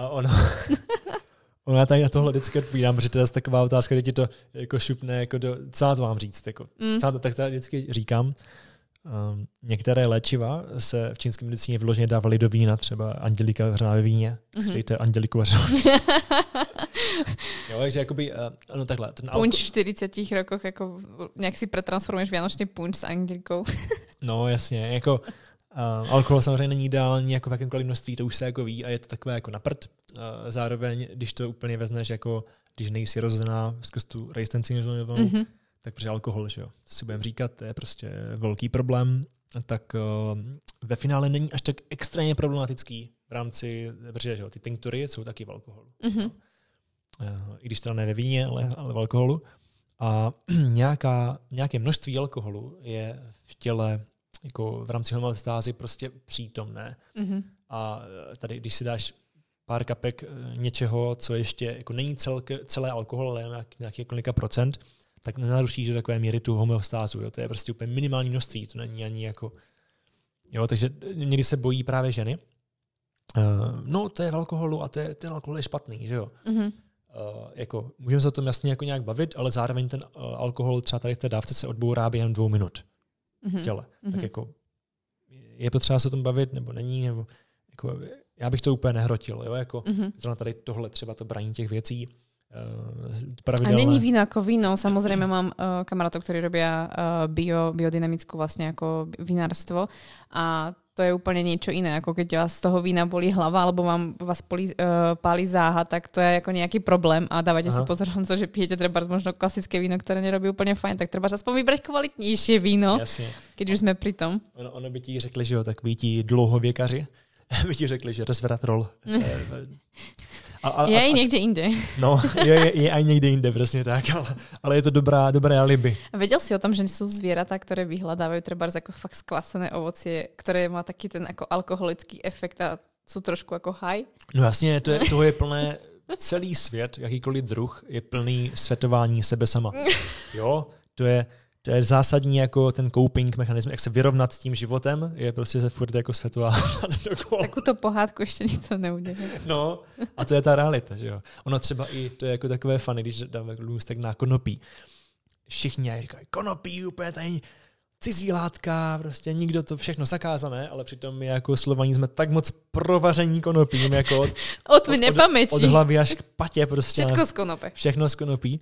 Ona tady na tohle vždycky odpovídám, protože to je taková otázka, kde ti to jako šupne, jako co na to mám říct. Jako, tak to vždycky říkám. Některé léčiva se v čínské medicíně vyloženě dávaly do vína, třeba andělika vařená ve víně. Sklejte anděliku vařenou. Jo, takže jakoby, no takhle. Punč v 40 rokoch, jako nějak si pretransformuješ vianočný punč s andělikou. No jasně, jako alkohol samozřejmě není ideální jako v jakémkoliv množství, to už se jako ví a je to takové jako na prd. Zároveň, když to úplně vezmeš, jako když nejsi rozhozená skrz tu rezistenci inzulinovou, tak protože alkohol, že jo, to si budeme říkat, to je prostě velký problém, tak ve finále není až tak extrémně problematický v rámci, protože že jo, ty tinktury jsou taky v alkoholu. I když teda ne ve víně, ale v alkoholu. A nějaké množství alkoholu je v těle jako v rámci homeostázy prostě přítomné. A tady, když si dáš pár kapek něčeho, co ještě jako není celé alkohol, ale nějaký kolika procent, tak nenarušíš do takové míry tu homeostázu. Jo? To je prostě úplně minimální množství, to není ani jako... Jo, takže někdy se bojí právě ženy. No, to je v alkoholu a ten alkohol je špatný, že jo? Jako, můžeme se o tom jasně jako nějak bavit, ale zároveň ten alkohol třeba tady v té dávce se odbourá během 2 minut. Těle. Tak jako je potřeba se o tom bavit, nebo není, nebo jako, já bych to úplně nehrotil, jo, jako tady tohle třeba to braní těch věcí. Pravidelné. A není víno ako víno, samozrejme mám kamarátov, ktorí robia biodynamickú vlastne ako vinárstvo a to je úplne niečo iné, ako keď vás z toho vína bolí hlava alebo vás páli záha, tak to je ako nejaký problém a dávajte si pozor, že pijete treba možno klasické víno, ktoré nerobí úplne fajn, tak treba aspoň vybrať kvalitnejšie víno, Jasně. Keď už sme pri tom. Ono by ti řekli, že jo, takoví ti dlouhověkaři, by ti řekli, že resveratrol. Je i někde jinde. No, je aj někde jinde, presne tak, ale je to dobré alibi. A vedel si o tom, že sú zvieratá, ktoré vyhľadávajú trebárs ako fakt skvasené ovocie, ktoré má taký ten ako alkoholický efekt a sú trošku ako high? No jasně, toho je plné, celý svět, jakýkoliv druh, je plný svetování sebe sama. Jo, to je zásadní jako ten coping mechanismus, jak se vyrovnat s tím životem, je prostě se furt jako světová dokola. Takovou pohádku ještě nikdo neudělá. No, a to je ta realita, že jo. Ono třeba i, to je jako takové funny, když dáme lůstek na konopí. Všichni říkají, konopí, úplně tady cizí látka, prostě nikdo to všechno zakázané, ale přitom my jako Slovaní jsme tak moc provaření konopím, jako od hlavy až k patě prostě. Všetko z konope. Všechno z konopí.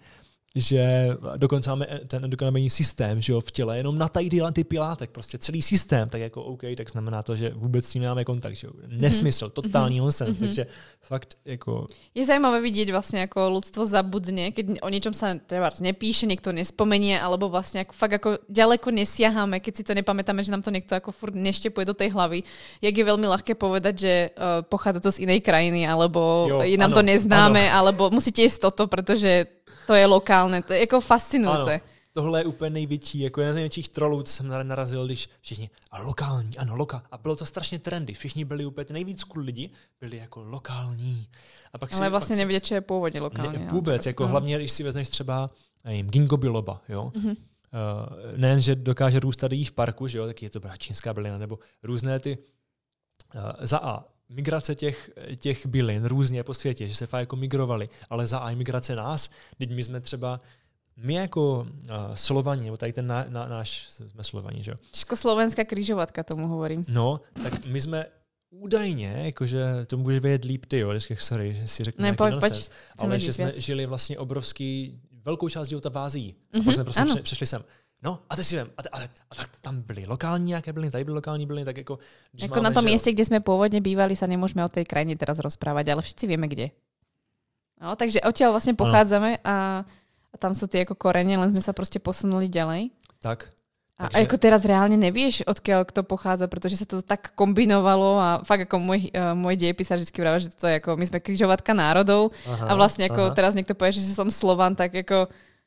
že dokonce máme ten endokannabinoidní systém, že jo, v těle, jenom na tady ty látek, prostě celý systém, tak jako OK, tak znamená to, že vůbec s tím nemáme kontakt, že jo. Nesmysl, totální nonsens, takže fakt jako... Je zajímavé vidieť vlastne, ako ľudstvo zabudne, keď o niečom sa treba nepíše, niekto nespomenie, alebo vlastne ako, fakt ako ďaleko nesiaháme, keď si to nepamätáme, že nám to niekto ako furt neštepuje do tej hlavy. Jak je veľmi ľahké povedať, že pochádza to z inej krajiny, alebo je nám to neznáme, alebo musíte jesť toto, pretože to je lokálne, to je jako fascinujúce. Ano, tohle je úplně největší, jako jeden z největších trolů, co jsem narazil, když všichni, a lokální, ano, a bylo to strašně trendy, všichni byli úplně, nejvíc cool lidi byli jako lokální. A pak ale vlastně nevědět, čo je původně lokální. Ne, vůbec, jako hlavně, když si vezmeš třeba ginkgo biloba, jo. Nejen, že dokáže růst tady v parku, že jo, tak je to čínská bylina, nebo různé ty za A, migrace těch bylin různě po světě, že se fakt jako migrovali, ale za A migrace nás, teď my jsme třeba, my jako Slovani, nebo tady ten náš, jsme Slovani, že jo? Československá křižovatka, tomu hovorím. No, tak my jsme údajně, jakože to můžeš vědět líp ty, jo, sorry, že si řeknu nějaký nonsens, ale že jsme žili vlastně velkou část života v Ázii. A pak jsme prostě přešli sem. No, a teď si vím, a tam byly lokální nějaké byliny, tady byly lokální byliny, tak jako... Jako na tom mieste, kde sme pôvodne bývali, sa nemôžeme o tej krajine teraz rozprávať, ale všetci vieme kde. No, takže odtiaľ vlastne pochádzame a tam sú tie ako korene, len sme sa proste posunuli ďalej. Tak. A ako teraz reálne nevieš, odkiaľ kto pochádza, pretože sa to tak kombinovalo a fakt ako môj dejepísar vždycky vravel, že to je ako, my sme križovatka národov a vlastne ako teraz niekto povie, že som Slovan, tak ako...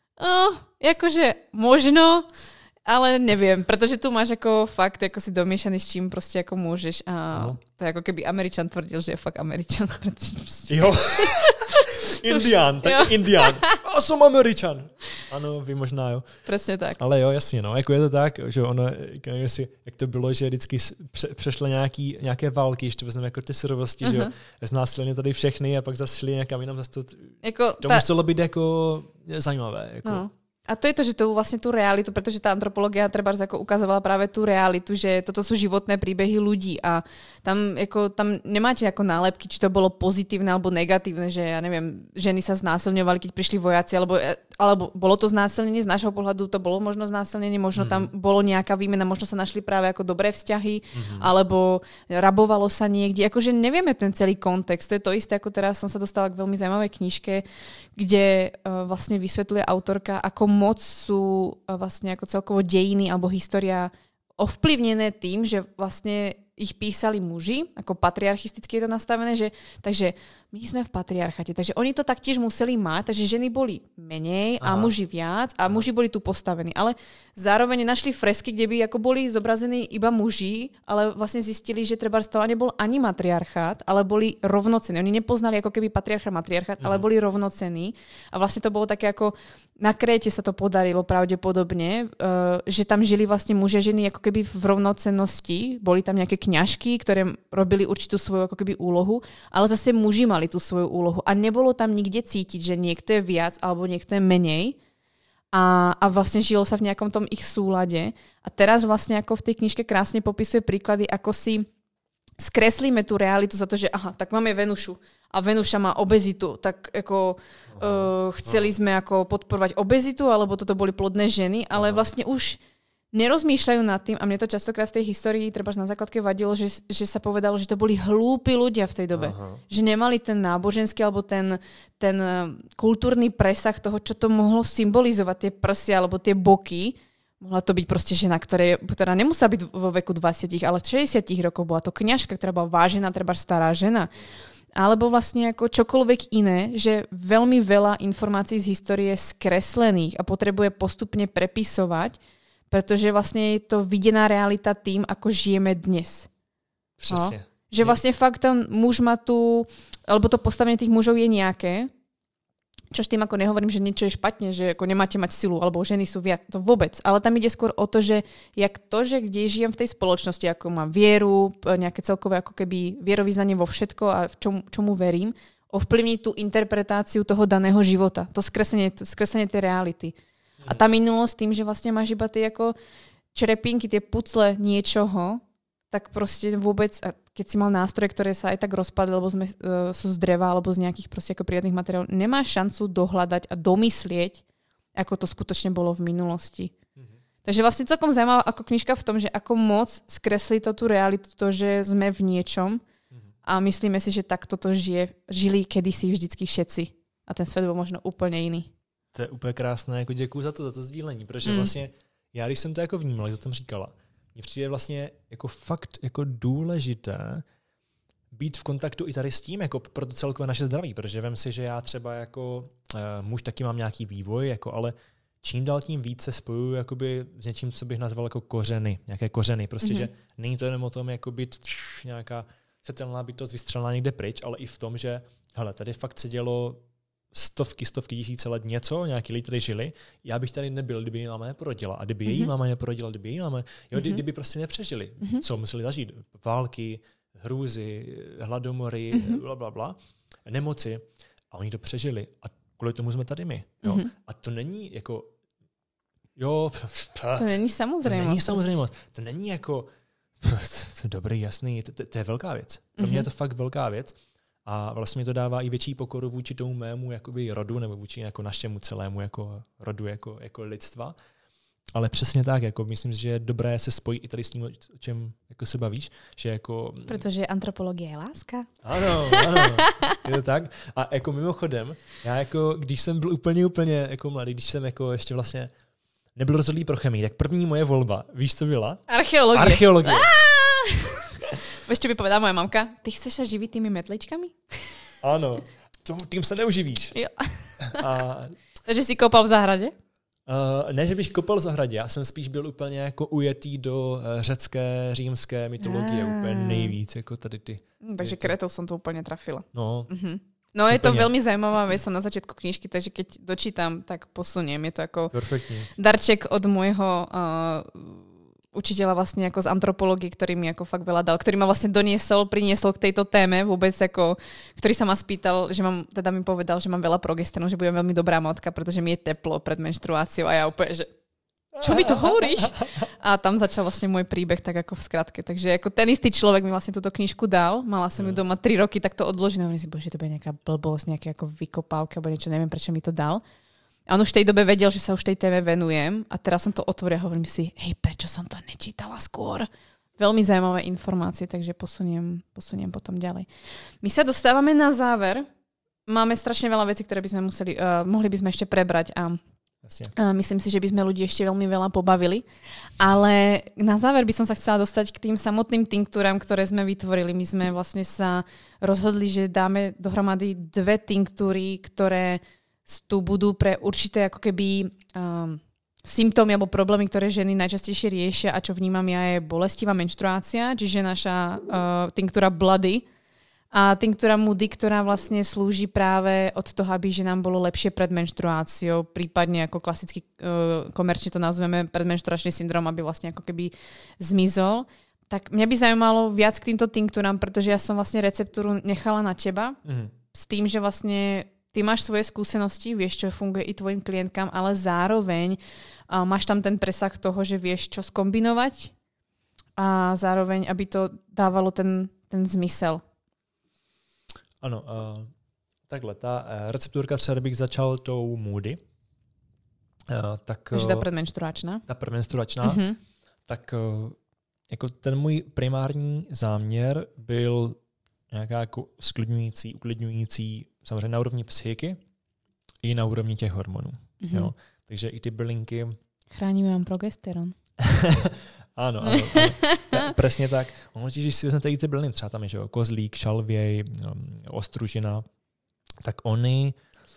akože možno, ale neviem, pretože tu máš ako fakt ako si domiešaný s čím proste ako môžeš a to je ako keby Američan tvrdil, že je fakt Američan. Jo. Indián, tak jo. Indián. A som Američan. Ano, vy možná, jo. Presne tak. Ale jo, jasně, no. Jako je to tak, že ono, jak to bylo, že vždycky přešlo nějaké války, ještě vezmeme jako ty surovosti, že jo. Znásilně tady všechny a pak zase šli někam jinam, zase to muselo být jako zajímavé. Jako. No. A to je to, že to vlastne tú realitu, pretože tá antropológia trebárs ako ukazovala práve tú realitu, že toto sú životné príbehy ľudí a tam nemáte ako nálepky, či to bolo pozitívne alebo negatívne, že ja neviem, ženy sa znásilňovali, keď prišli vojaci, alebo bolo to znásilnenie, z nášho pohľadu to bolo možno znásilnenie, možno tam bolo nejaká výmena, možno sa našli práve ako dobré vzťahy, alebo rabovalo sa niekde, akože nevieme ten celý kontext. To je to isté, ako teraz som sa dostala k veľmi zaujímavej knižke, kde vlastne vysvetľuje autorka, ako moc sú vlastne ako celkovo dejiny alebo história ovplyvnené tým, že vlastne ich písali muži, ako patriarchisticky je to nastavené, že takže my sme v patriarchate, takže oni to taktiež museli mať, takže ženy boli menej a muži viac a muži boli tu postavení, ale zároveň našli fresky, kde by ako boli zobrazení iba muži, ale vlastne zistili, že trebárs to nebol ani matriarchát, ale boli rovnocení. Oni nepoznali ako keby matriarchát, ale boli rovnocení a vlastne to bolo také ako na Kréte sa to podarilo pravdepodobne, že tam žili vlastne muži a ženy ako keby v rovnocennosti, boli tam nejaké kňažky, ktoré robili určitú svoju ako keby úlohu, ale zase muži mali tú svoju úlohu a nebolo tam nikde cítiť, že niekto je viac alebo niekto je menej a vlastne žilo sa v nejakom tom ich súlade a teraz vlastne ako v tej knižke krásne popisuje príklady, ako si skreslíme tú realitu za to, že aha, tak máme Venušu a Venuša má obezitu, tak ako chceli sme ako podporovať obezitu, alebo toto boli plodné ženy, ale vlastne už nerozmýšľajú nad tým a mne to častokrát v tej histórii trebárs na základke vadilo, že sa povedalo, že to boli hlúpi ľudia v tej dobe. Že nemali ten náboženský alebo ten kultúrny presah toho, čo to mohlo symbolizovať, tie prsia alebo tie boky. Mohla to byť proste žena, ktorá nemusela byť vo veku 20, ale 60 rokov. Bola to kňažka, ktorá bola vážená, trebárs stará žena. Alebo vlastne ako čokoľvek iné, že veľmi veľa informácií z histórie je skreslených a potrebuje postupne prepisovať, pretože vlastne je to videná realita tým, ako žijeme dnes. Přesně. No? Že vlastne fakt ten muž má tu, alebo to postavenie tých mužov je nejaké, čo s tým ako nehovorím, že niečo je špatne, že ako nemáte mať silu, alebo ženy sú viac, to vôbec. Ale tam ide skôr o to, že kde žijem v tej spoločnosti, ako mám vieru, nejaké celkové ako keby vierovyznanie vo všetko a v čomu verím, ovplyvní tú interpretáciu toho daného života. To skreslenie tej reality. A tá minulosť tým, že vlastne máš iba tie ako črepinky, tie pucle niečoho, tak proste vôbec, keď si mal nástroje, ktoré sa aj tak rozpadli, lebo sú z dreva alebo z nejakých proste ako prírodných materiálov, nemáš šancu dohľadať a domyslieť ako to skutočne bolo v minulosti. Takže vlastne celkom zaujímavá ako knižka v tom, že ako moc skreslí to tú realitu, to, že sme v niečom a myslíme si, že takto to žili kedysi vždycky všetci. A ten svět byl možno úplně jiný. To je úplně krásné, jako děkuju za to sdílení, protože vlastně já, když jsem to jako vnímal, jak to tam říkala, mně přijde vlastně jako fakt jako důležité být v kontaktu i tady s tím, jako pro to celkové naše zdraví, protože vem si, že já třeba jako muž taky mám nějaký vývoj, jako, ale čím dál tím víc se spojuju jakoby s něčím, co bych nazval jako kořeny, nějaké kořeny, prostě, že není to jenom o tom jako být nějaká setelná bytost vystřelená někde pryč, ale i v tom, že hele, tady fakt se dělo stovky tisíce let něco, nějaký lidi tady žili, já bych tady nebyl, kdyby její máma neporodila. A kdyby její máma neporodila, kdyby její máma, kdyby prostě nepřežili. Co museli zažít? Války, hrůzy, hladomory, blablabla, nemoci. A oni to přežili. A kvůli tomu jsme tady my. Jo? A to není jako to není samozřejmost. To není jako to dobrý, jasný, to je velká věc. Pro mě je to fakt velká věc. A vlastně mi to dává i větší pokoru vůči tomu mému jakoby rodu, nebo vůči jako našemu celému jako rodu, jako lidstva. Ale přesně tak, jako myslím si, že je dobré se spojit i tady s tím, o čem jako se bavíš. Že jako... Protože antropologie je láska. Ano, je to tak. A jako mimochodem, já jako, když jsem byl úplně jako mladý, když jsem jako ještě vlastně nebyl rozhodlý pro chemii, tak první moje volba, víš, co byla? Archeologie. Ešte by povedala moja mamka, ty chceš sa živiť tými metličkami? Áno, tým sa neuživíš. Jo. Takže si kopal v záhrade? Ne, že bych kopal v zahradě, já jsem spíš byl úplně jako ujetý do řecké, římské mytologie, úplně nejvíc, jako tady ty. Takže Kretov som to úplně trafila. No. No je to veľmi zaujímavá vec, som na začiatku knižky, takže keď dočítam, tak posuniem. Je to ako darček od môjho učiteľa vlastne ako z antropológie, ktorý mi ako fakt veľa dal, ktorý ma vlastne priniesol k tejto téme vôbec, ako, ktorý sa ma spýtal, že mám, teda mi povedal, že mám veľa progesterónu, že budem veľmi dobrá matka, pretože mi je teplo pred menštruáciou a ja úplne, že čo mi to hovoríš? A tam začal vlastne môj príbeh tak ako v skratke. Takže ako ten istý človek mi vlastne túto knižku dal, mala som ju doma 3 roky, tak to odložené, hovorím si, bože, to bude nejaká blbosť, nejaké ako vykopávka, alebo niečo, neviem, prečo mi to dal. A on už v tej dobe vedel, že sa už tej téme venujem a teraz som to otvoril a hovorím si, hej, prečo som to nečítala skôr? Veľmi zaujímavé informácie, takže posuniem potom ďalej. My sa dostávame na záver. Máme strašne veľa vecí, ktoré by sme mohli by sme ešte prebrať a myslím si, že by sme ľudí ešte veľmi veľa pobavili. Ale na záver by som sa chcela dostať k tým samotným tinktúram, ktoré sme vytvorili. My sme vlastne sa rozhodli, že dáme dohromady 2 tinktúry, ktoré tu budú pre určité ako keby symptómy alebo problémy, ktoré ženy najčastejšie riešia a čo vnímam ja je bolestivá menštruácia, čiže naša tinktúra Bloody a tinktúra Moody, ktorá vlastne slúži práve od toho, aby ženám bolo lepšie pred menštruáciou, prípadne ako klasicky komerčne to nazveme predmenštruačný syndrom, aby vlastne ako keby zmizol. Tak mňa by zaujímalo viac k týmto tinktúram, pretože ja som vlastne receptúru nechala na teba s tým, že vlastne ty máš svoje skúsenosti, vieš, čo funguje i tvojim klientkám, ale zároveň máš tam ten presah toho, že vieš, čo skombinovať a zároveň, aby to dávalo ten zmysel. Ano, takhle, ta recepturka třeba, kdybych začal tou Moody, takže ta predmenštruačná. Tak jako ten můj primární záměr byl nějaká jako sklidňující, uklidňující, samozřejmě na úrovni psychiky i na úrovni těch hormonů. Jo? Takže i ty bylinky... Chráníme vám progesteron. Ano. Presně tak. Ono, když si vezmete i ty byliny, třeba tam je, že jo, kozlík, šalvěj, ostružina, tak oni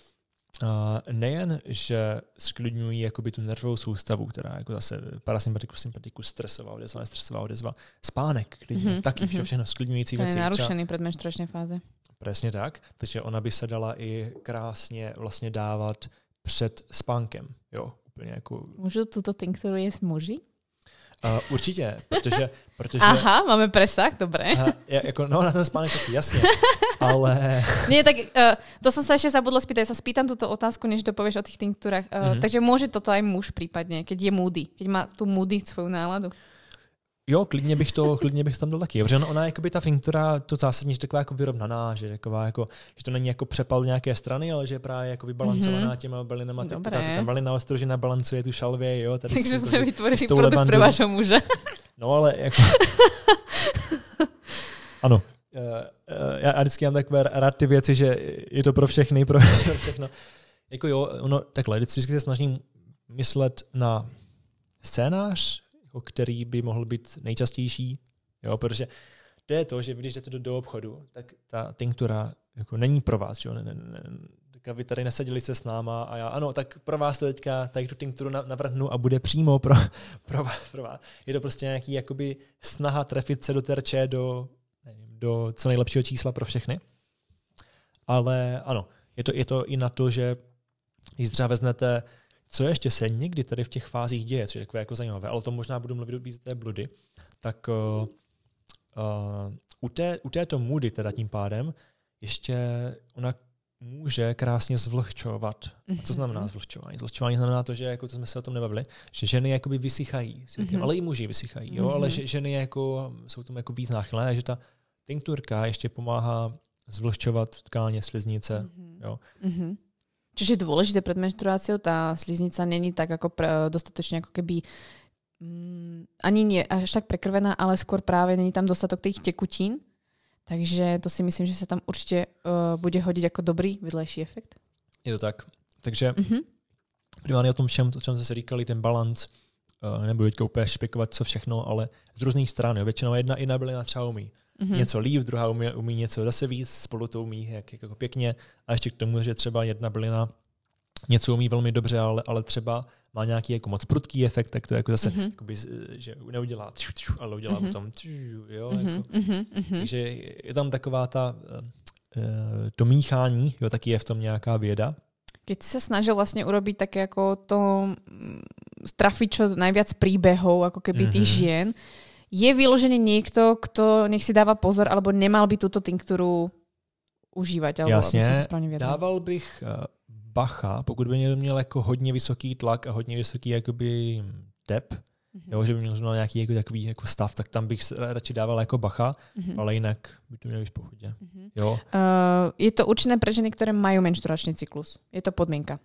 nejen, že sklidňují jakoby tu nervovou soustavu, která jako zase parasympatikus, sympatikus, stresová odezva, nestresová odezva, spánek, klidně, taky všechno sklidňující věci. To je narušený pred menštruační fáze. Přesně tak, takže ona by se dala i krásně vlastně dávat před spánkem, jo, úplně jako... Můžu tuto tinkturu jíst muži? Určitě, protože... Aha, máme presah, dobré. Jako, no, na ten spánek taky, jasně, ale... Nie, tak to som sa ešte zabudla spýtať. Ja sa spýtam túto otázku, než dopovieš o tých tinktúrach. Takže môže toto aj muž prípadne, keď je moody, keď má tú moody svoju náladu? Jo, klidně bych to tam dal taky. Protože ona jakoby ta tinktura, to zásadně, že taková jako vyrovnaná, že taková jako, že to není jako přepal nějaké strany, ale že je právě jako vybalancovaná těma bylinama. Tam bylina ostrožena balancuje tu šalvě, jo. Tady takže jsme vytvorili produkt pro vašeho muže. No ale jako... Ano. Já vždycky mám takové rád ty věci, že je to pro všechny, pro všechno. Jako jo, ono takhle, vždycky se snažím myslet na scénář, který by mohl být nejčastější, jo, protože to je to, že když jdete do obchodu, tak ta tinktura jako není pro vás, jo, vy tady neseděli se s náma a já, ano, tak pro vás to teďka tady tu tinkturu navrhnu a bude přímo pro vás. Je to prostě nějaký jakoby snaha trefit se do terče, do co nejlepšího čísla pro všechny. Ale ano, je to i na to, že když třeba veznete, co ještě se někdy tady v těch fázích děje, což je takové jako zajímavé, ale to možná budu mluvit víc té bludy, tak u této moody teda tím pádem ještě ona může krásně zvlhčovat. A co znamená zvlhčování? Zvlhčování znamená to, že jako to jsme se o tom nebavili, že ženy jakoby vysychají, ale i muži vysychají, jo, ale že ženy jako jsou tomu jako víc náchylné, takže ta tinkturka ještě pomáhá zvlhčovat tkáně, sliznice, jo. Čiže je dôležité pred menštruáciou, tá sliznica není tak ako dostatočne ako keby ani nie až tak prekrvená, ale skôr práve není tam dostatok tých tekutín. Takže to si myslím, že sa tam určite bude hodiť ako dobrý vedlejší efekt. Je to tak. Takže primárně o tom všem, o čem jsme se říkali, ten balans, nebudu teďka úplně špekovat, co všechno, ale z různých stran. Většinou jedna bylina třeba umí něco líp, druhá umí něco zase víc, spolu to umí jako pěkně. A ještě k tomu, že třeba jedna bylina něco umí velmi dobře, ale třeba má nějaký jako moc prudký efekt, tak to jako zase, jakoby, že neudělá, ale udělá potom, jo. Takže je tam taková to míchání, jo, taky je v tom nějaká věda. Keď si sa snažil vlastne urobiť také ako to strafiť čo najviac príbehov, ako keby tých žien, je vyložený niekto, kto nech si dáva pozor, alebo nemal by túto tinkturu užívať? Alebo jasně, dával bych bacha, pokud by měl jako hodně vysoký tlak a hodně vysoký jakoby tep, jo, že by měl nějaký jako takový jako stav, tak tam bych radši dával jako bacha, ale jinak by to mělo být v pohodě. Jo. Je to určené pre ženy, ktoré majú menštruačný cyklus? Je to podmienka?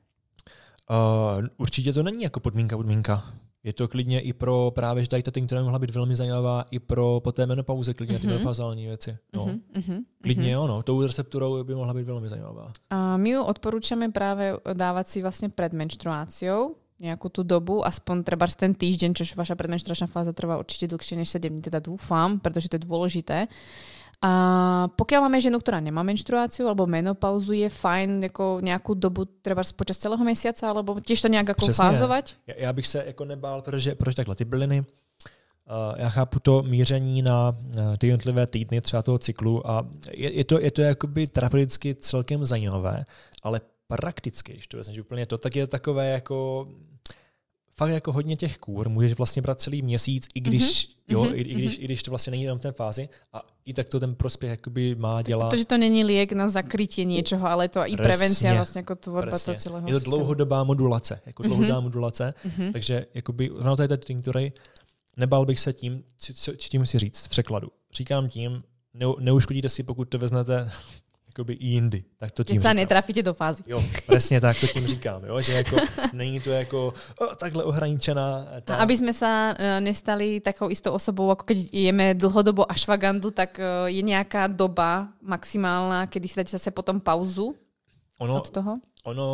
Určitě to není jako podmínka. Je to klidně i pro právě, že tady ta tinktura mohla být velmi zajímavá i pro po té menopauze, klidně ty menopauzální věci. No. Klidně ono, tou recepturou by mohla být velmi zajímavá. My ju odporúčame práve dávať si vlastne pred menštruáciou nejakú tú dobu, aspoň trebárs ten týždeň, čož vaša predmenštruačná fáza trvá určite dlhšie než 7 dní, teda dúfam, pretože to je dôležité. A pokiaľ máme ženu, ktorá nemá menštruáciu alebo menopauzu, je fajn jako nejakú dobu trebárs počas celého mesiaca, alebo tiež to nejak ako fázovať? Já bych se jako nebál, protože takhle ty byliny, já chápu to míření na ty jednotlivé týdny třeba toho cyklu a je to jakoby terapeuticky celkem zajímavé, ale prakticky, když to vezmeš úplně to, tak je to takové jako fakt jako hodně těch kůr, můžeš vlastně brát celý měsíc, i když i když to vlastně není tam v té fázi a i tak to ten prospěch jakoby má dělat. Protože to není liek na zakrytie niečoho, ale to i prevencia vlastně jako tvorba toho celého. Je to dlouhodobá modulace, takže jakoby v té tinktury nebál bych se tím si říct v překladu. Říkám tím, neuškodíte si, pokud to veznete jakoby i jindy. Tak to tím keď sa netrafíte do fázy. Jo, presne tak to tím říkám, jo, že jako není to jako takhle ohraničená. Aby sme sa nestali takou istou osobou, ako keď jeme dlhodobo ashwagandu, tak je nejaká doba maximálna, kedy si dáte zase potom pauzu od toho?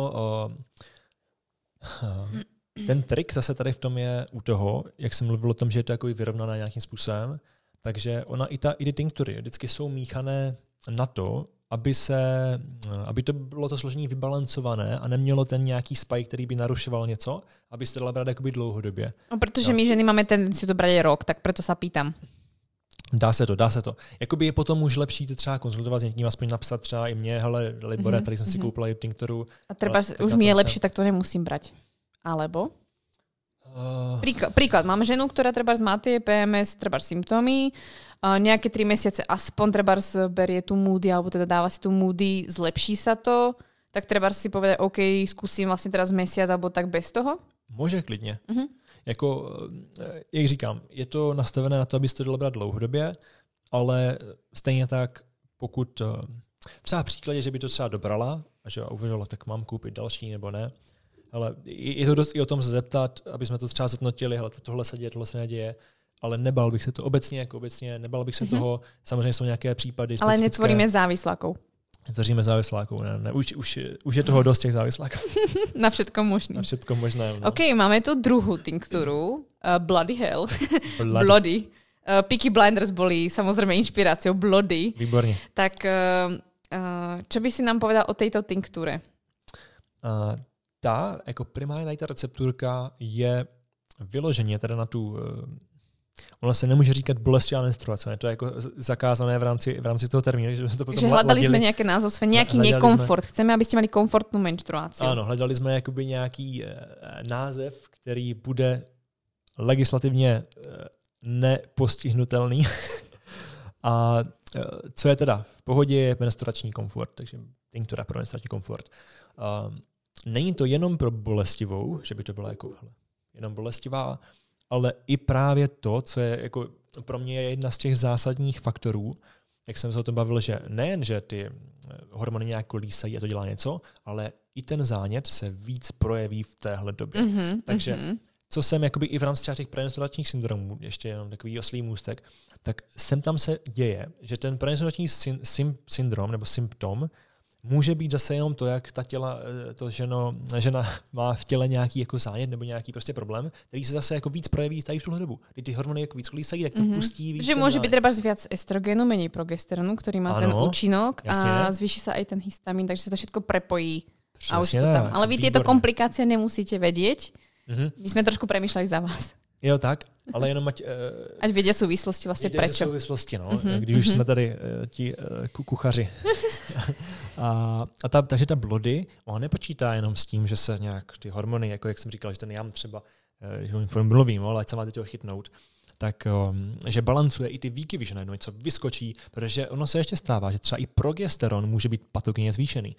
Ten trik zase tady v tom je u toho, jak jsem mluvil o tom, že je to jako vyrovnané nějakým způsobem, takže i ty tinktury vždycky jsou míchané na to, aby to bylo to složení vybalancované a nemělo ten nějaký spike, který by narušoval něco, aby se dala brát jakoby dlouhodobě. No, protože my ženy máme tendenciu to brať rok, tak preto sa pýtam. Dá se to. Jakoby je potom už lepší to třeba konzultovat s někým, aspoň napsat třeba i mě, hele, Libore, tady jsem si koupila tinkturu. A treba už mi je lepší, tak to nemusím brať. Alebo? Príklad, mám ženu, ktorá trebárs má tie PMS, trebárs symptómy, nejaké 3 mesiace aspoň trebárs berie tú moody, alebo teda dáva si tú moody, zlepší sa to, tak trebárs si povedať, OK, skúsim vlastne teraz mesiac, alebo tak bez toho? Môže klidně. Jako, jak říkám, je to nastavené na to, abyste to dalo brát dlouhodobě, ale stejně tak, pokud třeba v příkladě, že by to třeba dobrala a že uvažovala, tak mám koupit další nebo ne, ale je to dost i o tom se zeptat, aby jsme to třeba zhodnotili, hele, tohle se děje, tohle se neděje, ale nebal bych se to obecně, nebal bych se toho, samozřejmě jsou nějaké případy specifické. Ale netvoríme závislákov. Tvoříme závislákov, ne. Už je toho dost těch závislákov. Na všetko možné. Na všetko možné. No. OK, máme tu druhú tinktúru, Bloody Hell. Bloody. Peaky Blinders boli samozrejme inšpiráciou Bloody. Výborne. Tak čo by si nám povedal o tejto tinktúre? Jako primárně ta recepturka je vyloženě teda na tu... Ona se nemůže říkat bolestivá menstruace, to je jako zakázané v rámci toho termínu. Že, to že hľadali sme nejaké názov, nejaký nekomfort. Chceme, aby ste mali komfortnú menštruáciu. Ano, hledali jsme jakoby nějaký název, který bude legislativně nepostihnutelný. A co je teda v pohodě, je menstruační komfort, takže tinktura pro menstruační komfort. Není to jenom pro bolestivou, že by to byla jako jenom bolestivá, ale i právě to, co je jako pro mě je jedna z těch zásadních faktorů, jak jsem se o tom bavil, že nejen, že ty hormony nějak kolísají a to dělá něco, ale i ten zánět se víc projeví v téhle době. Takže co jsem jakoby i v rámci těch premenstruačních syndromů, ještě jenom takový oslý můstek, tak sem tam se děje, že ten premenstruační syndrom nebo symptom může být zase jenom to, jak ta žena má v těle nějaký jako zánět nebo nějaký prostě problém, který se zase jako víc projeví tady v tuhle dobu. Když ty hormony jako víc kolísají, tak to pustí víc. Že môže byť treba viac estrogenu, menej progesteronu, ktorý má ten účinok a zvýši sa aj ten histamín, takže sa to všetko prepojí. Přesně, a už to tam. Ale vy tieto komplikácie nemusíte vedieť. My sme trošku premýšľali za vás. Jo, tak, ale jenom ať vědě souvislosti vlastně prečo. Souvislosti, no, když už jsme tady ti kuchaři. Takže ta Bloody, ona nepočítá jenom s tím, že se nějak ty hormony, jako jak jsem říkal, že ten jam třeba, když mluvím, ale ať se máte toho chytnout, tak že balancuje i ty výkyvy, že najednou něco vyskočí, protože ono se ještě stává, že třeba i progesteron může být patogenně zvýšený.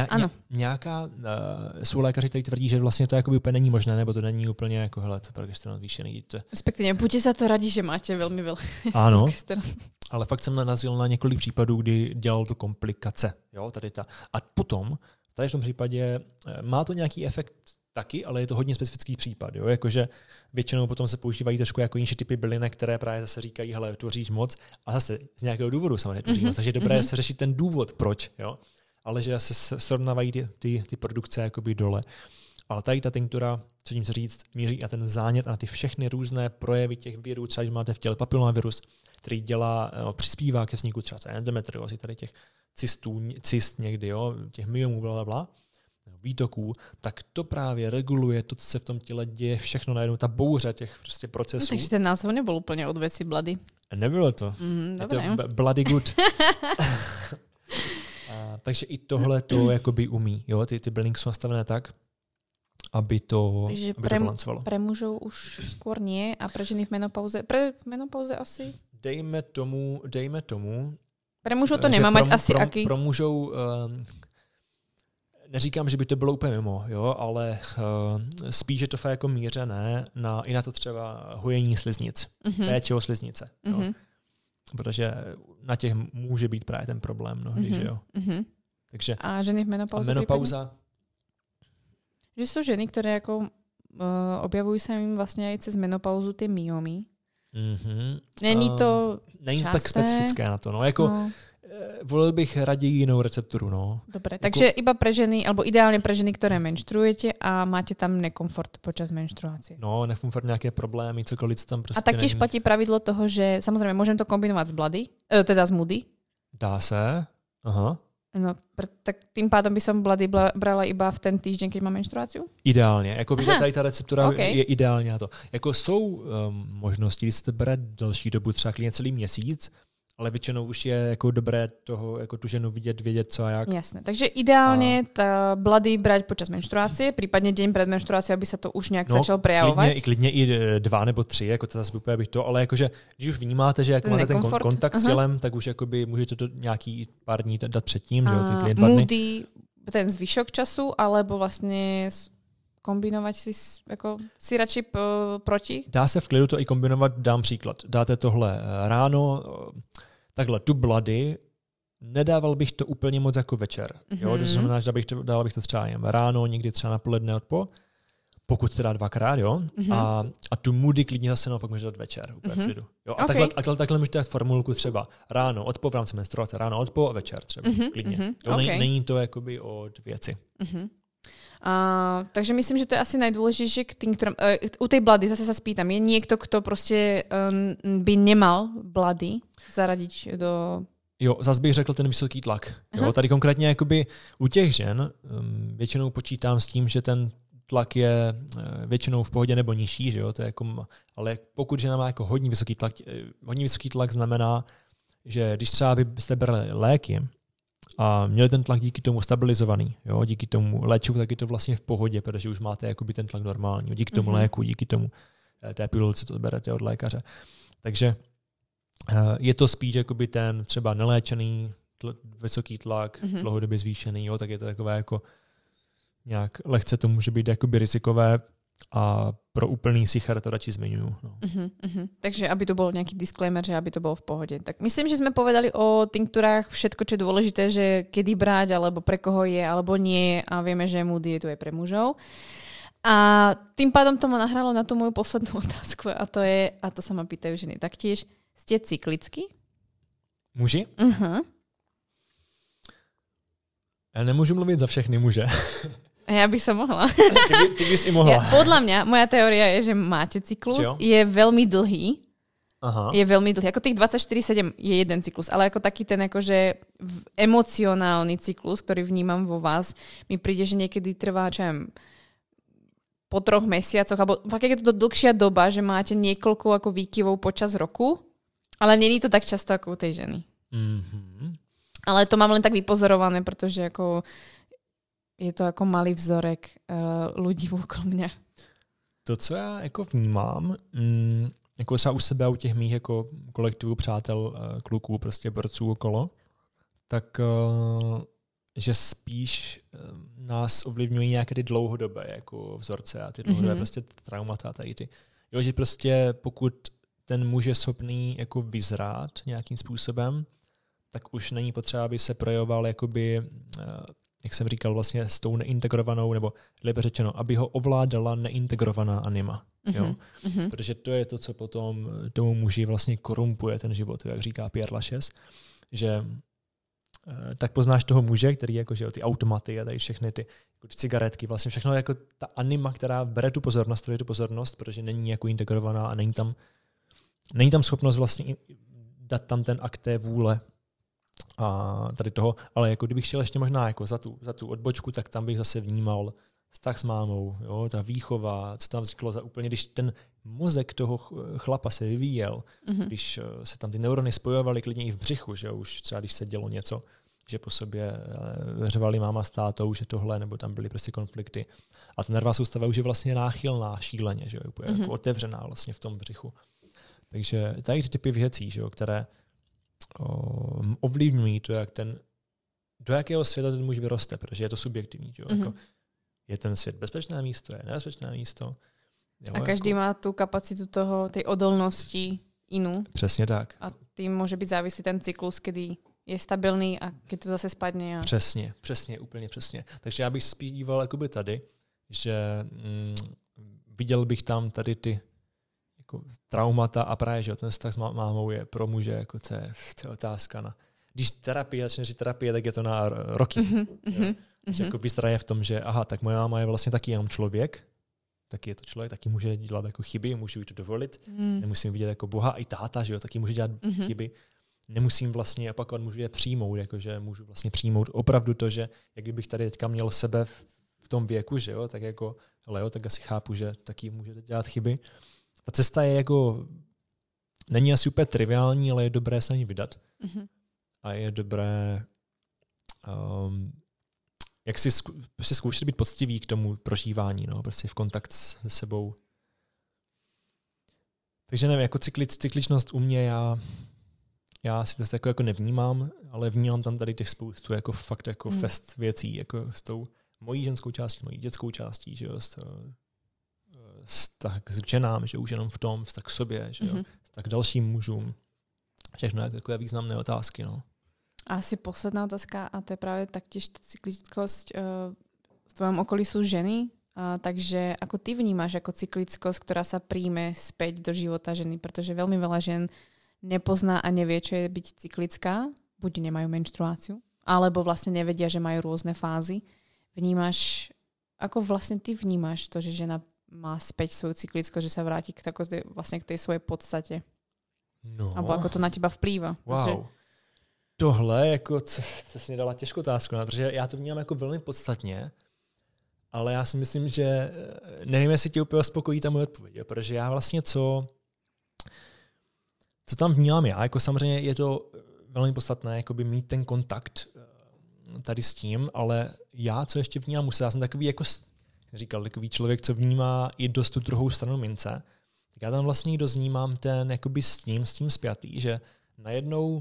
Jsou lékaři, kteří tvrdí, že vlastně to jakoby úplně není možné, nebo to není úplně jako, hele, to progesteron zvýšený. Respektive, buďte za to radí, že máte velmi ano, progesteron. Ale fakt jsem narazil na několik případů, kdy dělal to komplikace. Jo, tady ta. A potom, tady v tom případě má to nějaký efekt taky, ale je to hodně specifický případ. Jo? Jakože většinou potom se používají trošku jako jiné typy bylinek, které právě zase říkají, hele, tvoříš moc a zase z nějakého důvodu samozřejmě tvoří moc. Takže je dobré se řešit ten důvod, proč. Jo? Ale že se srovnávají ty produkce jakoby dole. Ale tady ta tinktura, co tím se říct, míří na ten zánět a na ty všechny různé projevy těch virů, třeba když máte v těle papilomavirus, který přispívá ke vzniku třeba endometriózy, tady těch cyst někdy, jo, těch myomů, blablabla, výtoků, tak to právě reguluje to, co se v tom těle děje, všechno najednou, ta bouře těch prostě procesů. Takže ten název nebyl úplně od věci Bloody. Nebylo to. Je to Bloody good. Takže i tohle to jakoby umí. Jo? Ty bylinky jsou nastavené tak, aby to balancovalo. Pre mužov už skôr nie a pre ženy v menopauze? V menopauze asi? Dejme tomu. Pre mužov to nemá mať asi aký? Pro mužov neříkám, že by to bylo úplně mimo, jo, ale spíš je to fakt jako mířené i na to třeba hojení sliznic, péče o sliznice. Jo. Protože na těch může být právě ten problém mnohdy, že jo. Takže, a ženy v menopauze? Menopauza. Že jsou ženy, které jako objavují se jim vlastně i cez menopauzu ty myomy. Není to tak specifické na to. No, jako, volil bych raději jinou recepturu. No. Dobre, takže iba pre ženy, alebo ideálne pre ženy, ktoré menštruujete a máte tam nekomfort počas menštruácie. No, nekomfort, nejaké problémy, cokoliv tam prostě. A taktiež platí pravidlo toho, že samozrejme môžem to kombinovať s Bloody, teda s Moody. Dá se. Aha. No, tak tým pádom by som Bloody brala iba v ten týždeň, keď mám menštruáciu? Ideálně. Jako tady ta receptura je ideální na to. Jako jsou možnosti, když se to bere delší dobu, třeba klidně celý měsíc, ale většinou už je jako dobré toho, jako tu ženu vědět co a jak. Jasné. Takže ideálne tá Bloody brať počas menštruácie, prípadne deň pred menštruáciou, aby sa to už nejak začalo prejavovať. Klidně i 2 nebo 3, jako to zase úplně bych to, ale jakože, když už vnímáte, že jako máte ten kontakt s tělem, tak už jakoby můžete to nějaký pár dní dát předtím, že jo, ty klient 2 dny. Moody ten zvyšok času, alebo vlastne kombinovat si radši proti? Dá se v klidu to i kombinovat, dám příklad. Dáte tohle ráno, takhle tu bloody, nedával bych to úplně moc jako večer. Jo? To znamená, že dal bych to třeba jen ráno, někdy třeba na poledne odpo, pokud se dá dvakrát, jo. A tu moody klidně zase naopak můžete dát večer, úplně v klidu. Jo? A takhle můžete dát formulku třeba ráno, odpo v rámci menstruace, ráno, odpo a večer třeba, klidně. Jo? Není to jakoby od věci. Takže myslím, že to je asi najdôležitejšie k tým, ktorým, u tej blady zase sa spýtam, je niekto, kto proste by nemal blady zaradiť do... Jo, zase bych řekl ten vysoký tlak. Jo, tady konkrétně jakoby u těch žen většinou počítám s tím, že ten tlak je většinou v pohodě nebo nižší, že jo, to je jako, ale pokud žena má jako hodně vysoký tlak znamená, že když třeba byste brali léky a měli ten tlak díky tomu stabilizovaný, jo, díky tomu léčivu, tak je to vlastně v pohodě, protože už máte jakoby ten tlak normální, díky tomu léku, díky tomu té pilulce, to berete od lékaře. Takže je to spíš jakoby ten třeba neléčený vysoký tlak, dlouhodobě zvýšený, jo, tak je to takové jako nějak lehce to může být jakoby rizikové a pro úplný sicher to radši zmiňuju. No. Takže aby to bol nejaký disclaimer, že aby to bolo v pohode. Tak myslím, že sme povedali o tinktúrách všetko, čo je dôležité, že kedy brať, alebo pre koho je, alebo nie a vieme, že mood je tu aj pre mužov. A tým pádom to ma nahralo na tú moju poslednú otázku a to sa ma pýtajú ženy taktiež. Ste cyklicky? Muži? Já nemůžu mluvit za všechny muže. Ja by som mohla. Ty bys i mohla. Podľa mňa, moja teória je, že máte cyklus, je veľmi dlhý. Je veľmi dlhý. Ako tých 24/7 je jeden cyklus, ale ako taký ten akože emocionálny cyklus, ktorý vnímam vo vás, mi príde, že niekedy trvá, čo viem, po 3 mesiacoch, alebo fakt je to dlhšia doba, že máte niekoľko ako výkyvov počas roku, ale není to tak často ako u tej ženy. Ale to mám len tak vypozorované, pretože ako je to jako malý vzorek lidí okolo mě. To, co já jako vnímám, jako třeba u sebe a u těch mých jako kolektivů, přátel, kluků, prostě borců okolo, tak že spíš nás ovlivňují nějaké ty dlouhodobé jako vzorce a ty dlouhodobé prostě traumata tady ty. Jo, že prostě pokud ten muž je schopný jako vyzrát nějakým způsobem, tak už není potřeba, aby se projevoval jakoby jak jsem říkal, vlastně s tou neintegrovanou, nebo lépe řečeno, aby ho ovládala neintegrovaná anima. Jo? Protože to je to, co potom tomu muži vlastně korumpuje ten život, jak říká Pierre Lachaise, že tak poznáš toho muže, který jako, že ty automaty a tady všechny ty cigaretky, vlastně všechno jako ta anima, která bere tu pozornost, protože není jako integrovaná a není tam schopnost vlastně dát tam ten akt té vůle a tady toho, ale jako kdybych šel ještě možná jako za tu odbočku, tak tam bych zase vnímal vztah s mámou, jo, ta výchova, co tam vzniklo za úplně, když ten mozek toho chlapa se vyvíjel, když se tam ty neurony spojovaly klidně i v břichu, že už třeba když se dělo něco, že po sobě řvali máma s tátou, že tohle, nebo tam byly prostě konflikty. A ta nervová soustava už je vlastně náchylná šíleně, že jo, jako otevřená vlastně v tom břichu. Takže tady ty typy věcí, že jo, které ovlivňují to, do jakého světa ten muž vyroste, protože je to subjektivní. Že? Jako, je ten svět bezpečné místo, je nebezpečné místo. Jo, a každý má tu kapacitu tej odolnosti inú. Přesně tak. A tým může být závislý ten cyklus, kdy je stabilní a když to zase spadne. Přesně, úplně přesně. Takže já bych spíš díval jakoby tady, že viděl bych tam tady ty jako traumata a právě, že ten vztah s mámou je pro muže jako to je otázka když začne terapie, tak je to na roky. Že jako vyzraje v tom, že tak moje máma je vlastně taky jenom člověk, taky je to člověk, taky může dělat jako chyby, můžu jí to dovolit, nemusím vidět jako Boha, i táta, že jo, taky může dělat chyby, nemusím vlastně opakovat, můžu je přijmout, jakože můžu vlastně přijmout opravdu to, že jak kdybych tady teďka měl sebe v tom věku, že jo, tak jako Leo, tak asi chápu, že taky můžete dělat chyby. Ta cesta je jako, není asi úplně triviální, ale je dobré se na ní vydat. A je dobré jak si zkoušet být poctivý k tomu prožívání, no, prostě v kontakt se sebou. Takže nevím, jako cykličnost u mě, já si to jako nevnímám, ale vnímám tam tady těch spoustu jako fakt jako fest věcí, jako s tou mojí ženskou částí, mojí dětskou částí, že jo, vztah k ženám, že už jenom v tom, vztah k sobě, že jo, vztah k dalším mužům. Všechno jako takové významné otázky, no. A asi posledná otázka, a to je práve taktiež cyklickosť. V tvojom okolí sú ženy, takže ako ty vnímaš ako cyklickosť, ktorá sa príjme späť do života ženy, pretože veľmi veľa žien nepozná a nevie, čo je byť cyklická, buď nemajú menštruáciu, alebo vlastne nevedia, že majú rôzne fázy. Vnímaš, ako vlastne ty vnímaš to, že žena má späť svoju cyklickosť, že sa vráti k tej svojej podstate? No. Alebo ako to na teba vplýva? Wow. Protože tohle, jako, co jsi mi dala těžkou otázku, protože já to vnímám jako velmi podstatně, ale já si myslím, že nevím, jestli tě úplně uspokojí ta moje odpověď, protože já vlastně co tam vnímám já, jako samozřejmě je to velmi podstatné jakoby mít ten kontakt tady s tím, ale já, co ještě vnímám, já jsem takový, jako říkal, takový člověk, co vnímá i dost tu druhou stranu mince, tak já tam vlastně dost vnímám ten jakoby s tím spjatý, že najednou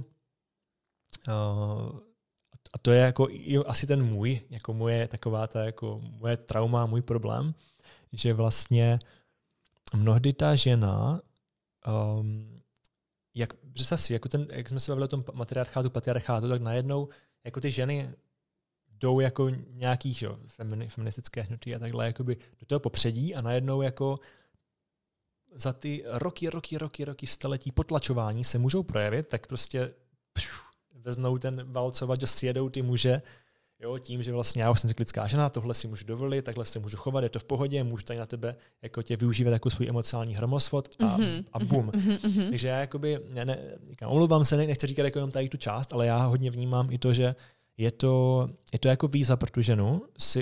a to je jako asi ten můj, jako moje taková ta jako moje trauma, můj problém, že vlastně mnohdy ta žena, představ si, jako jak jsme se bavili o tom matriarchátu, patriarchátu, tak najednou jako ty ženy jdou jako nějakých feministické hnutí a takhle jakoby do toho popředí a najednou jako za ty roky, staletí potlačování se můžou projevit, tak prostě veznou ten valcovač a sjedou ty muže, jo, tím, že vlastně já už jsem cyklická žena, tohle si můžu dovolit, takhle si můžu chovat, je to v pohodě, můžu tady na tebe jako tě využívat jako svůj emocionální hromosvod a bum. Takže já jakoby, omlouvám se, nechci říkat jako jenom tady tu část, ale já hodně vnímám i to, že je to jako výzva pro tu ženu si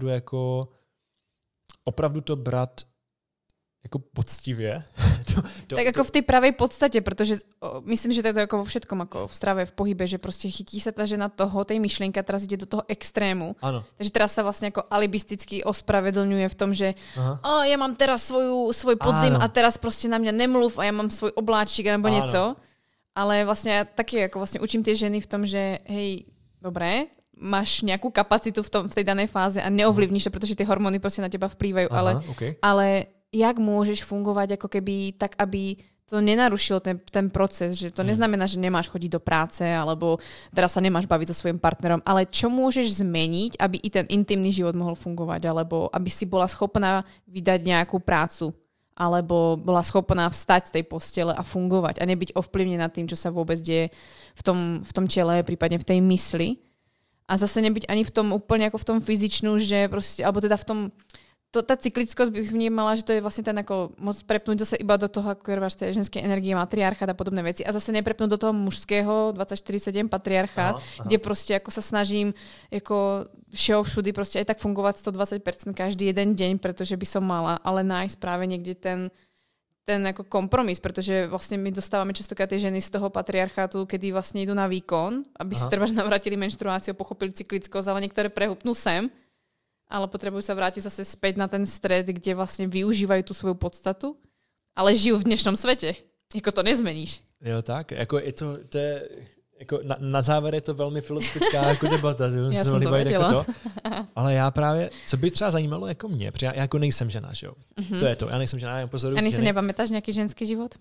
opravdu to brát jako poctivě. Tak jako v tej pravej podstate, pretože myslím, že to je to ako vo všetkom, ako v strave, v pohybe, že proste chytí sa tá žena tej myšlienky a teraz ide do toho extrému. Áno. Takže teraz sa vlastne ako alibisticky ospravedlňuje v tom, že ja mám teraz svoj podzim a teraz proste na mňa nemluv a ja mám svoj obláčik alebo niečo. Ale vlastne ja taky ako vlastne učím tie ženy v tom, že hej, dobré, máš nejakú kapacitu v tej danej fáze a neovlivníš to, pretože tie hormóny proste na teba vplývajú, ale jak môžeš fungovať ako keby tak, aby to nenarušilo ten proces, že to neznamená, že nemáš chodiť do práce alebo teraz sa nemáš baviť so svojím partnerom, ale čo môžeš zmeniť, aby i ten intimný život mohol fungovať, alebo aby si bola schopná vydať nejakú prácu, alebo bola schopná vstať z tej postele a fungovať a nebyť ovplyvnená tým, čo sa vôbec deje v tom tele, prípadne v tej mysli. A zase nebyť ani v tom úplne ako v tom fyzičnú, že proste, alebo teda v tom tá cyklickosť bych vnímala, že to je vlastne ten ako môcť prepnúť zase iba do toho, ako máš tej ženskej energie, matriarchát a podobné veci a zase neprepnúť do toho mužského 24/7 patriarchát, kde proste ako sa snažím ako všudy proste aj tak fungovať 120% každý jeden deň, pretože by som mala, ale nájsť práve niekde ten ako kompromis, pretože vlastne my dostávame častokrát tie ženy z toho patriarchátu, kedy vlastne idú na výkon, aby si treba navrátili menštruáciu, pochopili cyklickosť, ale niektoré prehupnú sem, ale potrebujú sa vrátiť zase späť na ten stred, kde vlastne využívajú tú svoju podstatu, ale žijú v dnešnom svete. Jako to nezmeníš. Jo, tak. Jako to je jako na závěr je to velmi filozofická jako debata. Já jsem to věděla. Jako to. Ale já právě, co by třeba zajímalo jako mě, protože já jako nejsem žena, že jo? To je to, já nejsem žena, já pozoruju ženy. A si nepamätáš nějaký ženský život?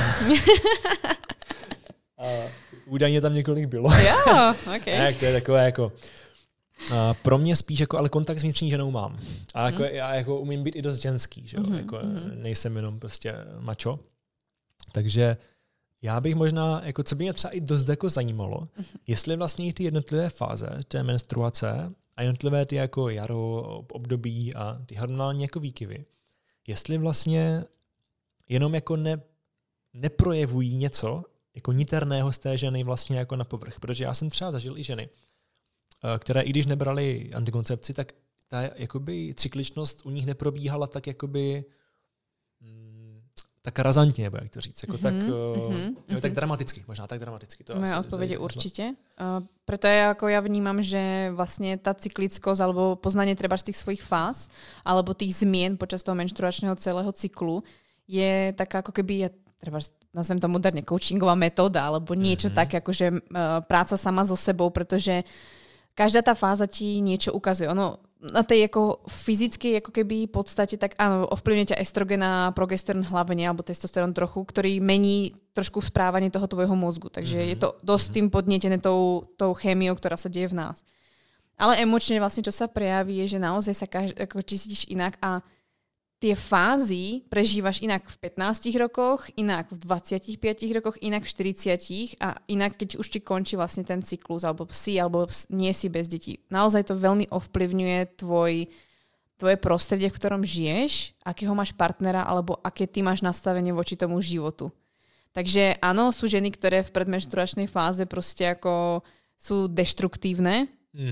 Údajně tam několik bylo. Jo, okay. Tak to je takové jako pro mě spíš jako, ale kontakt s vnitřní ženou mám. A jako, já jako umím být i dost ženský, že jo? Jako, nejsem jenom prostě mačo. Takže já bych možná, jako co by mě třeba i dost jako zajímalo, jestli vlastně ty jednotlivé fáze té menstruace a jednotlivé ty jako jaro, období a ty hormonální jako výkyvy, jestli vlastně jenom jako neprojevují něco jako niterného z té ženy vlastně jako na povrch. Protože já jsem třeba zažil i ženy, které i když nebrali antikoncepci, tak ta jakoby cykličnost u nich neprobíhala tak jakoby tak razantně, nebo jak to říct, jako tak dramaticky, možná tak dramaticky. To moja odpoveď je určite. Preto ja vnímam, že vlastne tá cyklickosť alebo poznanie treba z tých svojich fáz alebo tých zmien počas toho menštruačného celého cyklu je taká ako keby, treba nazvem to moderne, coachingová metóda alebo niečo také, akože práca sama so sebou, pretože každá tá fáza ti niečo ukazuje. Ono na tej ako fyzickej ako keby podstate, tak áno, ovplyvňuje ťa estrogen a progesteron hlavne, alebo testosterón trochu, ktorý mení trošku správanie toho tvojho mozgu. Takže je to dosť tým podnietené tou chémiou, ktorá sa deje v nás. Ale emočne vlastne, čo sa prejaví, je, že naozaj sa ako cítiš inak a tie fázy prežívaš inak v 15 rokoch, inak v 25 rokoch, inak v 40 a inak, keď už ti končí vlastne ten cyklus, alebo nie si bez detí. Naozaj to veľmi ovplyvňuje tvoje prostredie, v ktorom žiješ, akého máš partnera, alebo aké ty máš nastavenie voči tomu životu. Takže áno, sú ženy, ktoré v predmenštruačnej fáze proste ako sú deštruktívne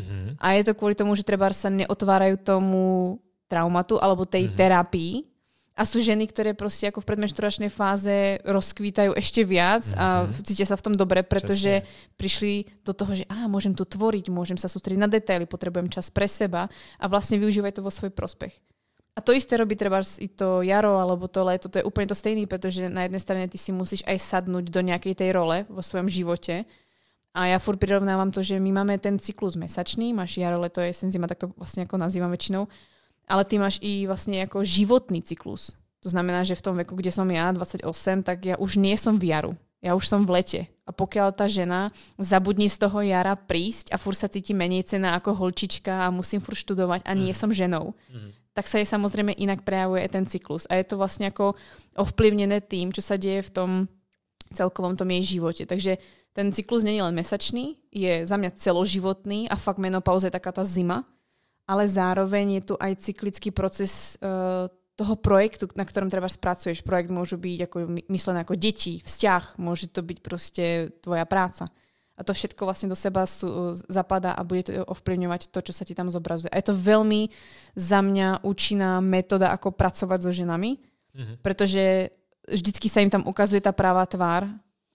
a je to kvôli tomu, že treba sa neotvárajú tomu traumatu alebo tej terapii. A sú ženy, ktoré proste ako v predmenštruačnej fáze rozkvítajú ešte viac a cítia sa v tom dobre, pretože prišli do toho, že môžem tu tvoriť, môžem sa sústrediť na detaily, potrebujem čas pre seba a vlastne využívajú to vo svoj prospech. A to isté robí treba i to jaro alebo to leto, to je úplne to stejné, pretože na jednej strane ty si musíš aj sadnúť do nejakej tej role vo svojom živote. A ja furt prirovnávam to, že my máme ten cyklus mesačný, máš jaro, leto, jesen, zima, tak to vlastne ako nazývam väčšinou. Ale ty máš i vlastne ako životný cyklus. To znamená, že v tom veku, kde som ja, 28, tak ja už nie som v jaru. Ja už som v lete. A pokiaľ tá žena zabudní z toho jara prísť a furt sa cíti menej cenná ako holčička a musím furt študovať a nie som ženou, tak sa jej samozrejme inak prejavuje aj ten cyklus. A je to vlastne ako ovplyvnené tým, čo sa deje v tom celkovom tom jej živote. Takže ten cyklus nie je len mesačný, je za mňa celoživotný a fakt menopauza je taká tá zima, ale zároveň je tu aj cyklický proces toho projektu, na ktorom treba spracuješ. Projekt môžu byť ako myslené ako deti, vzťah, môže to byť proste tvoja práca. A to všetko vlastne do seba zapadá a bude to ovplyvňovať to, čo sa ti tam zobrazuje. A je to veľmi za mňa účinná metóda, ako pracovať so ženami, pretože vždycky sa im tam ukazuje tá pravá tvár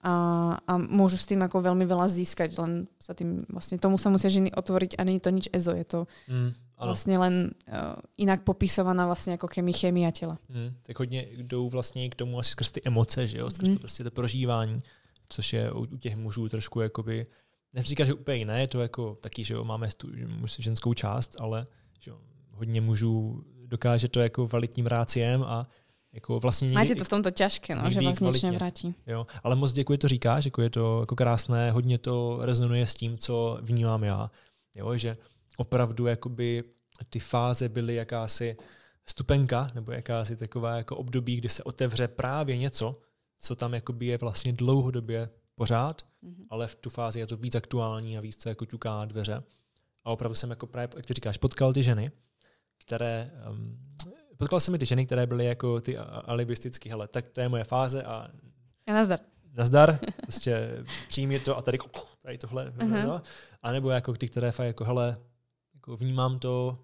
a môžu s tým ako veľmi veľa získať, len sa tým vlastne tomu sa musia ženy otvoriť a nie je to nič ezo, je to vlastně len jinak popisovaná vlastně jako chemia těla. Tak hodně jdou vlastně k tomu asi skrz ty emoce, že jo, skrz to prostě to prožívání, což je u těch mužů trošku jakoby, nechci říkat, že úplně jiné, je to jako taky, že jo, máme tu ženskou část, ale že jo, hodně mužů dokáže to jako valitním ráciem a jako vlastně máte to v tomto těžké, no, že vás nič nevrátí. Jo, ale moc děkuji, to říkáš, jako je to jako krásné, hodně to rezonuje s tím, co vnímám já. Jo, že opravdu jakoby ty fáze byly jakási stupenka, nebo jakási taková jako období, kdy se otevře právě něco, co tam jakoby je vlastně dlouhodobě pořád, ale v tu fázi je to víc aktuální a víc co jako ťuká na dveře. A opravdu jsem jako právě, jak ty říkáš, potkal ty ženy, které potkal jsem i ty ženy, které byly jako ty alibistický, hele, tak to je moje fáze a nazdar. Nazdar, prostě přijmi to a tady tohle. A nebo jako ty, které fakt jako, hele, jako vnímám to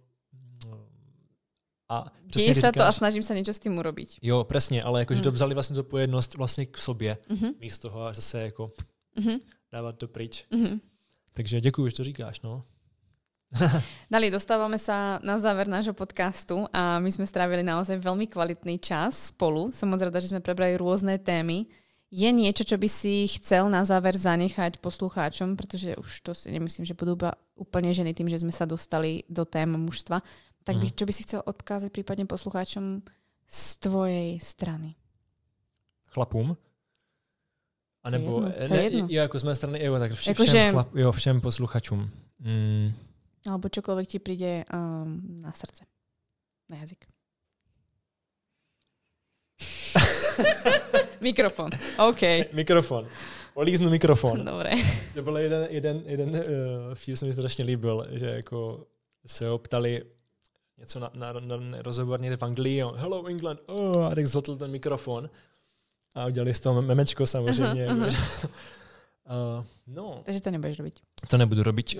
a děje se to a snažím se něco s tím urobiť. Jo, přesně, ale jako, že to vzali vlastně zodpovědnost vlastně k sobě, místo toho a zase jako dávat to pryč. Takže děkuju, že to říkáš, no. Dali, dostávame sa na záver nášho podcastu a my sme strávili naozaj veľmi kvalitný čas spolu. Som moc rada, že sme prebrali rôzne témy. Je niečo, čo by si chcel na záver zanechať poslucháčom, pretože už to si nemyslím, že budú úplne ženy tým, že sme sa dostali do tém mužstva. Tak čo by si chcel odkázať prípadne poslucháčom z tvojej strany? Chlapům? A nebo jako z mé strany, tak všem posluchačům. Alebo čokoľvek ti príde na srdce. Na jazyk. Mikrofon. OK. Mikrofon. Políznu mikrofon. Dobre. To byl jeden vtip, se mi strašně líbil, že jako se ho ptali něco na rozhovor někde v Anglii, hello England, a tak zhltl ten mikrofon a udělali z toho memečko samozřejmě. No. Takže to nebudeš robiť. To nebudu robiť.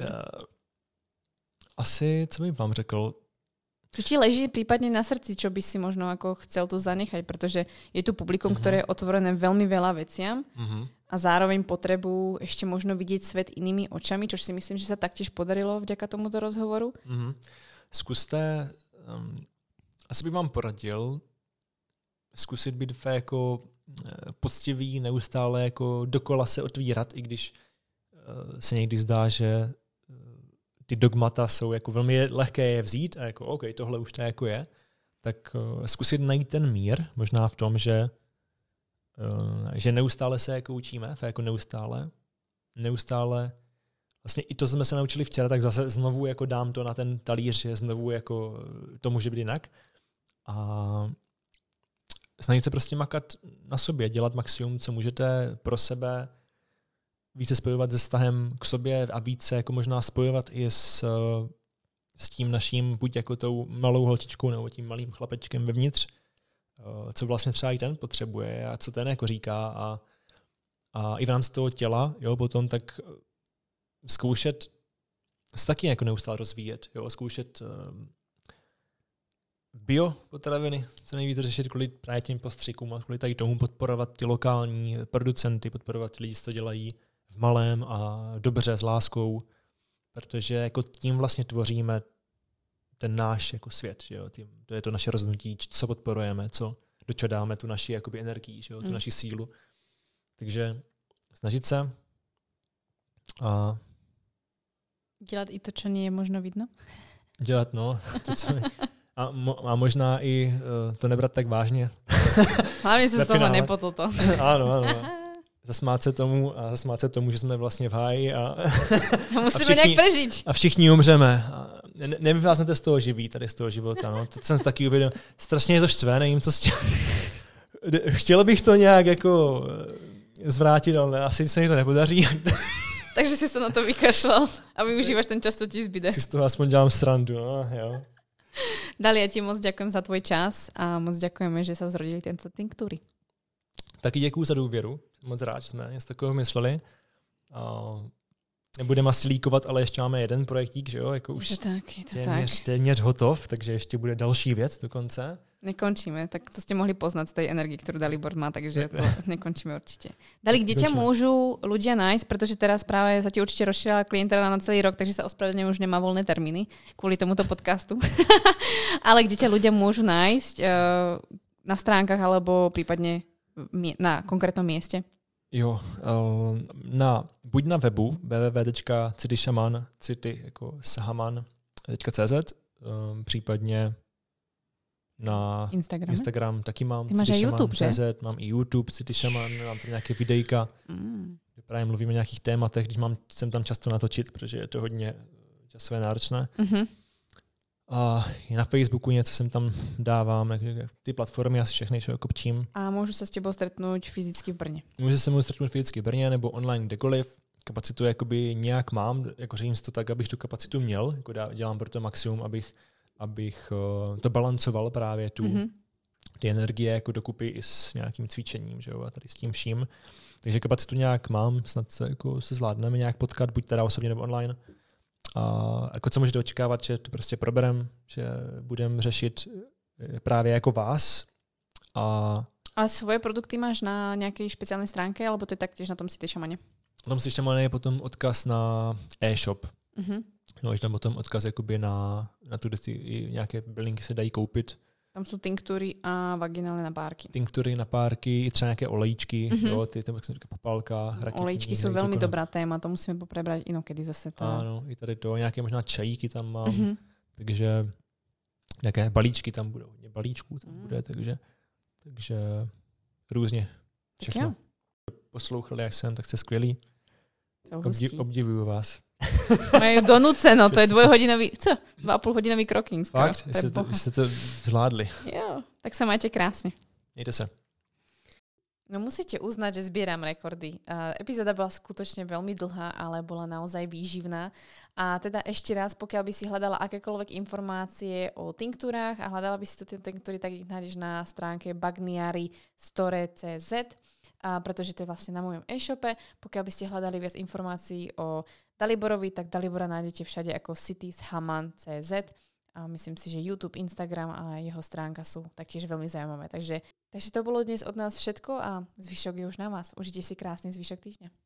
Asi, co bych vám řekl? Čo ti leží prípadne na srdci, čo by si možno ako chcel tu zanechať, pretože je tu publikum, ktoré je otvorené veľmi veľa veciam a zároveň potrebujú ešte možno vidieť svet inými očami, čo si myslím, že sa taktiež podarilo vďaka tomuto rozhovoru. Zkuste, asi bych vám poradil zkusit být jako poctivý, neustále jako dokola se otvírat, i když se někdy zdá, že ty dogmata jsou jako velmi lehké je vzít a jako OK, tohle už to jako je, tak zkusit najít ten mír, možná v tom, že neustále se jako učíme, jako neustále vlastně i to jsme se naučili včera, tak zase znovu jako dám to na ten talíř, že znovu jako to může být jinak. A snažit se prostě makat na sobě, dělat maximum, co můžete pro sebe, více spojovat se vztahem k sobě a více jako možná spojovat i s tím naším, buď jako tou malou holčičkou nebo tím malým chlapečkem vevnitř, co vlastně třeba i ten potřebuje a co ten jako říká a i v rámci toho těla, jo, potom tak zkoušet se taky jako neustále rozvíjet, jo, zkoušet bio potraviny, co nejvíc řešit kvůli právě těm postřikům a kvůli tady tomu podporovat ty lokální producenty, podporovat ty lidi, co to dělají v malém a dobře s láskou, protože jako tím vlastně tvoříme ten náš jako svět, že jo? To je to naše rozhodnutí, co podporujeme, do čeho dáme tu naši jakoby energii, že jo? Tu naši sílu. Takže snažit se a dělat i to, co nie je možno vidno? Dělat, no. To, co a možná i to nebrat tak vážně. Hlavně se z toho nepotl to. Ano. Zasmát se tomu, že jsme vlastně v háji a musíme nějak přežít. A všichni umřeme. Nevyváznete z toho živí, tady z toho života. No. Teď jsem taky uvědomil. Strašně je to štvé, nevím, co s tím. Chtěl bych to nějak jako zvrátit, ale asi se mi to nepodaří. Takže si se na to vykašlal a využíváš ten čas, co ti zbyde. Si z toho aspoň dělám srandu, no, jo. Dali, ja ti moc ďakujem za tvoj čas a moc ďakujeme, že sa zrodili tento tinktúry. Taky děkuju za důvěru. Moc rád, že jsme něco takového mysleli. Nebudeme asi líkovat, ale ještě máme jeden projektík, že jo? Jako už je to téměř hotov, takže ještě bude další věc dokonce. Nekončíme, tak to ste mohli poznať z tej energie, ktorú Dalibor má, takže to nekončíme určite. Dali, kde ťa môžu ľudia nájsť, pretože teraz práve sa ti určite rozšírila klientela na celý rok, takže sa ospravedlňujem, už nemá voľné termíny kvôli tomuto podcastu. Ale kde ťa ľudia môžu nájsť na stránkach alebo prípadne na konkrétnom mieste? Jo, buď na webu www.cityshaman.cz, případně na Instagram taky mám. Ty máš i YouTube, že? Mám i YouTube, City Shaman, mám tam nějaké videjka, kde právě mluvíme o nějakých tématech, když jsem tam často natočit, protože je to hodně časové náročné. Mm-hmm. A i na Facebooku něco sem tam dávám, ty platformy asi všechny, čo kopčím. A můžu se s tebou stretnout fyzicky v Brně? Můžu se mnou stretnout fyzicky v Brně nebo online kdekoliv. Kapacitu jakoby nějak mám, jako řídím si to tak, abych tu kapacitu měl, jako dělám pro to maximum, abych to balancoval právě ty energie jako dokupy i s nějakým cvičením, že jo, a tady s tím vším. Takže kapacitu nějak mám, snad se zvládneme nějak potkat, buď teda osobně nebo online. A jako co můžete očekávat, že to prostě proberem, že budeme řešit právě jako vás. A svoje produkty máš na nějaké speciální stránke, alebo to je taktiež na tom City Shamane? Na tom City Shamane je potom odkaz na e-shop. Mm-hmm. No, je tam potom odkaz jakoby na tu, kde nějaké bylinky se dají koupit. Tam jsou tinktury a vaginální napárky. Tinktury, napárky, třeba nějaké olejčky, jo, ty tam, jak jsem říkal, popálka, raketní. Olejčky jsou velmi dobrá téma, to musíme poprebrať inokedy zase. To... Ano, i tady to, nějaké možná čajíky tam mám, takže nějaké balíčky tam budou, hodně balíčků tam bude, takže různě všechno. Poslouchali, jak jsem, tak jste skvělí. Obdivuju vás. Majú donúceno, to je 2,5-hodinový kroking. Fakt? Jste to zvládli. Jo, tak sa majte krásne. Mějte se. No musíte uznať, že zbieram rekordy. Epizóda bola skutočne veľmi dlhá, ale bola naozaj výživná. A teda ešte raz, pokiaľ by si hľadala akékoľvek informácie o tinktúrách a hľadala by si tu tinktúry, tak ich nájdeš na stránke bagniaristore.cz, pretože to je vlastne na mojom e-shope. Pokiaľ by ste hľadali viac informácií o Daliborovi, tak Dalibora nájdete všade ako cityshaman.cz. A myslím si, že YouTube, Instagram a jeho stránka sú taktiež veľmi zaujímavé. Takže to bolo dnes od nás všetko a zvyšok je už na vás. Užite si krásny zvyšok týždňa.